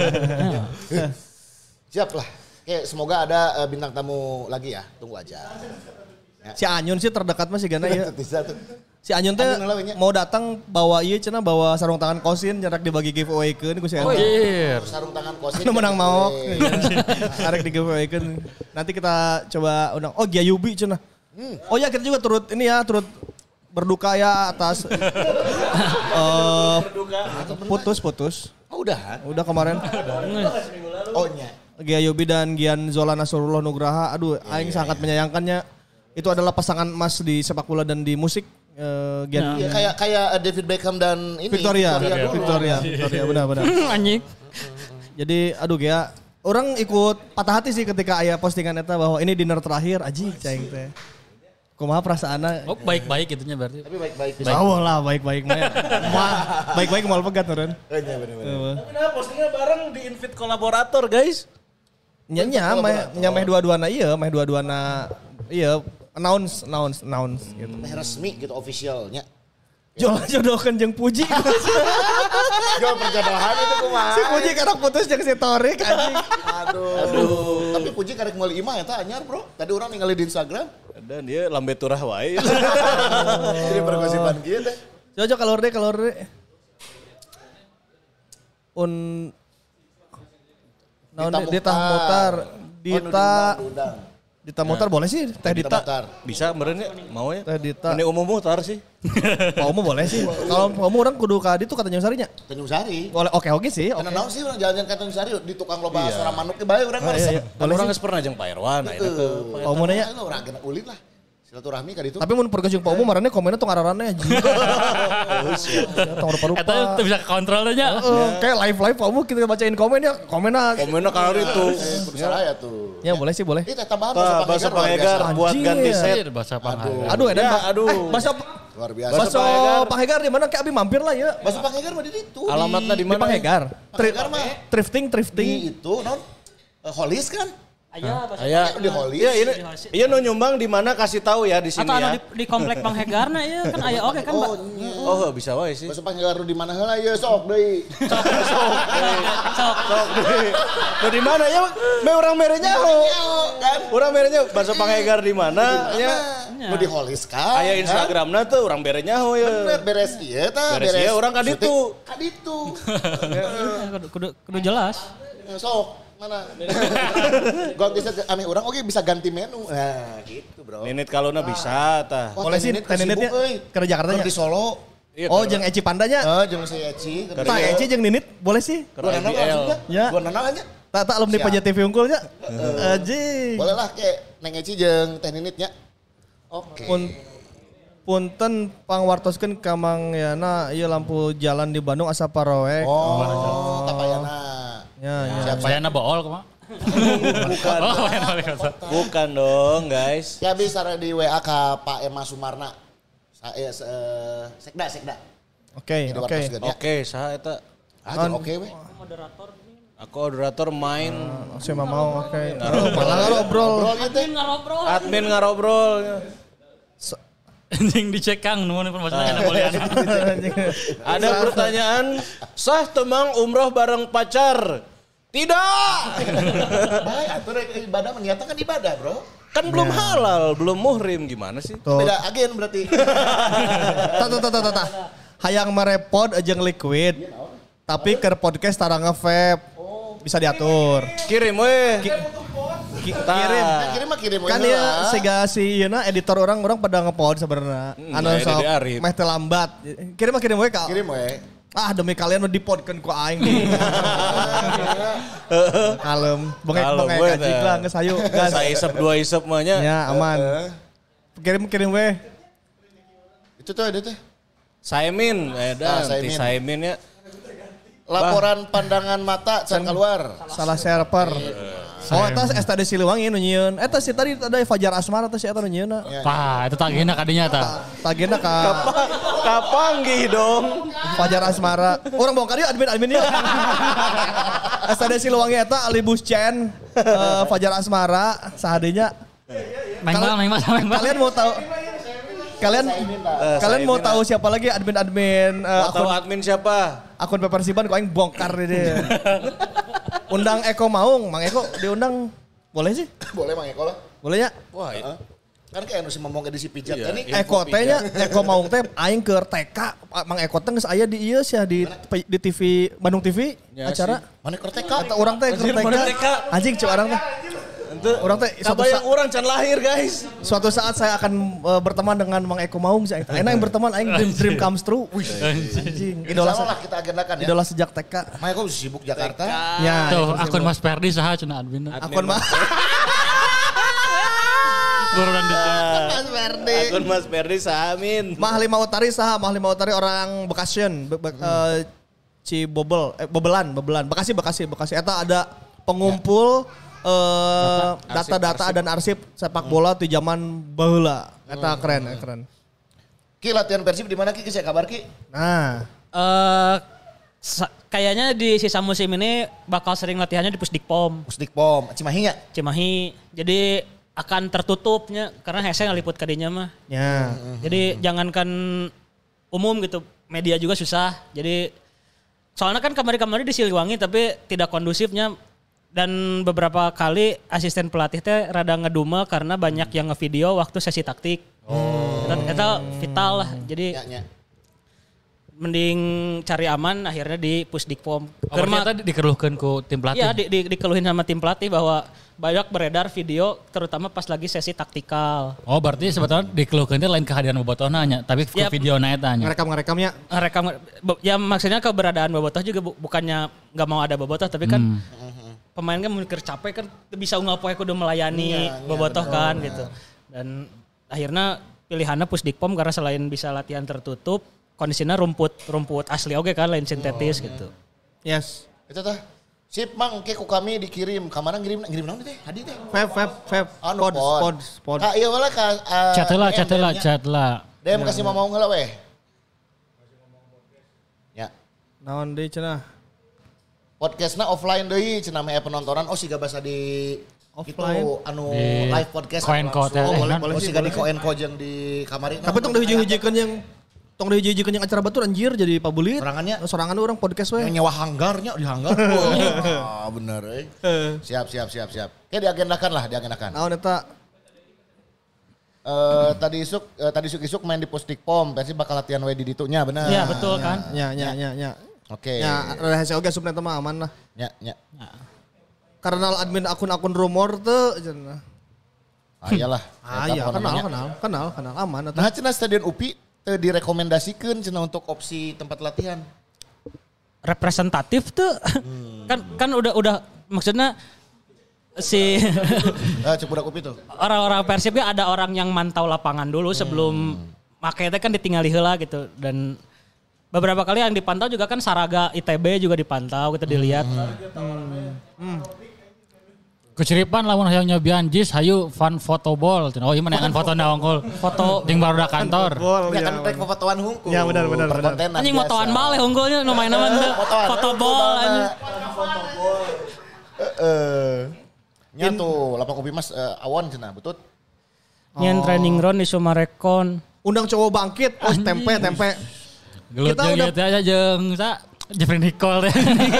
Siap lah. Oke, semoga ada eh, bintang tamu lagi ya. Tunggu aja. Si Anyun sih terdekat mah si Gana ya. Bisa tuh. Si Anyun teh Anyun lawannya. mau datang bawa ieu cenah bawa sarung tangan kosin jarak dibagi giveaway-keun ku si Anyun. Anjir. Sarung tangan kosin. Nu menang mau. Oke. Arek di giveaway-keun. Nanti kita coba undang. Oh Gyayubi cenah. Oh ya kita juga turut ini ya turut berduka ya atas eh putus putus. Oh udah. Udah kemarin. Oh nya. Gyayubi dan Gian Zola Nasrullah Nugraha. Aduh, aing sangat menyayangkannya. Itu adalah pasangan emas di sepak bola dan di musik. Eh, Gian Iya kayak kayak eh, David Beckham dan ini Victoria, dulu. Victoria, Victoria, benar-benar. Anjing. Jadi, aduh Gia, orang ikut patah hati sih ketika aya postingan eta bahwa ini dinner terakhir, aji cing teh. Kumaha perasaanna? Oh baik-baik itunya berarti. Tapi baik-baik. Awal lah baik-baik mah. Moal- Baik-baik moal pegat meureun. Oh, iya bener-bener. Tapi nah postingnya bareng di invite kolaborator guys. Nya nya meh nya meh dua-duana ieu, meh dua-duana ieu announce announce announce gitu. Meh resmi gitu officialnya. Jola jodohkan jeung Puji. Jual perjodohan itu kumaha. Si Puji karena putus jeung si Torik anjing. Aduh. Aduh. Tapi Puji karek meuli imah eta anyar, Bro. Tadi orang ningali di Instagram. Dan dia lambe turah wae. Jadi pergosipan kieu teh. Cocok kalor deh, kalor deh. Un naon Dita Mutar, Dita Dita Mutar boleh sih, Teh Dita. Bisa meureun mau ya. Teh Dita. Ini umum mutar sih. Pak Umu boleh sih. Kalau Pak Umu orang kudu ka ditu kata Tanjung Sarinya. Tanjung Sari. Boleh oke oke sih. Karena naon sih orang jalan-jalan ke Tanjung Sari di tukang loba asora manuk ge bae urang mah resep. Kalau orang geus pernah jeung Pak Irwan, nah itu. Pak Umu nanya. Urang kena ulit lah. Silaturahmi ka ditu. Tapi mun pergeus jeung Pak Umu marane komennya tong ararannya anjing. Tong rupa-rupa. Eta tuh bisa kontrol aja. Kayak live-live Pak Umu kita bacain komennya, komennya. Komennya kalau itu. Salah ya tuh. Ya boleh sih boleh. Ini tambahan bahasa Pangegar buat ganti set. Bahasa Pangegar. Aduh edan Pak. Aduh. Bahasa luar biasa. Bahasa Pangegar di mana kayak abi mampir lah ya. Bahasa Pangegar mah di situ. Alamatnya di Di mana? Pangegar. Pangegar mah Thrifting, thrifting. di itu non Holis kan? Aya bahasa Aya di Holis. Iya ini iya nu nyumbang di mana kasih tahu ya di sini atau anu ya. di, di komplek Bang Hegarna ya kan aya oke kan, Mbak. Oh, Oh, bisa wae sih. bahasa Pangegar di mana heula ye sok deui. Sok. Sok deui. Nu di mana ya? Me urang merenya kan. Urang merenya bahasa Pangegar di mana ya? Nu di Holis kan? Aya Instagramna tuh urang berenya ho ya. Bener beres ieu tah, Beres ieu urang ka ditu. Ka ditu. Kudu, kudu, kudu jelas. Sok mana? Ganti set ame urang oke bisa ganti menu. Nah, gitu, Bro. Ninit kalona bisa tah. Wah, Boleh sih, Teh Teh Ninit Ninitnya sibuk, euy. ke Jakarta nya. Keur di Solo. Oh, jeung Eci Pandanya. Heeh, jeung si Eci. Pak Eci jeung Ninit boleh sih. Gua nanal langsung kan? Ya. Gua nanal aja. Tak tak alumni Siap. P J T V unggulnya. Anjing. Boleh lah kayak Neng Eci jeung Teh Ninitnya. Oke. Pun punten pangwartoskeun ka Mang Yana ieu lampu jalan di Bandung asa paroek. Oh, tapayana. Ya, ya. Bayana bool kumaha? Bukan. Oh, bayana wali kota. Bukan dong, guys. Ya bisa di W A ka Pak Emma Sumarna. Saya eh, sekda sekda. Oke, Jadi oke. wartoskeun ya. Oke, saha eta? Ah, jeung oke we. Aku moderator main. Saya mah mau oke. Oh, malah ngobrol. Ngobrol gitu. Ngarobrol. Admin ngarobrol. Anjing dicek Kang, nuhun informasinya enak boleh. Ada pertanyaan, sah temang umroh bareng pacar? Tidak. Baik, atuh rek ibadah menyatakan kan ibadah, Bro. Kan belum halal, belum muhrim gimana sih? Tuh. Beda agen berarti. Tata tata tata. Hayang merepot aja liquid. Tapi ke podcast tara nge-vape. Bisa diatur. Kirim weh. Ki- Tah. kirim. Kan kirim mah kirim Kan we ya heula. sega si Yeuna editor orang orang pada ngepod sebenarnya. Hmm, Anu nah, sok Dede Arif. meh teu lambat. Kirim mah kirim we ka. Kirim we. Ah demi kalian mah dipodkeun ku aing nih. Kalem. Bengek Kalem bengek we kajik teh. lah geus hayu gas. Saya isep dua isep mah nya. Ya aman. Kirim kirim we. Itu tuh ada tuh. Saimin, Ah, edan, Saimin. ti Saimin ya. Laporan pandangan mata can keluar. Salah server. Oh, eta eta di Siliwangi nu nyieun. Eta si tadi ada Fajar Asmara eta si eta nu nyieun. Pah, itu tagihna kadinya tah. Tagena ka Kapanggih dong. Fajar Asmara. Orang bongkar yuk admin-adminnya. S T D Siliwangi eta Alibus Chen, eh, Fajar Asmara, sahadinya. Main bal, main bal, main bal. Kalian mau tahu Kalian kalian mau Saimin, tahu siapa lagi admin-admin eh, Tahu akun admin siapa? akun Pepersiban kok aing bongkar deh. Undang Eko Maung, Mang Eko diundang boleh sih? Boleh Mang Eko lah. Boleh ya? Wah, Heeh. Kan kayak anu si ngomong edisi pijat kan nih. Eko teh nya, Eko Maung teh aing ke T K, Mang Eko teh geus aya di ieu sia di di T V Bandung T V Ya acara. Mana kerteka? Kata orang teh ke Anjir, T mana T K? K. Anjing cek orang teh. Ente Orang teh suatu yang saat, orang can lahir guys. suatu saat saya akan uh, berteman dengan Mang Eko Maung sih. Enak yang berteman aing dream, dream comes true. Wih, anjing. Idola Insya Allah se- lah kita agendakan ya. idola sejak T K. Mang Eko sibuk Jakarta. Ya, Tuh, akun Mas Perdi saha cenah admin. akun mah. Buruan di Mas Ferdi. Akun Mas Perdi Samin. Mah Lima Utari saha? Mah Lima Utari orang Bekasian. Be Be eh, Cibobel, eh, Bebelan, Bebelan. Bekasi, Bekasi, Bekasi. Eta ada pengumpul eh, data-data dan arsip sepak bola di zaman baheula. Eta keren, eh, keren. Ki latihan Persib di mana Ki? Ki saya kabar Ki? Nah, Eh sa- kayaknya di sisa musim ini bakal sering latihannya di Pusdikpom, Pusdikpom, Cimahi nya. Cimahi. Jadi akan tertutupnya karena Hese ngaliput kadinya mah. ya. Jadi jangankan umum gitu. Media juga susah. Jadi soalnya kan kamari-kamari di Siliwangi tapi tidak kondusifnya. Dan beberapa kali asisten pelatih teh rada ngedumel karena banyak yang ngevideo waktu sesi taktik. Oh. Itu vital lah. Jadi Ya, ya. mending cari aman akhirnya di Pusdikpom. Oh, ternyata dikeluhkan ku tim pelatih. Iya di, di, dikeluhin sama tim pelatih bahwa banyak beredar video terutama pas lagi sesi taktikal. Oh berarti sebetulnya dikeluhkan itu lain kehadiran bobotohna nya, tapi ku Ya, video na eta nya. Ngerekam-ngerekamnya. Rekam ya maksudnya keberadaan Bobotoh juga bu, bukannya nggak mau ada Bobotoh tapi kan hmm. pemain kan mungkin capek kan bisa unggal poe kudu melayani Iya, Bobotoh iya, kan bener. gitu. Dan akhirnya pilihannya Pusdikpom karena selain bisa latihan tertutup kondisinya rumput rumput asli oke kan lain sintetis oh, gitu. Yes. Itu tah. Sip mang ke ku kami dikirim. Kamana ngirim ngirim naon teh? Hadi teh. Fab, fab, fab. Anu Pods, pod. pods, pods. Ka ieu lah ka uh, Chat lah, D M, chat lah, D M-nya. chat lah. D M kasih mau heula weh. Ya. Naon deui cenah? Podcastna offline deui cenah mah penontonan oh siga basa di Offline? itu anu Di live podcast Koenko teh. langsung. Oh, boleh, Oh, boleh sih, siga di boleh. Koenko jeung di kamari. Tapi tong dihiji-hijikeun yang tong dihiji-hijikeun yang acara batur anjir jadi pabulit. Sorangannya? Sorangan orang podcast we. Yang nyewa hanggarnya di hanggar. Wah, bener euy. Siap siap siap siap. Oke diagendakan lah, diagendakan. Naon eta? Eh tadi isuk eh, tadi isuk isuk main di Pusdikpom, pasti bakal latihan we di ditunya bener. Iya betul kan. Nya nya nya nya. Oke. Ya, rahasia oge subnet mah aman lah. Ya ya. Karena admin akun-akun rumor teu cenah. Ah iyalah. Ah Eta iya, pokokna kenal, nya. kenal, kenal, kenal, aman. Eta. Nah cenah Stadion U P I teu direkomendasikeun cenah untuk opsi tempat latihan. Representatif tuh kan kan udah udah maksudnya si Ah cek budak U P I tuh. orang-orang Persibnya ada orang yang mantau lapangan dulu sebelum makanya kan ditinggali heula gitu dan beberapa kali yang dipantau juga kan Saraga I T B juga dipantau kita dilihat. Keceripan lamun hayang nyobian jis hayu fun photo ball. Oh iya mana yang foto na unggul. Foto jeung barudak kantor. Bol, Ya iya, kan rek fotoan hungkul. Ya, benar, benar, benar. Perkontenan Anjing biasa. motoan bal unggulnya nu main nama Eh, fotoan. foto Eh, ball fotoan. anjing. Heeh. Nya tuh lapang U P I Mas eh, awon cenah butut. Nyen training ground di Sumarekon. Undang cowok bangkit, oh tempe, tempe. Gelut Kita jeung udah- ieu teh aja jeung sa Jeffrey Nicole teh.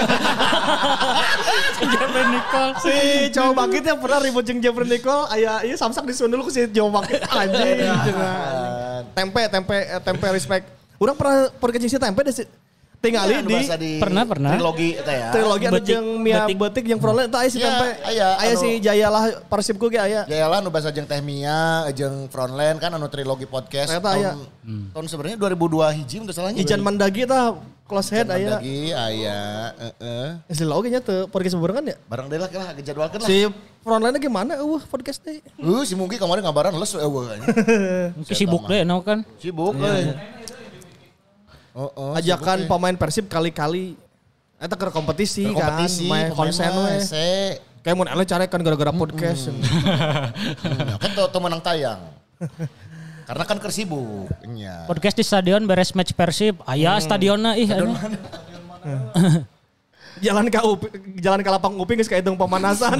Jeffrey Nicole. Si cowok bangkit yang pernah ribut jeung Jeffrey Nicole, aya ieu samsak disuun dulu ku si cowok bangkit anjing. cenah. Tempe, tempe, eh, tempe respect. Urang pernah podcast si tempe deh tinggali Anu di bahasa di Pernah, pernah. Trilogi eta ya. trilogi anu Betik, jeung Mia betik. Betik jeung Frontline eta aya si Ya, tempe. aya, Aya anu- si Jayalah Persibku ge aya. Ya lah nu bahasa jeung Teh Mia, jeung Frontline kan anu trilogi podcast. Ternyata aya. Tahun, tahun sebenarnya dua ribu dua hiji untuk salahnya. Ijan Mandagi tah close head aya. Lagi aya, heeh. Geus oge nya teu podcast barengan ya. Bareng deui lah lah ngejadwalkeun lah. Si Frontline gimana eueuh podcast teh. Uh, si Mungki kemarin ngabaran les eueuh. Mungkin sibuk deh no kan. Sibuk euy. Oh, oh, Ajakan sibuk, euy. pemain Persib kali-kali eta ke kompetisi, Berkompetisi, kan, main pemain konsen mah we. hese. Kayak mun ele carekan gara-gara podcast. Hmm, kan tuh menang tayang. Karena kan kersibuk. Nya. Podcast di stadion beres match Persib. Aya stadionna ih anu. Jalan ke Upi, jalan ke lapang Upi geus kahitung pemanasan.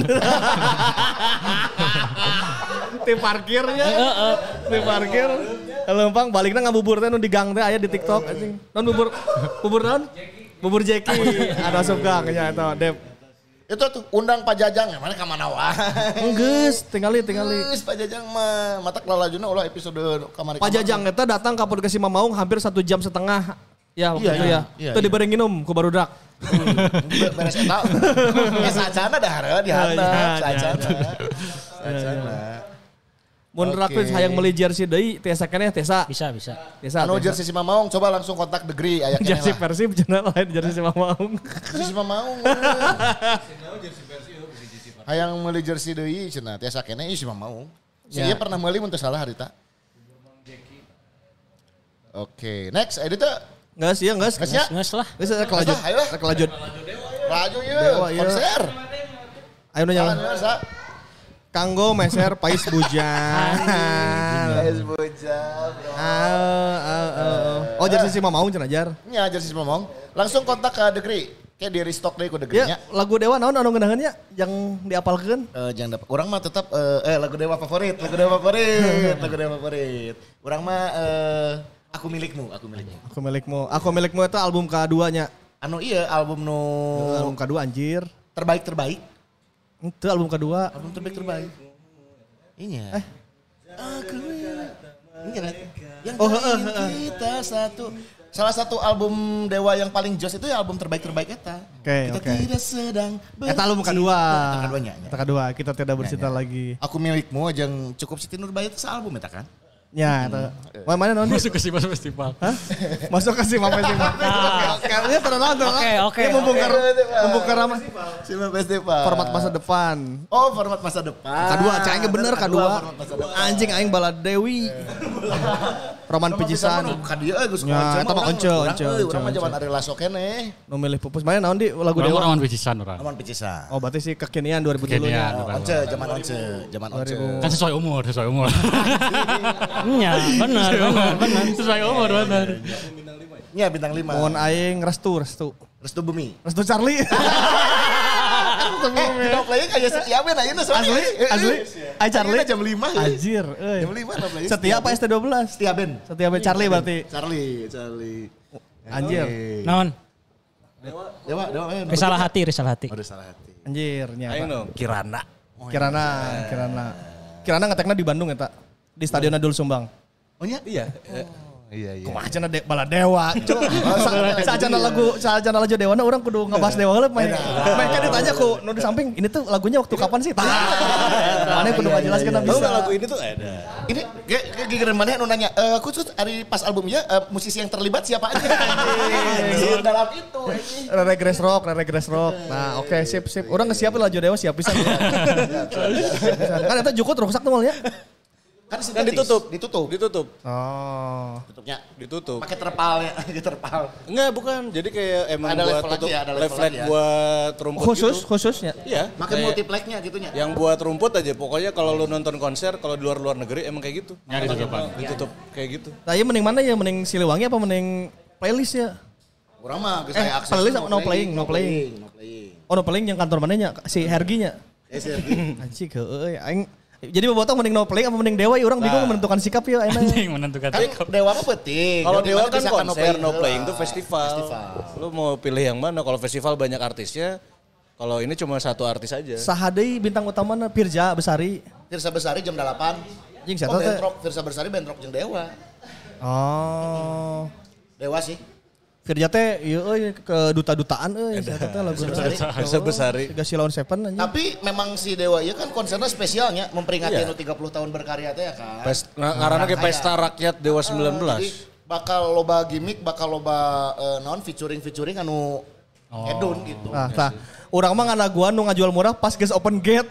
Di parkirnya. Di parkir. Lempang baliknya ngabubur teh nu di gang teh aya di TikTok anjing. Non bubur bubur naon? Bubur Jeki. Ada asup gang nya eta Dep. Itu tuh undang Pak Jajang, mana ka mana wae. Geus, tingali tingali. Geus Pak Jajang mah matak lalajuna ulah episode kamari. Pak Jajang eta datang ke podcast Imam Maung hampir satu jam setengah. Ya waktu Iya, itu iya, ya. iya, Itu iya. diberi minum ku barudak. beres eta. Ya sacana dah hareup di handap, Iya, sacana. Sacana. Mun Oke. rakyat hayang meuli jersey deui tiasa keneh tiasa. Bisa bisa. Tiasa. Anu tiasa. jersey si Mamaung coba langsung kontak Degree aya keneh Jersey lah. Persib cenah lain jersey Imam Maung. Jersey si Mamaung. Hayang meuli jersey deui cenah tiasa keneh ieu si Mamaung. Si Ya. ieu pernah meuli mun teu salah harita. Oke, next edita. Enggak sih, enggak. Geus nya. Nges lah. Geus rek lanjut. Ayo lah. Rek lanjut. Laju ieu Dewa, ieu. konser. Ayo nu Jalan nyala. sa. Kanggo meser Pais Bujan. Es bujal, bro. Ah, ah, ah. Oh jersey si Imam Maung cenah jar. Nya jersey si Mamaung. Langsung kontak ke Degree. Kayak di restock deui ku Degree nya. Ya, lagu Dewa naon anu ngeunaheunnya yang diapalkeun? Eh jangan dapat. Orang mah tetap eh, eh lagu Dewa favorit, lagu Dewa favorit, lagu Dewa favorit. Orang mah eh Aku milikmu, aku milikmu. Aku milikmu. Aku milikmu itu album keduanya. Anu iya album nu Album kedua anjir. terbaik terbaik. Itu album kedua. Album terbaik terbaik. Iya. Eh. Aku Ini kan yang Oh, ingin heeh, heeh. kita satu. Salah satu album Dewa yang paling jos itu ya album terbaik terbaik eta. Oke, kita oke. tidak sedang Eta album kedua. Eta keduanya. Eta kedua, kita tidak bercinta Ya, ya. lagi. Aku milikmu jeung cukup Siti Nurbaya itu sealbum eta kan? Ya, eta. Mana mana non? Masuk ke Simas Festival. Hah? Masuk ke Sima Festival. Kayaknya terlalu terlalu. Oke, oke, Mumpung oke. ke mumpung ke ramah. Sima Festival. Format masa depan. Oh, format masa depan. Kedua, cahing bener kedua. format masa depan. Anjing aing bala Dewi. Roman pijisan. Ka dieu euy geus Ya, eta mah once, once, Urang once, mah once. zaman Ari Lasso keneh. Nu milih pupus. Mana naon di lagu Orang Dewa? orang picisan orang. Aman picisan. Oh, berarti sih kekinian dua ribu dulu Kekinian. nya. Oh, once, zaman once, zaman once. Kan sesuai umur, sesuai umur. Iya, benar, benar, benar. Sesuai umur benar. Nya bintang lima. Mohon aing restu, restu. Restu Bumi. Restu Charlie. Eh, no playing aya setia ben ayeuna soalnya. Asli, asli. Ai Charlie. Ayeuna jam lima. Anjir, euy. Jam lima no playing. Setia apa S T dua belas? Setia Ben. Setia be Charlie berarti. Charlie, Charlie. Anjir. Non, Dewa, Dewa. eh, risalah hati, risalah hati. Oh, risalah hati. Anjir, nya. Aing no, Kirana. Kirana, Kirana. Kirana ngetekna di Bandung eta. Di Stadion Adul Sumbang. Oh nya? Iya. Iya, iya. Kumaha cenah de, bala Dewa. Saajana lagu, saajana lagu Dewa na urang kudu ngebahas Dewa heula main. Mereka ditanya ku nu di samping, ini tuh lagunya waktu kapan sih? Mana kudu ngajelaskeun Tahu bisa. nggak lagu ini tuh ada. Ini kayak kayak gigiran mana nu nanya, eh khusus hari pas albumnya eh, musisi yang terlibat siapa aja? Anjing, dalam itu. anjing. Rere Grass Rock, Rere Grass Rock. Nah, oke sip sip. Urang ngesiapin lagu Dewa siap pisan. Kan eta jukut rusak tuh malnya. Kan, Kan sintetis. ditutup. Ditutup. Ditutup. Oh. Tutupnya. Ditutup. Pakai terpalnya, pakai terpal. Enggak, bukan. Jadi kayak emang Ada buat level tutup lagi ya, ada level left leg lagi ya. buat rumput Khusus, gitu. khususnya. Iya. Makin kayak multiplexnya gitunya. Yang buat rumput aja. Pokoknya kalau lu nonton konser, kalau di luar-luar negeri emang kayak gitu. Nyari tutupan. Ditutup kayak gitu. Nah, iya mending mana ya? Mending Siliwangi apa mending playlist ya? Kurang mah geus Eh, aya akses. playlist apa no playing, no playing. No playing. Oh, no paling yang kantor mananya si Herginya. Ya Sergi. Anjing heueuy aing. Jadi bobotong mending no playing apa mending Dewa ya orang bingung menentukan sikap ya enak. Anjing menentukan Kan Dewa mah penting. Kalau Jadi Dewa mana kan bisa konser, no heula. playing itu festival. Festival. Lu mau pilih yang mana? Kalau festival banyak artisnya, kalau ini cuma satu artis aja. Saha deui bintang utamana Pirja Besari. Tirsa Besari jam delapan. Anjing Oh, siapa teh? bentrok. Tirsa Besari bentrok jeung Dewa. Oh. Dewa sih. Firja teh ieu euy ke duta-dutaan euy siapa teh lagu Tirsa Besari. Tiga Silon Seven anjing. Tapi memang si Dewa iya kan konsernya spesialnya memperingati Iya. anu tiga puluh tahun berkarya teh ya kan. Pes, nah, karena kayak pesta rakyat Dewa sembilan belas. Jadi bakal loba gimmick, bakal loba uh, non featuring featuring anu hedon gitu. Nah, tah. Urang mah nganaguan nu ngajual murah pas geus open gate.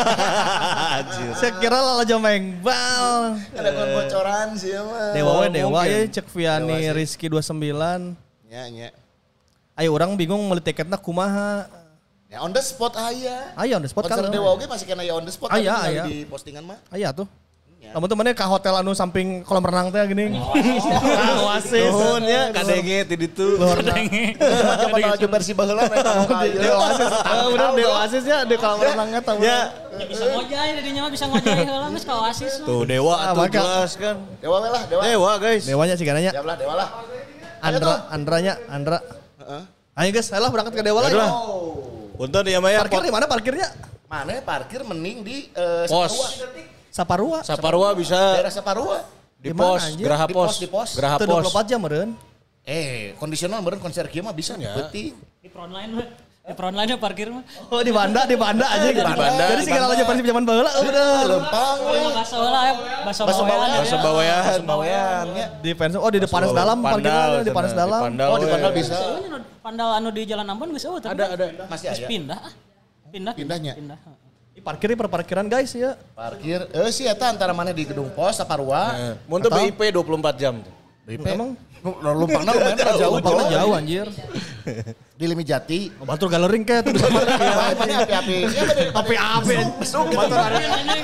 Saya kira lalajo mengbal. Ada bocoran sih ya mah. Dewa we Dewa mungkin. ya cek Viani Dewa sih. Rizky dua puluh sembilan. Ya, ya. Ayo orang bingung meuli tiketna kumaha. Ya on the spot aya. Aya on the spot kan. Konser Dewa oge masih kena ya on the spot. Aya, tapi tinggal aya. Di postingan mah. Aya tuh. Namun temennya ke hotel anu samping kolam renang teh gini. Oasis. Nuhun ya, kadenge ti ditu. Zaman lagi versi baheula eta mah Di Oasis. Ah, udah di Oasis ya di kolam renangnya tahu. Ya, Bisa ngojay, jadinya mah bisa ngojay heula geus ka Oasis. tuh Dewa Ah, tuh maka- jelas kan. Dewa we lah, Dewa. Dewa guys. Dewanya sih gananya. Siap lah, Dewa lah. Andra, Andranya, Andra. Heeh. Ayo guys, ayolah berangkat ke Dewa lah. Ayolah. ya. Punten ya Maya. Parkir di mana parkirnya? Mana parkir mending di eh, Pos. Saparua. Saparua. Saparua bisa Daerah Saparua. di Di mana, pos, anjir? Geraha Di Pos. pos, di pos. Geraha Itu Pos. dua puluh empat jam meureun. Eh, kondisional meureun konser kieu mah bisa Ya. penting. Di frontline mah. Di frontline mah parkir mah. Oh di Banda, di Banda aja gitu. Banda, Jadi di segala aja Persib zaman baheula udah. Lempang Oh, we. yang baso heula ya, baso Baso bawean. bawean. Masa bawayan. Bawean ya. Di fans oh di Panas Dalam parkirnya di Panas Dalam. Pandal, Oh, di we. Pandal bisa. Soalnya pandal anu di Jalan Ambon geus eueuh. Ada ada. Masih Geus ada. pindah. ah. Pindah. Pindahnya? Pindah. Di parkir di perparkiran guys ya. Parkir. Eh sih eta antara mana di gedung pos Saparua. Mun teu B I P dua puluh empat jam. Emang Lumpangna lumayan kan jauh. Lumpangna jauh anjir. Di Limijati. Oh, batur galering ke tuh bisa Mana api-api. Siapa dari api-api. Batur ada.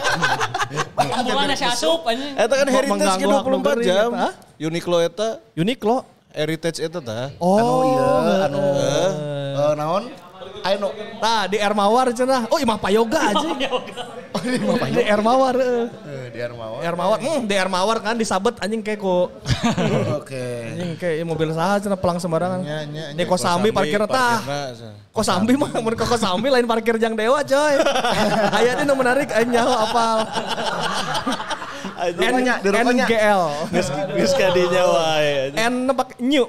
Ambulan si asup anjing. Eta kan heritage mengganggu ke dua puluh empat hak jam. negeri, Hah? Uniqlo eta Uniqlo. heritage eta tah. Oh, Anu iya, anu eh, naon? Ayo no. Nah di Air Mawar cenah. Oh Imah Payoga aja. Oh di Imah Payoga. Di Air Mawar. Eh, di Air Mawar. Air Mawar. Hmm, di Air Mawar kan disabet anjing kayak ku. Oke. Anjing kayak mobil saha cenah pelang sembarangan. Nya, nya, Ini Kosambi parkir tah. Kosambi mah mun ke Kosambi lain parkir Jang Dewa coy. Aya di nu menarik aing nyaho apal. N G L. Geus kadinya wae. N nebak nyu.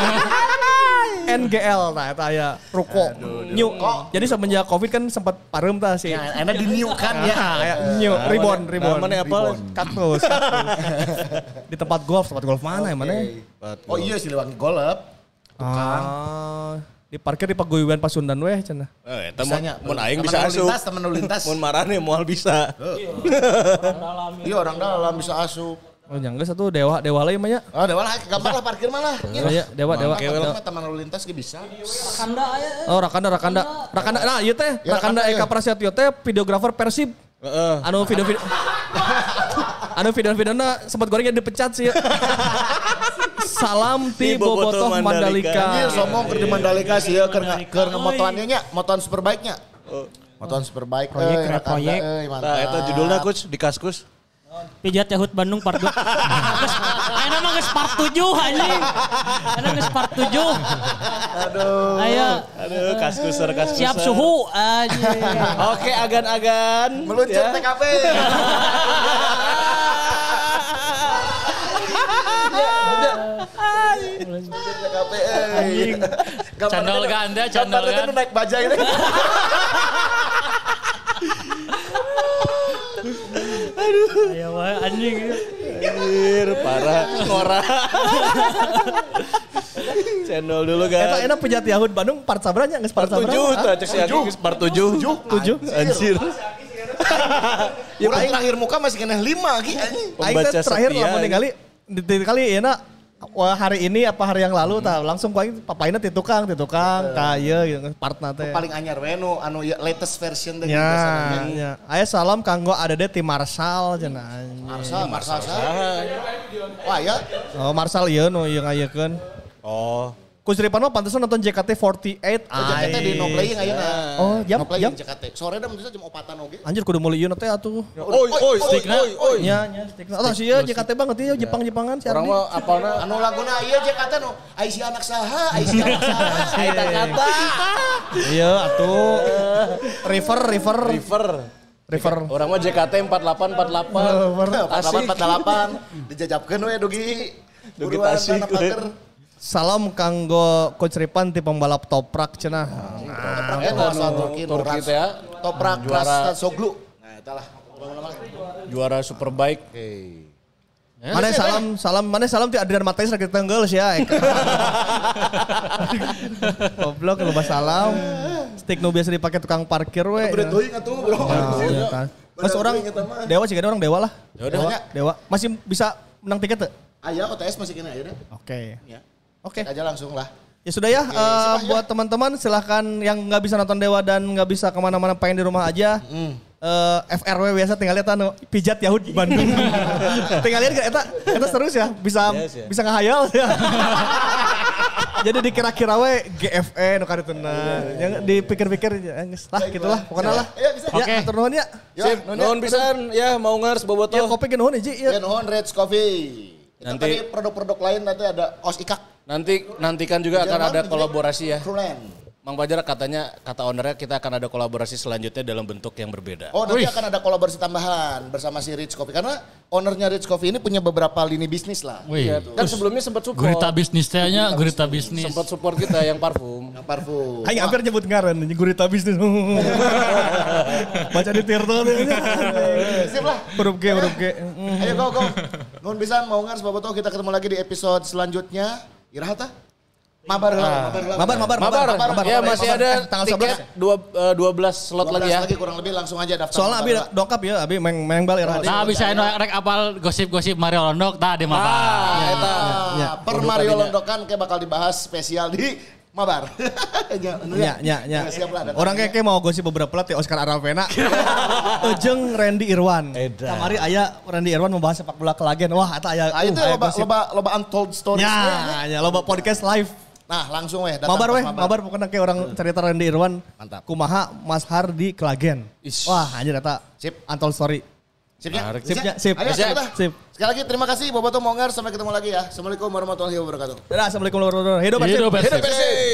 N G L nah itu aya ruko nyu. Jadi semenjak Covid kan sempat pareum tah sih. Ya, enak di new kan ya. Kayak nyu, ribon, ribon. Namanya apa? Kaktus, kaktus. Di tempat golf, tempat golf mana ya mana? Oh iya Siliwangi Golf. Ah, di parkir di Paguyuban Pasundan weh cenah. Eh, eta Bisanya. mun aing Temen bisa lalu asup. lintas, temen lalu lintas. Mun marane moal bisa. Iya orang dalam bisa asup. Oh nyangga satu dewa dewa lain mah ya. Oh dewa lah, gampang lah parkir malah. Oh iya, dewa dewa. Dewa teman lalu lintas ge bisa. Rakanda aya. Oh Rakanda Rakanda. Rakanda nah ieu teh Ya, Rakanda Rakanda, Eka ya. Prasetyo teh videografer Persib. Heeh. Anu video-video Anu video-videona sempat gorengnya dipecat sih. Salam ti Ti Bobotoh Bobotoh Mandalika. Anjir Mandalika. sombong keur di Mandalika sih ya keur nge- keur ngemotoannya nya, motoan superbike-nya. Motoan superbike Proyek, euy, keren Rakanda, proyek. euy, mantap. Nah, eta judulnya coach di Kaskus. Pijat Yahut Bandung part dua. Ayo mah geus part tujuh anjing. Ada geus part tujuh. Aduh. Ayo Aduh, Kaskuser Kaskuser. siap suhu anjing. Oke, agan-agan. Meluncur Ya. T K P. Meluncur T K P. Anjing. Candol ganda, candol Gambarnya ganda. tuh naik bajai ini. Ayo wae anjing. Anjir, parah. Ngora. Cendol dulu kan. Eta enak pejat Yahud Bandung part sabranya geus part sabranya. Tujuh, tuh cek si Aki geus part tujuh. Tujuh. Anjir. Ya orang terakhir muka masih kena lima lagi anjing. Aing teh Pembaca terakhir setia, lamun ya. ningali di di kali ya nak wah hari ini apa hari yang lalu tah langsung ku aing papaina ti tukang ti tukang ka ieu gitu partna teh. Paling anyar we nu anu ya, latest version teh. Ya, ya. Aya salam kanggo adede ti Marsal cenah. Marsal, Marsal. Wah ya. Oh Marsal ieu nu ieu ngayekeun. Oh. Coach Ripan mah pantesan nonton J K T empat delapan. Oh, J K T di no playing ayeuna. Oh, jam No playing jam. J K T. Sore dah menurut jam opatan oge. Anjir kudu meuli ieu teh atuh. Oi, oi, oi, oi, oi. Nya, nya stikna. Atuh sih J K T banget ieu Jepang-Jepangan si Orang Ardi. mah apalna Anu laguna ieu J K T nu Aisyah anak saha, Aisyah anak saha. Aita kata. Iya atuh. River, river, river. river. Orang mah J K T empat delapan empat delapan. empat delapan empat delapan dijajabkeun we dugi. Dugi Buruan tasik, tanah paker. Salam kanggo Coach Ripan ti pembalap toprak cenah. Eta anu Turki Turki teh ya. Toprak Juara. Ras Soglu. Nah, eta lah. Juara Superbike. Mana salam salam mana salam ti Adrian Mateus rek tenggeul sia. Goblok lu salam. Stick nu biasa dipake tukang parkir we. Udah teuing atuh, Bro. Ya, tah. Mas orang dewa sih orang dewa lah. Dewa. Dewa. Masih bisa menang tiket tuh? Aya O T S masih kena ayeuna. Oke. Ya. Oke. Cek aja langsung lah. Ya sudah ya, Oke, eh, simak ya. buat teman-teman silahkan yang nggak bisa nonton Dewa dan nggak bisa kemana-mana pengen di rumah aja. Eh, F R W biasa tinggal lihat anu pijat Yahud Bandung. Tinggal lihat gak? Eta, eta seru ya, bisa Yes, ya. bisa ngahayal ya. Jadi dikira-kira we G F E nu karituna. Yang dipikir-pikir ya geus lah gitulah pokoknya lah. Ya, bisa. Ya, atur nuhun ya. Sip, nuhun pisan ya mau ngars Ya bobotoh. kopi ge nuhun hiji Ya ya. nuhun Reds Coffee. Itu Nanti- tadi produk-produk lain nanti ada Os Ikak. Nanti nantikan juga akan ada kolaborasi ya. Krulen. Mang Fajar katanya, kata ownernya kita akan ada kolaborasi selanjutnya dalam bentuk yang berbeda. Oh nanti akan ada kolaborasi tambahan bersama si Rich Coffee. Karena ownernya Rich Coffee ini punya beberapa lini bisnis lah. Wih, Dan sebelumnya sempat support. gurita bisnis tehnya, gurita bisnis. Sempat support kita yang parfum. Yang parfum. Aing hampir nyebut ngaran ini gurita bisnis. Baca di Tirto tuh. Sip lah. Huruf G, huruf G. Ayo go go. Nuhun pisan mau ngars bobotoh kita ketemu lagi di episode selanjutnya. Iraha tah? Mabar heula, mabar heula. Mabar, mabar, Mabar, mabar, mabar. ya masih mabar. ada Eh, tanggal tiket sebelas. dua, eh, dua belas slot dua belas lagi ya. lagi kurang lebih langsung aja daftar. Soalnya Abi Mabar heula. dongkap ya, Abi meng mengbal ya. Nah bisa anu rek apal gosip-gosip Mario Londok tah di Mabar. Ah, eta. Ah, per Mario Londokan kayak bakal dibahas spesial di Mabar. Ya, anu Ya, ya, ya. Siap lah. datang. Orang kayak kayak mau gosip beberapa pelatih Oscar Aravena. Ejeng Randy Irwan. Edan. Kamari aya Randy Irwan membahas sepak bola kelagen. Wah, eta aya. Ah, itu uh, aya loba gosip. loba loba untold stories. Ya, ya loba podcast live. Nah langsung weh. datang Mabar pas weh, mabar pokoknya kayak orang cerita Randy Irwan. Mantap. Kumaha Mas Har di Klagen. Ish. Wah anjir eta. Sip. Untold story. Sipnya? Menarik. Sipnya, sip. Ayo, Sip. sip. Sip. Sekali lagi terima kasih Boboto Monger. Sampai ketemu lagi ya. Assalamualaikum warahmatullahi wabarakatuh. Dadah, assalamualaikum warahmatullahi wabarakatuh. Hidup Persib. Hidup Persib. Hidup Persib.